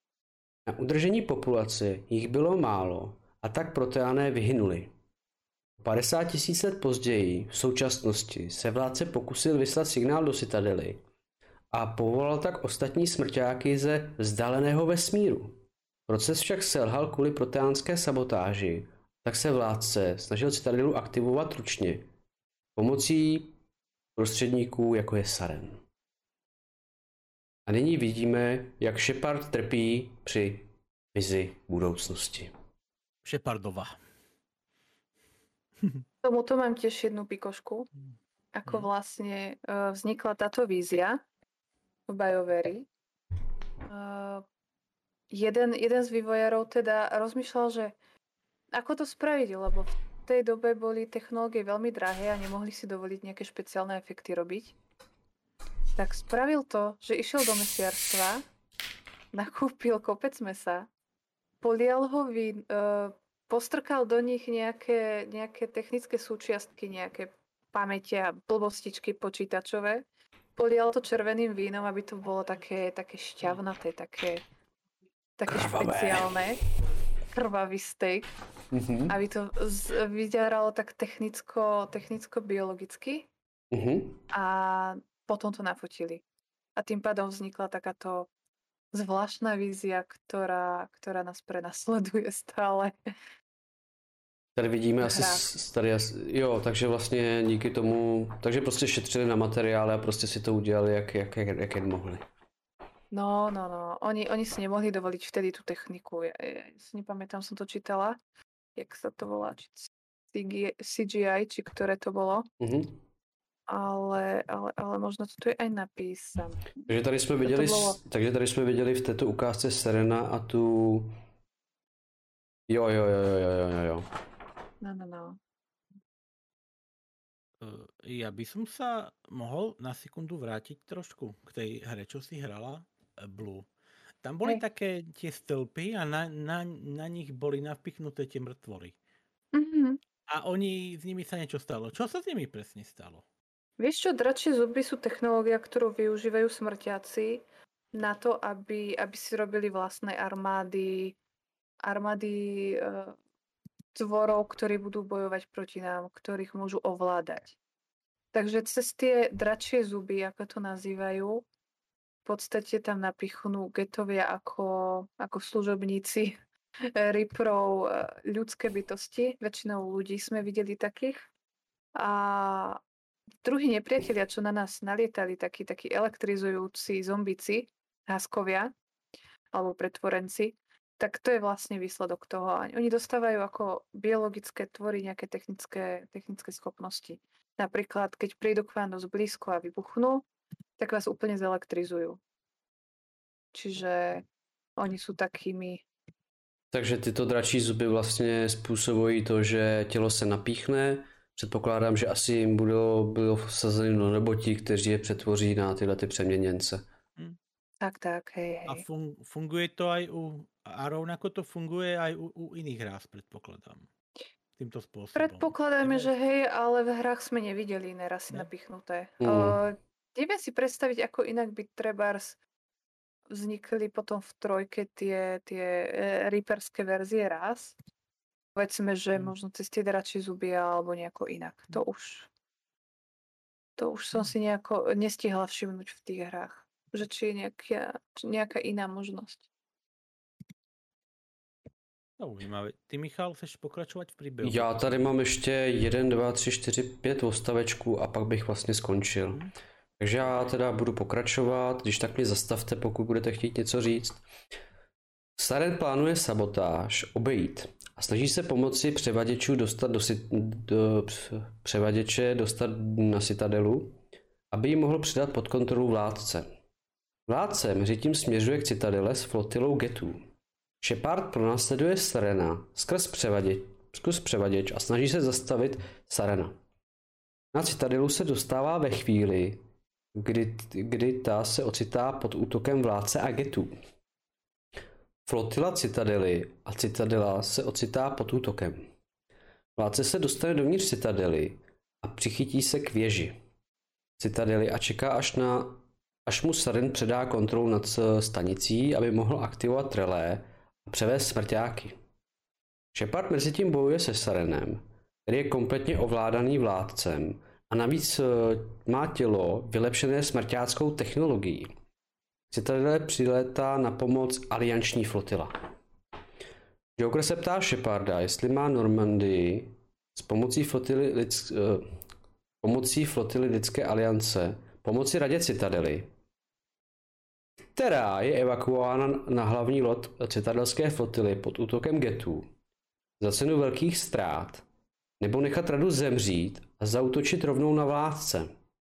Na udržení populace jich bylo málo a tak proteáné vyhynuli. padesát tisíc let později, v současnosti, se vládce pokusil vyslat signál do Citadely a povolal tak ostatní smrťáky ze vzdáleného vesmíru. Proces však selhal kvůli proteánské sabotáži, tak se vládce snažil Citadelu aktivovat ručně pomocí prostředníků, jako je Saren. A nyní vidíme, jak Shepard trpí při vizi budoucnosti. Shepardova. Tomuto mám tiež jednu pikošku, ako vlastne vznikla táto vízia. v BioWare. Uh, jeden, jeden z vývojárov teda rozmýšľal, že ako to spraviť, lebo v tej dobe boli technológie veľmi drahé a nemohli si dovoliť nejaké špeciálne efekty robiť. Tak spravil to, že išiel do mesiarstva, nakúpil kopec mesa, polial ho vín, uh, postrkal do nich nejaké, nejaké technické súčiastky, nejaké pamäte a blbostičky počítačové, polial to červeným vínom, aby to bolo také, také šťavnaté, také, také špeciálne. Krvavý steak. Mm-hmm. Aby to z- vyzeralo tak technicko, technicko-biologicky. Mm-hmm. A potom to nafotili. A tým pádom vznikla takáto zvláštna vízia, ktorá, ktorá nás prenasleduje stále. Tady vidíme asi, tady asi, jo, takže vlastně díky tomu, takže prostě šetřili na materiály a prostě si to udělali, jak, jak, jak, jak jen mohli. No, no, no, oni, oni si nemohli dovoliť vtedy tú techniku, ja, ja si nepamätám, som to čítala, jak sa to volá, či C G I, či ktoré to bolo, mm-hmm. ale, ale, ale možno to tu je aj napísané. Takže tady jsme viděli, bolo... takže tady jsme viděli v této ukázce Serena a tu, jo, jo, jo, jo, jo, jo, jo. No, no, no. Ja by som sa mohol na sekundu vrátiť trošku k tej hre, čo si hrala, Blue. Tam boli Hej. také tie stĺpy a na, na, na nich boli napichnúté tie mŕtvoly. Mm-hmm. A oni, s nimi sa niečo stalo. Čo sa s nimi presne stalo? Vieš čo, dračie zuby sú technológia, ktorú využívajú smrťáci na to, aby, aby si robili vlastné armády, armády e, tvorov, ktorí budú bojovať proti nám, ktorých môžu ovládať. Takže cez tie dračie zuby, ako to nazývajú, v podstate tam napichnú getovia ako, ako služobníci Reaperov ľudské bytosti. Väčšinou ľudí sme videli takých. A druhí nepriatelia, čo na nás nalietali, takí, takí elektrizujúci zombici, háskovia, alebo pretvorenci, tak to je vlastne výsledok toho. Oni dostávajú ako biologické tvory nejaké technické, technické schopnosti. Napríklad, keď prídu k vám dosť blízko a vybuchnú, tak vás úplne zelektrizujú. Čiže oni sú takými... Takže tyto dračí zuby vlastně způsobují to, že tělo se napíchne. Předpokládám, že asi jim budou, budou vsazeny do roboti, kteří je přetvoří na tyhle ty přeměněnce. Hmm. Tak, tak, hej, hej. A fun- funguje to aj u... A rovnako to funguje aj u, u iných hrách, predpokladám. Týmto spôsobom. Predpokladáme, že hej, ale v hrách sme nevideli iné rasy ne? napichnuté. Mm. Uh, neviem si predstaviť, ako inak by trebárs vznikli potom v trojke tie, tie e, reaperské verzie ras. Povedzme, že mm. možno cez tie dračie zuby alebo nejako inak. To už to už som si nejako nestihla všimnúť v tých hrách. Že či je nejaká, či nejaká iná možnosť. Zaujímavé. Ty, Michal, chceš pokračovat v příběhu? Já tady mám ještě jeden, dva, tři, čtyři, pět odstavečků a pak bych vlastně skončil. Hmm. Takže já teda budu pokračovat, když tak mě zastavte, pokud budete chtít něco říct. Saren plánuje sabotáž, obejít a snaží se pomocí převaděčů dostat do, do převaděče dostat na Citadelu, aby ji mohl předat pod kontrolu vládce. Vládce mezitím směřuje k Citadele s flotilou getů. Shepard pronásleduje Sarena skrz převaděč, skrz převaděč a snaží se zastavit Sarena. Na Citadelu se dostává ve chvíli, kdy, kdy ta se ocitá pod útokem vládce a getů. Flotila Citadely a Citadela se ocitá pod útokem. Vládce se dostane dovnitř Citadely a přichytí se k věži Citadely a čeká až, na, až mu Saren předá kontrolu nad stanicí, aby mohl aktivovat relé a převést smrťáky. Shepard mezitím bojuje se Sarenem, který je kompletně ovládaný vládcem a navíc má tělo vylepšené smrťáckou technologií. Citadele přilétá na pomoc alianční flotila. Joker se ptá Sheparda, jestli má Normandii s pomocí flotily, lidsk, uh, pomocí flotily lidské aliance pomoci radě Citadely, která je evakuována na hlavní loď citadelské flotily pod útokem getů za cenu velkých ztrát, nebo nechat radu zemřít a zaútočit rovnou na vládce.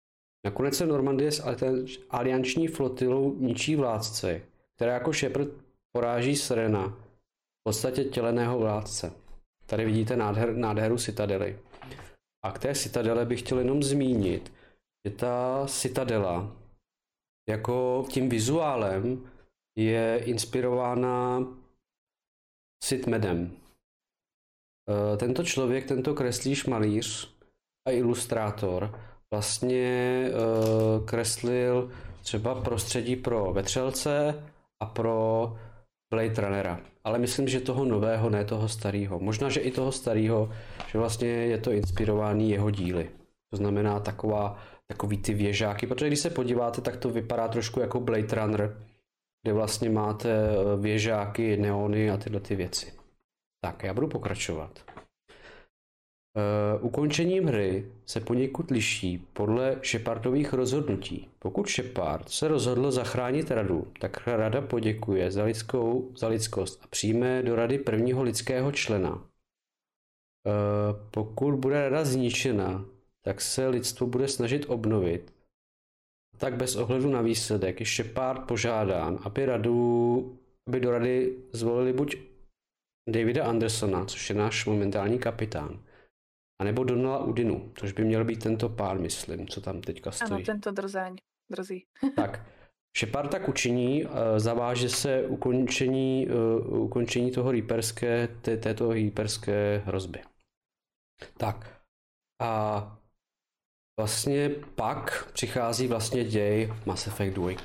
Nakonec se Normandie s alianční flotilou ničí vládce, která jako Shepard poráží Serena, v podstatě těleného vládce. Tady vidíte nádher, nádheru Citadely. A k té Citadele bych chtěl jenom zmínit, že ta Citadela jako tím vizuálem je inspirována Sid Meadem. Tento člověk, tento kreslíř, malíř a ilustrátor vlastně kreslil třeba prostředí pro Vetřelce a pro Blade Runnera. Ale myslím, že toho nového, ne toho starého. Možná, že i toho starého, že vlastně je to inspirovaný jeho díly. To znamená taková, takový ty věžáky, protože když se podíváte, tak to vypadá trošku jako Blade Runner, kde vlastně máte věžáky, neony a tyhle ty věci. Tak, já budu pokračovat. Uh, ukončením hry se poněkud liší podle Shepardových rozhodnutí. Pokud Shepard se rozhodl zachránit radu, tak rada poděkuje za, lidskou, za lidskost a přijme do rady prvního lidského člena. Uh, pokud bude rada zničena, tak se lidstvo bude snažit obnovit. Tak bez ohledu na výsledek je Shepard požádán, aby, radu, aby do rady zvolili buď Davida Andersona, což je náš momentální kapitán, a nebo Donala Udinu, což by měl být tento pár, myslím, co tam teďka stojí. Ano, tento drzáň, drzí. Tak, Shepard tak učiní, zaváže se ukončení, ukončení toho reaperské, té, této reaperské hrozby. Tak, a vlastně pak přichází vlastně děj Mass Effect dva.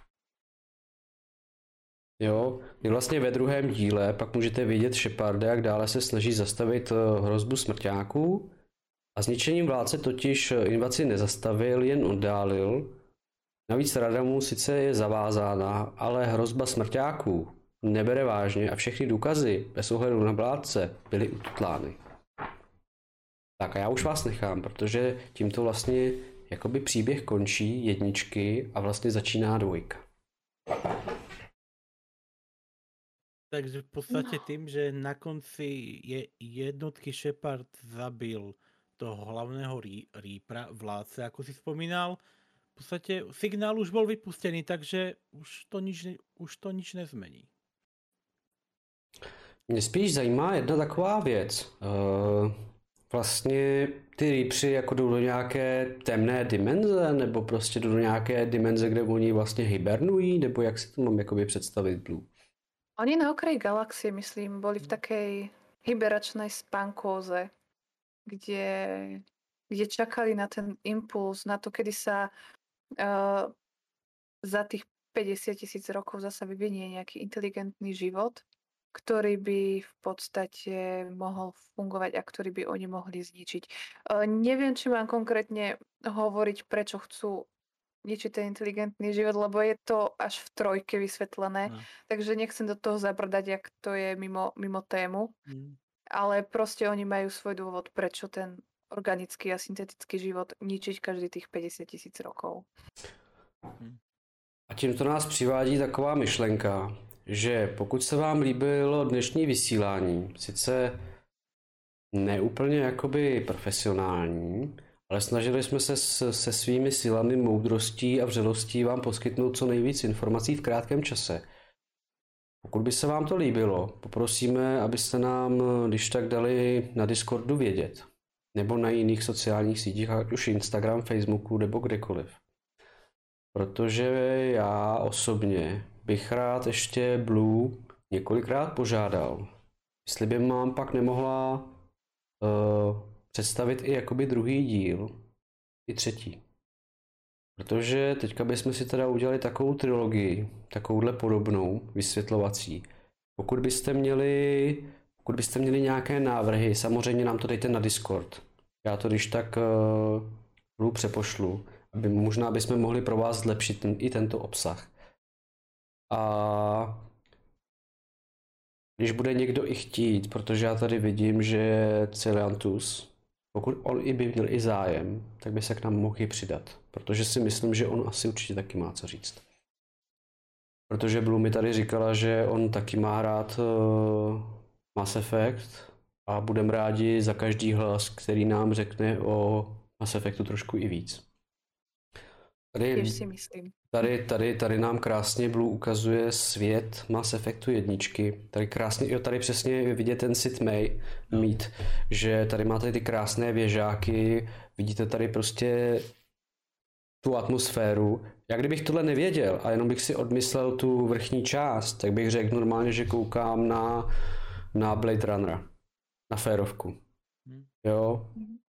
Jo, je vlastně ve druhém díle, pak můžete vidět Sheparda, jak dále se snaží zastavit hrozbu smrťáků a zničením vládce totiž invazi nezastavil, jen oddálil. Navíc rada mu sice je zavázána, ale hrozba smrťáků nebere vážně a všechny důkazy bez ohledu na vládce byly ututlány. Tak a já už vás nechám, protože tímto vlastně jakoby příběh končí jedničky a vlastně začíná dvojka. Takže v podstate tým, že na konci je jednotky Shepard zabil toho hlavného Reapera, vládce, ako si spomínal, v podstate signál už bol vypustený, takže už to nič, už to nič nezmení. Mě spíš zajímá jedna taková věc. Uh, vlastně ty Reapři jako jdou do nějaké temné dimenze, nebo prostě jdou do nějaké dimenze, kde oni vlastně hibernují, nebo jak si to mám jakoby představit, Blue? Oni na okraji galaxie, myslím, boli v takej hiberačnej spánkóze, kde, kde čakali na ten impuls, na to, kedy sa uh, za tých päťdesiat tisíc rokov zasa vyvinie nejaký inteligentný život, ktorý by v podstate mohol fungovať a ktorý by oni mohli zničiť. Uh, neviem, či mám konkrétne hovoriť, prečo chcú ničiť ten inteligentný život, lebo je to až v trojke vysvetlené, no. Takže nechcem do toho zabrdať, jak to je mimo, mimo tému, mm. ale proste oni majú svoj dôvod, prečo ten organický a syntetický život ničiť každý tých päťdesiat tisíc rokov. A tímto nás přivádí taková myšlenka, že pokud se vám líbilo dnešní vysílání, sice neúplně jakoby profesionální, ale snažili jsme se se svými silami, moudrostí a vřelostí vám poskytnout co nejvíc informací v krátkém čase. Pokud by se vám to líbilo, poprosíme, abyste nám když tak dali na Discordu vědět. Nebo na jiných sociálních sítích, ať už Instagram, Facebooku nebo kdekoliv. Protože já osobně bych rád ještě Blue několikrát požádal, jestli by mám pak nemohla uh, představit i jakoby druhý díl, i třetí. Protože teďka bychom si teda udělali takovou trilogii, takovouhle podobnou, vysvětlovací. Pokud byste měli, pokud byste měli nějaké návrhy, samozřejmě nám to dejte na Discord. Já to když tak uh, přepošlu, aby možná bychom mohli pro vás zlepšit ten, i tento obsah. A když bude někdo i chtít, protože já tady vidím, že Celiantus, pokud on i by měl i zájem, tak by se k nám mohl i přidat. Protože si myslím, že on asi určitě taky má co říct. Protože Blue mi tady říkala, že on taky má rád uh, Mass Effect a budeme rádi za každý hlas, který nám řekne o Mass Effectu trošku i víc. Tady, Tiež si myslím. tady, tady, tady nám krásně Blue ukazuje svět Mass Effectu jedničky. Tady krásně, jo, tady přesně je vidět ten Sid Mei, mít, že tady máte ty krásné věžáky, vidíte tady prostě tu atmosféru. Já kdybych tohle nevěděl a jenom bych si odmyslel tu vrchní část, tak bych řekl normálně, že koukám na, na Blade Runnera, na férovku. Jo.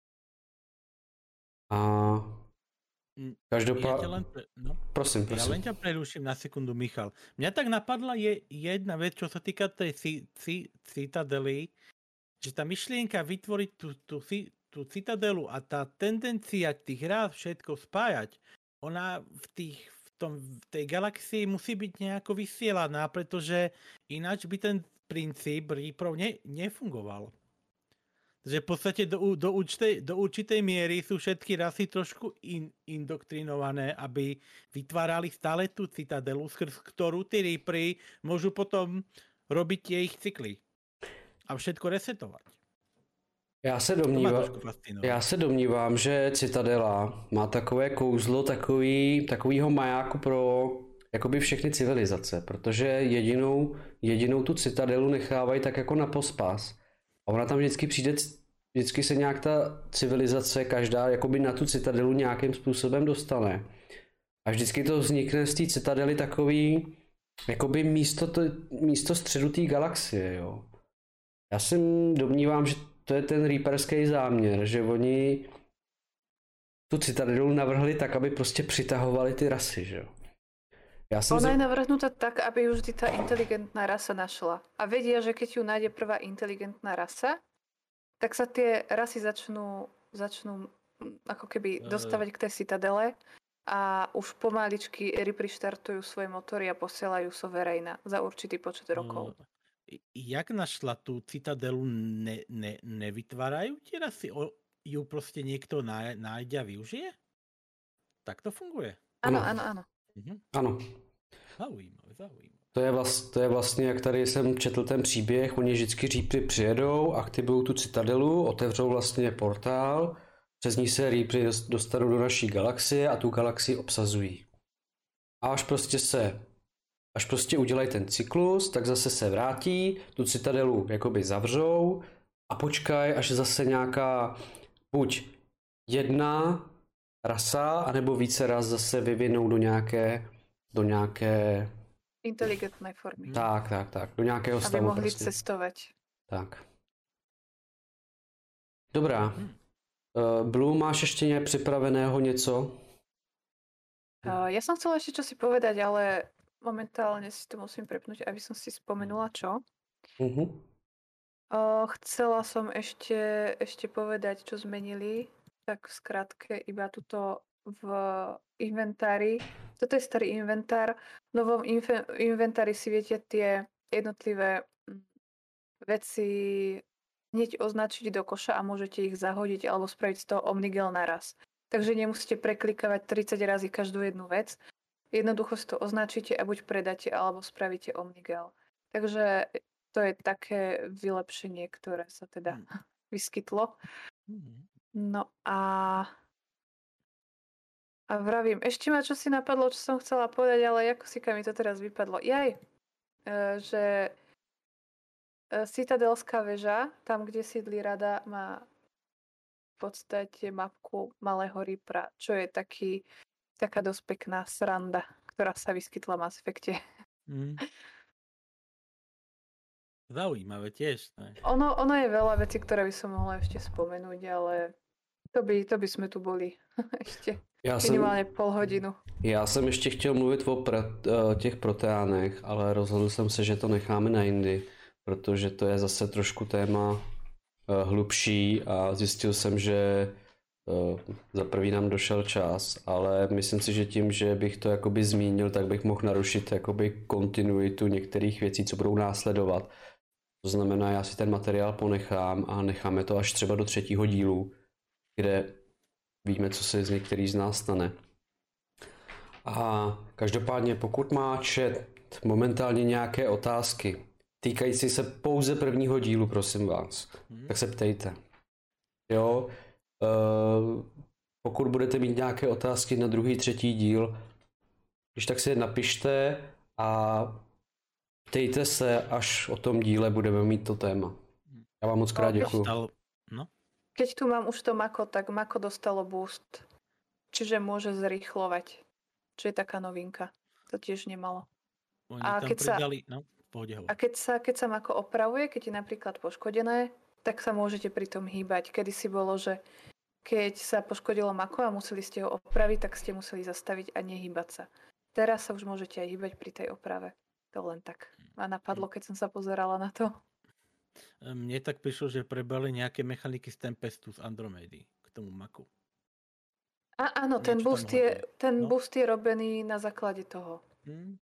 A každopádně... Ja len pre... no. Prosím, prosím. Ja len ťa preruším na sekundu, Michal. Mňa tak napadla je jedna vec, čo sa týka tej ci- ci- citadely, že tá myšlienka vytvoriť tú, tú, tú citadelu a tá tendencia tých rád všetko spájať, ona v, tých, v, tom, v tej galaxii musí byť nejako vysielaná, pretože ináč by ten princíp Reaperov ne, nefungoval. Takže v podstate do, do, určitej, do určitej miery sú všetky rasy trošku in, indoktrinované, aby vytvárali stále tú citadelu, skrz ktorú tí Reapery môžu potom robiť tie ich cykly a všetko resetovať. Já se, domnívám, já se domnívám, že Citadela má takové kouzlo takový, takovýho majáku pro jakoby všechny civilizace, protože jedinou, jedinou tu Citadelu nechávají tak jako na pospas. A ona tam vždycky přijde, vždycky se nějak ta civilizace, každá jakoby na tu Citadelu nějakým způsobem dostane. A vždycky to vznikne z té Citadely takový, jakoby místo, to, místo středu té galaxie, jo. Já si domnívám, že to je ten reaperský záměr, že oni tu Citadelu navrhli tak, aby prostě přitahovali ty rasy, že jo. Ja som Ona za... je navrhnutá tak, aby ju vždy tá inteligentná rasa našla. A vedia, že keď ju nájde prvá inteligentná rasa, tak sa tie rasy začnú, začnú ako keby dostávať k tej citadele a už pomaličky Reapery štartujú svoje motory a posielajú Sovereigna za určitý počet rokov. Jak našla tú citadelu, ne, ne, nevytvárajú tie rasy? O, ju proste niekto nájde a využije? Tak to funguje. Áno, áno, áno. Mhm. Ano. Zaujímavé, zaujímavé. To je, vlast, to je vlastně, jak tady jsem četl ten příběh, oni vždycky Reapery přijedou, aktivují tu citadelu, otevřou vlastně portál, přes ní se Reapery dostanou do naší galaxie a tu galaxii obsazují. A až prostě se, až prostě udělají ten cyklus, tak zase se vrátí, tu citadelu jakoby zavřou a počkají, až zase nějaká buď jedna rasa, anebo více ras zase vyvinou do nějaké, do nějaké... inteligentné formy. Tak, tak, tak, do nějakého aby stavu. Aby mohli prostě cestovať. Tak. Dobrá. Uh, Blue, máš ještě ně připraveného něco? Uh, ja som chcela ešte čo si povedať, ale momentálne si to musím prepnúť, aby som si spomenula čo. Uh-huh. Uh, chcela som ešte, ešte povedať, čo zmenili. Tak v skratke iba tuto v inventári. Toto je starý inventár. V novom infe- inventári si viete tie jednotlivé veci hneď označiť do koša a môžete ich zahodiť alebo spraviť z toho omnigel naraz. Takže nemusíte preklikávať tridsať razy každú jednu vec. Jednoducho si to označíte a buď predáte alebo spravíte omnigel. Takže to je také vylepšenie, ktoré sa teda vyskytlo. No a a vravím, ešte ma čo si napadlo, čo som chcela povedať, ale ako si mi to teraz vypadlo. Jaj, e, že Citadelská väža, tam kde sídli rada, má v podstate mapku malého Reapera, čo je taký, taká dosť pekná sranda, ktorá sa vyskytla v Mass Effecte. Mm. Zaujímavé tiež. Ne? Ono, ono je veľa vecí, ktoré by som mohla ešte spomenúť, ale to by, to by sme tu boli ešte já minimálně jsem, pol hodinu. Já jsem ještě chtěl mluvit o pre, těch proteánech, ale rozhodl jsem se, že to necháme na jindy, protože to je zase trošku téma hlubší a zjistil jsem, že za prvý nám došel čas, ale myslím si, že tím, že bych to jakoby zmínil, tak bych mohl narušit jakoby kontinuitu některých věcí, co budou následovat. To znamená, já si ten materiál ponechám a necháme to až třeba do třetího dílu, kde víme, co se z některých z nás stane. A každopádně, pokud má chat momentálně nějaké otázky týkající se pouze prvního dílu, prosím vás, hmm. tak se ptejte. Jo, uh, pokud budete mít nějaké otázky na druhý, třetí díl, když tak si je napište a ptejte se, až o tom díle budeme mít to téma. Já vám moc krát děkuju. No. Keď tu mám už to Mako, tak Mako dostalo boost. Čiže môže zrýchlovať. Čo je taká novinka. To tiež nemalo. Oni A tam keď sa- pridali, no, v pohode hovor. A keď sa, keď sa Mako opravuje, keď je napríklad poškodené, tak sa môžete pri tom hýbať. Kedysi bolo, že keď sa poškodilo Mako a museli ste ho opraviť, tak ste museli zastaviť a nehýbať sa. Teraz sa už môžete aj hýbať pri tej oprave. To len tak ma napadlo, keď som sa pozerala na to. Mne tak prišlo, že prebali nejaké mechaniky z Tempestu z Andromedy k tomu Maku. A áno, ten Niečo tam boost, je, hodí. ten No. boost je robený na základe toho. Hm.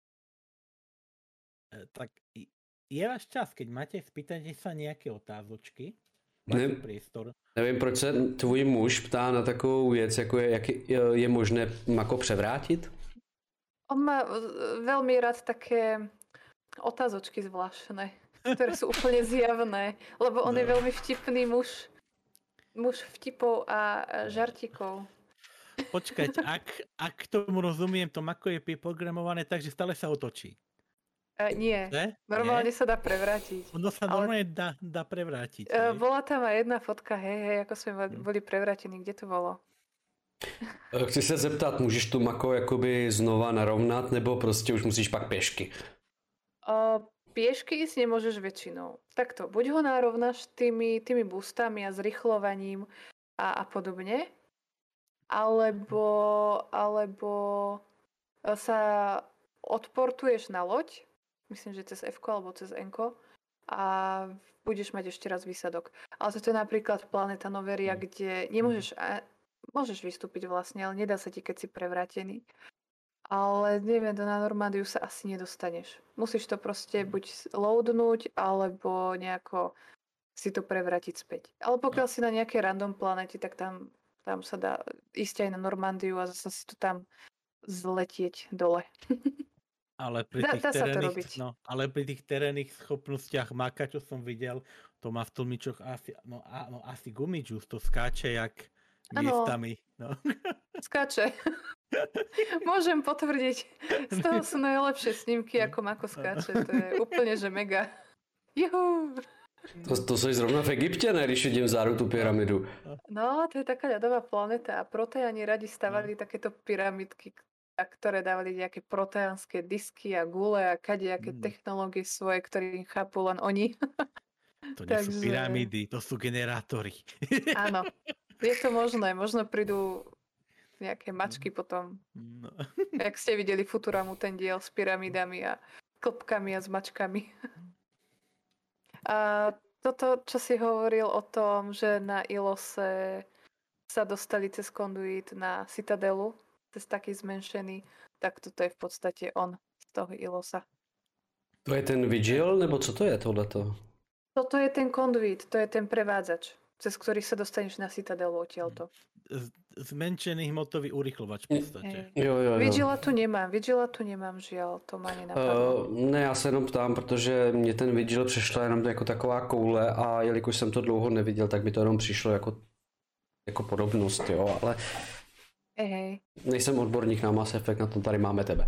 E, tak i- je váš čas, keď máte, spýtajte sa nejaké otázočky. Ne. Máte priestor. Nevím, proč se tvůj muž ptá na takovou věc, jako je, jak je, je možné Mako převrátit? On má v- veľmi rád také otázočky zvláštne, ktoré sú úplne zjavné, lebo on No. je veľmi vtipný muž. Muž vtipov a žartikov. Počkať, ak, ak tomu rozumiem, to Mako je priprogramované tak, že stále sa otočí. E, nie, Ne? normálne Nie? sa dá prevrátiť. Ono sa ale- normálne dá, dá prevrátiť. E, hej? bola tam aj jedna fotka, hej, hej, ako sme boli- Hm. boli prevrátení, kde to bolo? Eh, Chci se zeptat, můžeš tu Mako jakoby znova narovnat, nebo prostě už musíš pak pěšky? O, piešky ísť nemôžeš väčšinou. Takto, buď ho narovnáš tými, tými boostami a zrychlovaním a, a podobne, alebo, alebo sa odportuješ na loď, myslím, že cez F-ko alebo cez N-ko a budeš mať ešte raz výsadok. Ale toto je napríklad Planeta Noveria, Mm. kde nemôžeš, a, môžeš vystúpiť vlastne, ale nedá sa ti, keď si prevrátený. Ale neviem, na Normandiu sa asi nedostaneš. Musíš to proste buď loadnúť, alebo nejako si to prevrátiť späť. Ale pokiaľ si na nejakej random planete, tak tam, tam sa dá ísť aj na Normandiu a zase si to tam zletieť dole. Ale pri Dá- tých dá sa to terénnych, robiť. no, ale pri tých terénnych schopnostiach Maka, čo som videl, to má v tlmičoch asi, no, a, no, asi gumičus, to skáče jak Áno. miestami. No. Skáče. Môžem potvrdiť. Z toho sú najlepšie snímky, ako Mako skáče. To je úplne, že mega. Juhu. To, to jsi zrovna v Egyptě, ne, když vidím vzadu tu pyramidu. No, to je taká ľadová planéta a proteáni radi stavali takéto pyramidky, a ktoré dávali nejaké proteánske disky a gule a kadejaké Mm. technológie svoje, ktoré chápu len oni. To nie sú Takže- pyramídy, to sú generátory. Áno, je to možné. Možno prídu nejaké mačky potom. No. Jak ste videli Futuramu, ten diel s pyramidami a klpkami a s mačkami. A toto, čo si hovoril o tom, že na Ilose sa dostali cez konduit na Citadelu, cez taký zmenšený, tak toto je v podstate on z toho Ilosa. To je ten Vigil, nebo co to je tohleto? Toto je ten konduit, to je ten prevádzač, cez ktorý sa dostaneš na Citadelu odtiaľto. Z- Zmenšený hmotový urychlovač v podstate. Hej. Jo, jo, jo. Vigila tu nemám, Vigila tu nemám, žiaľ, to ma nenapadlo. Uh, ne, já se jenom ptám, protože mě ten Vigil přišla jenom jako taková koule a jelikož jsem to dlouho neviděl, tak mi to jenom přišlo jako, jako podobnost, jo, ale Hej, hej. nejsem odborník na Mass Effect, na tom tady máme tebe.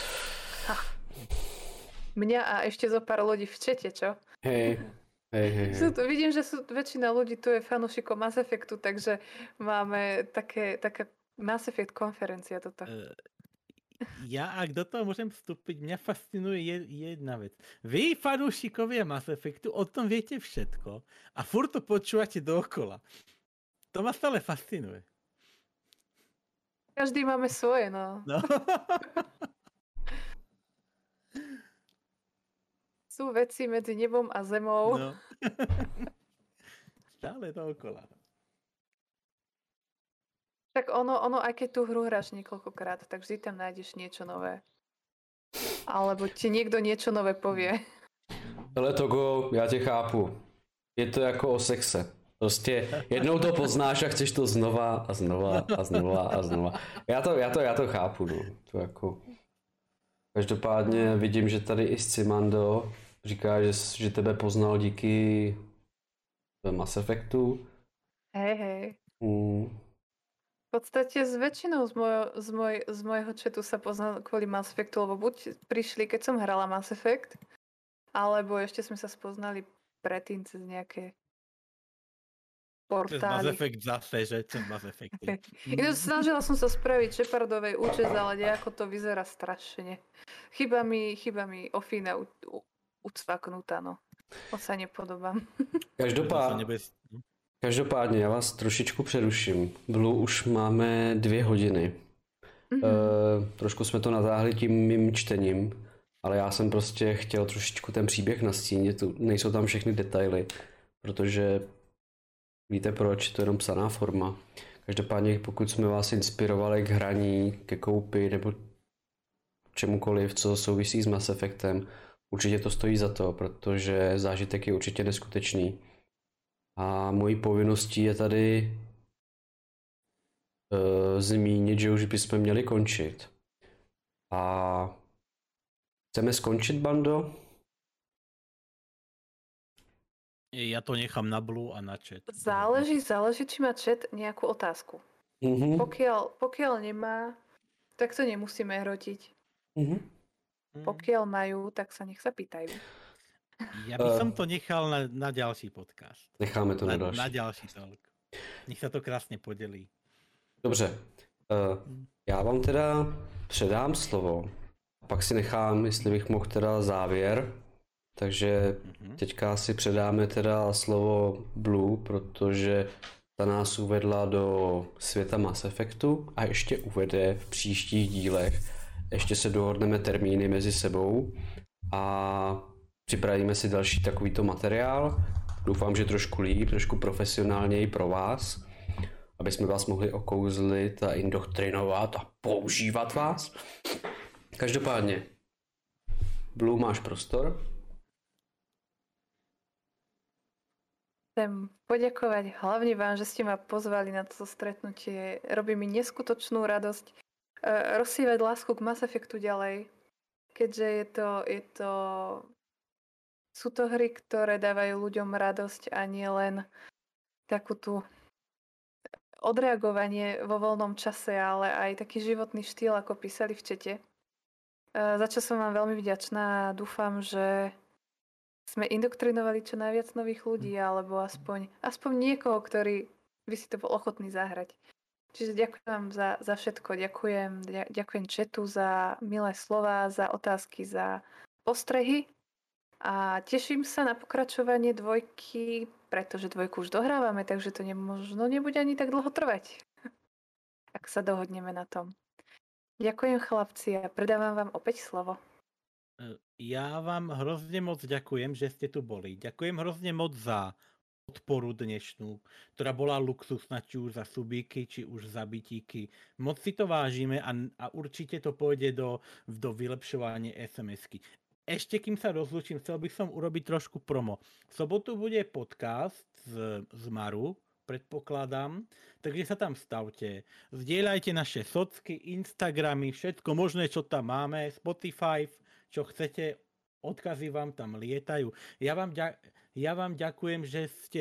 Mňa a ešte zo pár ľudí v čete, čo? Hej, hej, hej, Sú hej. tu, vidím, že sú, väčšina ľudí tu je fanúšikom Mass Effectu, takže máme také, taká Mass Effect konferencia toto. E, Ja, ak do toho môžem vstúpiť, mňa fascinuje je- jedna vec. Vy, fanúšikovia Mass Effectu, o tom viete všetko a furt to počúvate dookola. To ma stále fascinuje. Každý máme svoje, no. No. Sú veci medzi nebom a zemou. no. Stále dookola. Tak ono, ono, aj keď tú hru hráš niekoľkokrát, tak vždy tam nájdeš niečo nové. Alebo ti niekto niečo nové povie. Hele Togo, já tě chápu. Je to jako o sexe. Prostě jednou to poznáš a chceš to znova a znova a znova a znova. Já to, já to, já to chápu, no. To jako... Každopádně vidím, že tady i Scimando říká, že, že tebe poznal díky Mass Effectu. Hej, hej. Mm. podstate s väčšinou z, mojo, z, moj, z mojho chatu sa poznal kvôli Mass Effectu, lebo buď prišli, keď som hrala Mass Effect, alebo ešte sme sa spoznali predtým cez nejaké Cez Mass portály. Effect zase, že cez Mass Effecty. Ináč snažila som sa spraviť Shepardovej účest, ale nejako to vyzerá strašne. Chyba mi, chyba mi ofína u, u, ucvaknutá, no. Moc sa nepodobám. Každopádně, každopádně, já vás trošičku přeruším. Blue už máme dvě hodiny. Mm-hmm. E, trošku jsme to natáhli tím mým čtením, ale já jsem prostě chtěl trošičku ten příběh nastínit, tu nejsou tam všechny detaily, protože víte proč, to je jenom psaná forma. Každopádně pokud jsme vás inspirovali k hraní, ke koupi nebo čemukoliv, co souvisí s Mass Effectem, určitě to stojí za to, protože zážitek je určitě neskutečný. A mojí povinností je tady uh, zmínit, že už bychom měli končit. A chceme skončit, bando? Ja to nechám na Blue a na chat. Záleží, záleží, či má chat nejakú otázku. Mm-hmm. Pokiaľ, pokiaľ nemá, tak to nemusíme hrotiť. Mm-hmm. Pokiaľ majú, tak sa nech sa pýtajú. Ja by som to nechal na, na ďalší podcast. Necháme to na, na další. Na ďalší talk. Nech sa to krásně podělí. Dobře. Uh, já vám teda předám slovo. A pak si nechám, jestli bych mohl teda závěr. Takže teďka si předáme teda slovo Blue, protože ta nás uvedla do světa Mass Effectu a ještě uvede v příštích dílech. Ještě se dohodneme termíny mezi sebou a připravíme si další takovýto materiál. Doufám, že trošku líp, trošku profesionálněji pro vás, aby jsme vás mohli okouzlit a indoktrinovat a používat vás. Každopádně, Blue, máš prostor. Chcem poďakovať hlavne vám, že ste ma pozvali na toto stretnutie. Robí mi neskutočnú radosť uh, rozsievať lásku k Mass Effectu ďalej, keďže je to, je to... Sú to hry, ktoré dávajú ľuďom radosť a nie len takú tú odreagovanie vo voľnom čase, ale aj taký životný štýl, ako písali v čete. Uh, za čo som vám veľmi vďačná a dúfam, že sme indoktrinovali čo najviac nových ľudí, alebo aspoň, aspoň niekoho, ktorý by si to bol ochotný zahrať. Čiže ďakujem vám za, za všetko. Ďakujem, ďakujem chatu za milé slova, za otázky, za postrehy. A teším sa na pokračovanie dvojky, pretože dvojku už dohrávame, takže to nemožno nebude ani tak dlho trvať. Ak sa dohodneme na tom. Ďakujem chlapci a predávam vám opäť slovo. Ja vám hrozne moc ďakujem, že ste tu boli. Ďakujem hrozne moc za podporu dnešnú, ktorá bola luxusná, či už za subíky, či už za bytíky. Moc si to vážime a, a určite to pôjde do, do vylepšovania es em esky. Ešte kým sa rozlúčim, chcel by som urobiť trošku promo. V sobotu bude podcast z, z Maru, predpokladám, takže sa tam stavte. Zdieľajte naše socky, Instagramy, všetko možné, čo tam máme, Spotify, čo chcete, odkazy vám tam lietajú. Ja vám, ďa, ja vám ďakujem, že ste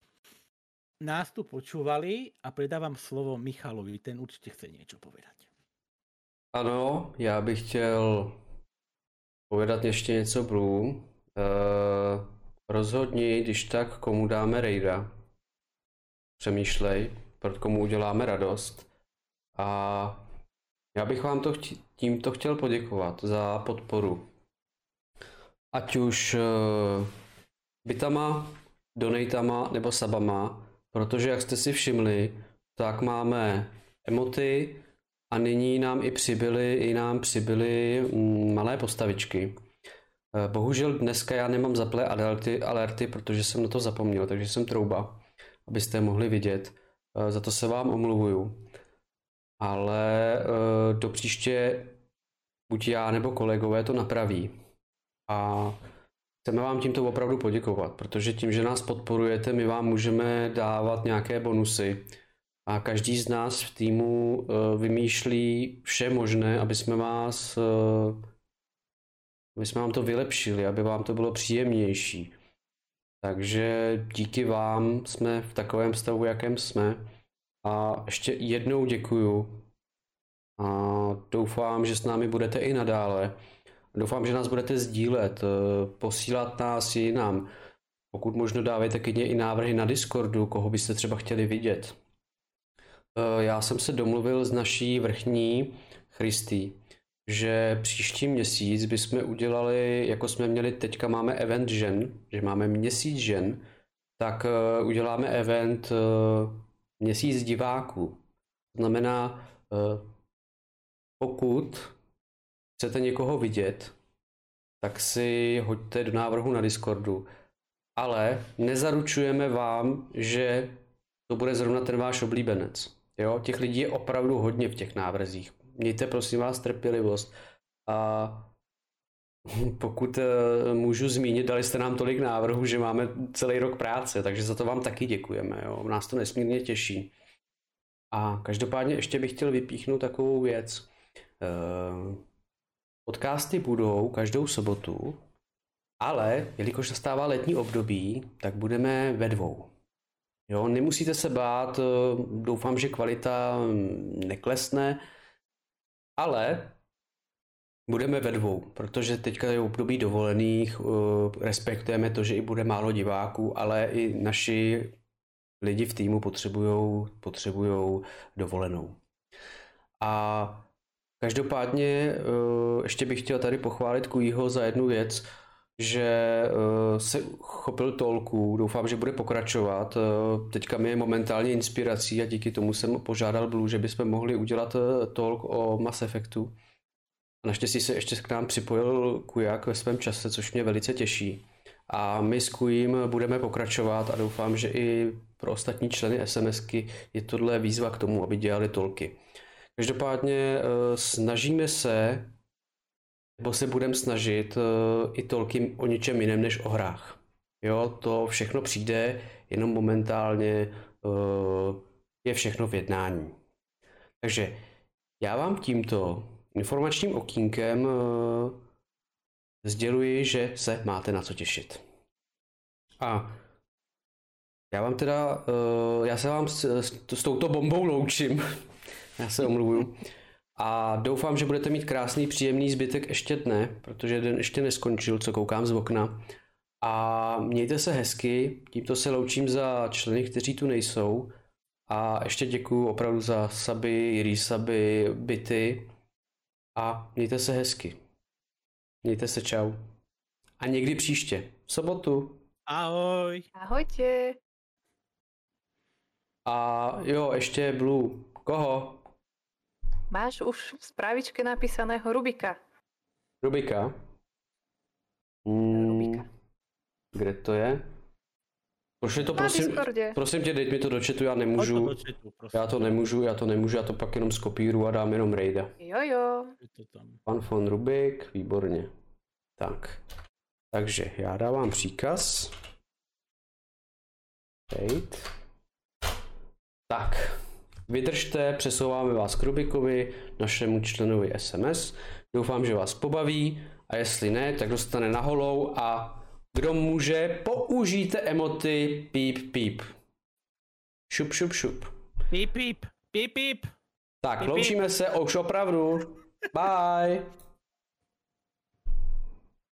nás tu počúvali a predávam slovo Michalovi, ten určite chce niečo povedať. Ano, já bych chtěl povedat ještě něco Blue. Uh, rozhodni, když tak, komu dáme raida. Přemýšlej, pro komu uděláme radost. A já bych vám to chtě, tímto chtěl poděkovat za podporu. Ať už uh, bitama, donatama nebo sabama, protože jak jste si všimli, tak máme emoty a nyní nám i přibyly, i nám přibyly mm, malé postavičky. Uh, bohužel dneska já nemám zaplé alerty, alerty, protože jsem na to zapomněl, takže jsem trouba, abyste mohli vidět. Uh, za to se vám omluvuju. Ale uh, do příště buď já nebo kolegové to napraví. A chceme vám tímto opravdu poděkovat, protože tím, že nás podporujete, my vám můžeme dávat nějaké bonusy. A každý z nás v týmu uh, vymýšlí vše možné, aby jsme vás, uh, aby jsme vám to vylepšili, aby vám to bylo příjemnější. Takže díky vám jsme v takovém stavu, jakém jsme. A ještě jednou děkuju. A doufám, že s námi budete i nadále. Doufám, že nás budete sdílet, posílat nás jinam. Pokud možno dávejte klidně i návrhy na Discordu, koho byste třeba chtěli vidět. Já jsem se domluvil s naší vrchní Christy, že příští měsíc bychom udělali, jako jsme měli teďka máme event žen, že máme měsíc žen, tak uděláme event měsíc diváků. To znamená, pokud chcete někoho vidět, tak si hoďte do návrhu na Discordu. Ale nezaručujeme vám, že to bude zrovna ten váš oblíbenec. Jo? Těch lidí je opravdu hodně v těch návrzích. Mějte prosím vás trpělivost. A pokud můžu zmínit, dali jste nám tolik návrhů, že máme celý rok práce, takže za to vám taky děkujeme. Jo? Nás to nesmírně těší. A každopádně ještě bych chtěl vypíchnout takovou věc. Podcasty budou každou sobotu, ale jelikož nastává letní období, tak budeme ve dvou. Jo, nemusíte se bát, doufám, že kvalita neklesne, ale budeme ve dvou, protože teďka je období dovolených, respektujeme to, že i bude málo diváků, ale i naši lidi v týmu potřebujou, potřebujou dovolenou. A každopádně ještě bych chtěl tady pochválit Kujího za jednu věc, že se chopil tolku, doufám, že bude pokračovat. Teďka mi je momentálně inspirací a díky tomu jsem požádal Blue, že bychom mohli udělat talk o Mass Effectu. A naštěstí se ještě k nám připojil Kujak ve svém čase, což mě velice těší. A my s Kujím budeme pokračovat a doufám, že i pro ostatní členy SMSky je tohle výzva k tomu, aby dělali tolky. Každopádně snažíme se, nebo se budeme snažit i tolky o něčem jiném než o hrách. Jo, to všechno přijde, jenom momentálně je všechno v jednání. Takže já vám tímto informačním okýnkem sděluji, že se máte na co těšit. A já vám teda, já se vám s, s touto bombou loučím. Já se omluvuju. A doufám, že budete mít krásný, příjemný zbytek ještě dne, protože den ještě neskončil, co koukám z okna. A mějte se hezky, tímto se loučím za členy, kteří tu nejsou. A ještě děkuju opravdu za suby, resuby, bity. A mějte se hezky. Mějte se, čau. A někdy příště, v sobotu. Ahoj. Ahojte. A jo, ještě Blue. Koho? Máš už v správičke napísaného Rubika. Rubika? Hmm, Rubika. Kde to je? Pošli to, Na prosím, Discordě. prosím tě, dej mi to do chatu, já nemůžu. Hoď to do chatu, prosím. Já to nemůžu, já to nemůžu, já to pak jenom skopíru a dám jenom raida. Jo, jo. Je to tam. Pan von Rubik, výborně. Tak. Takže já dávám příkaz. Wait. Tak. Vydržte, přesouváme vás k Rubikovi, našemu členovi S M S. Doufám, že vás pobaví a jestli ne, tak dostane na holou a kdo může, použijte emoty píp píp. Šup šup šup. Píp píp, píp píp. Tak, Píp, píp. loučíme se už opravdu. Bye.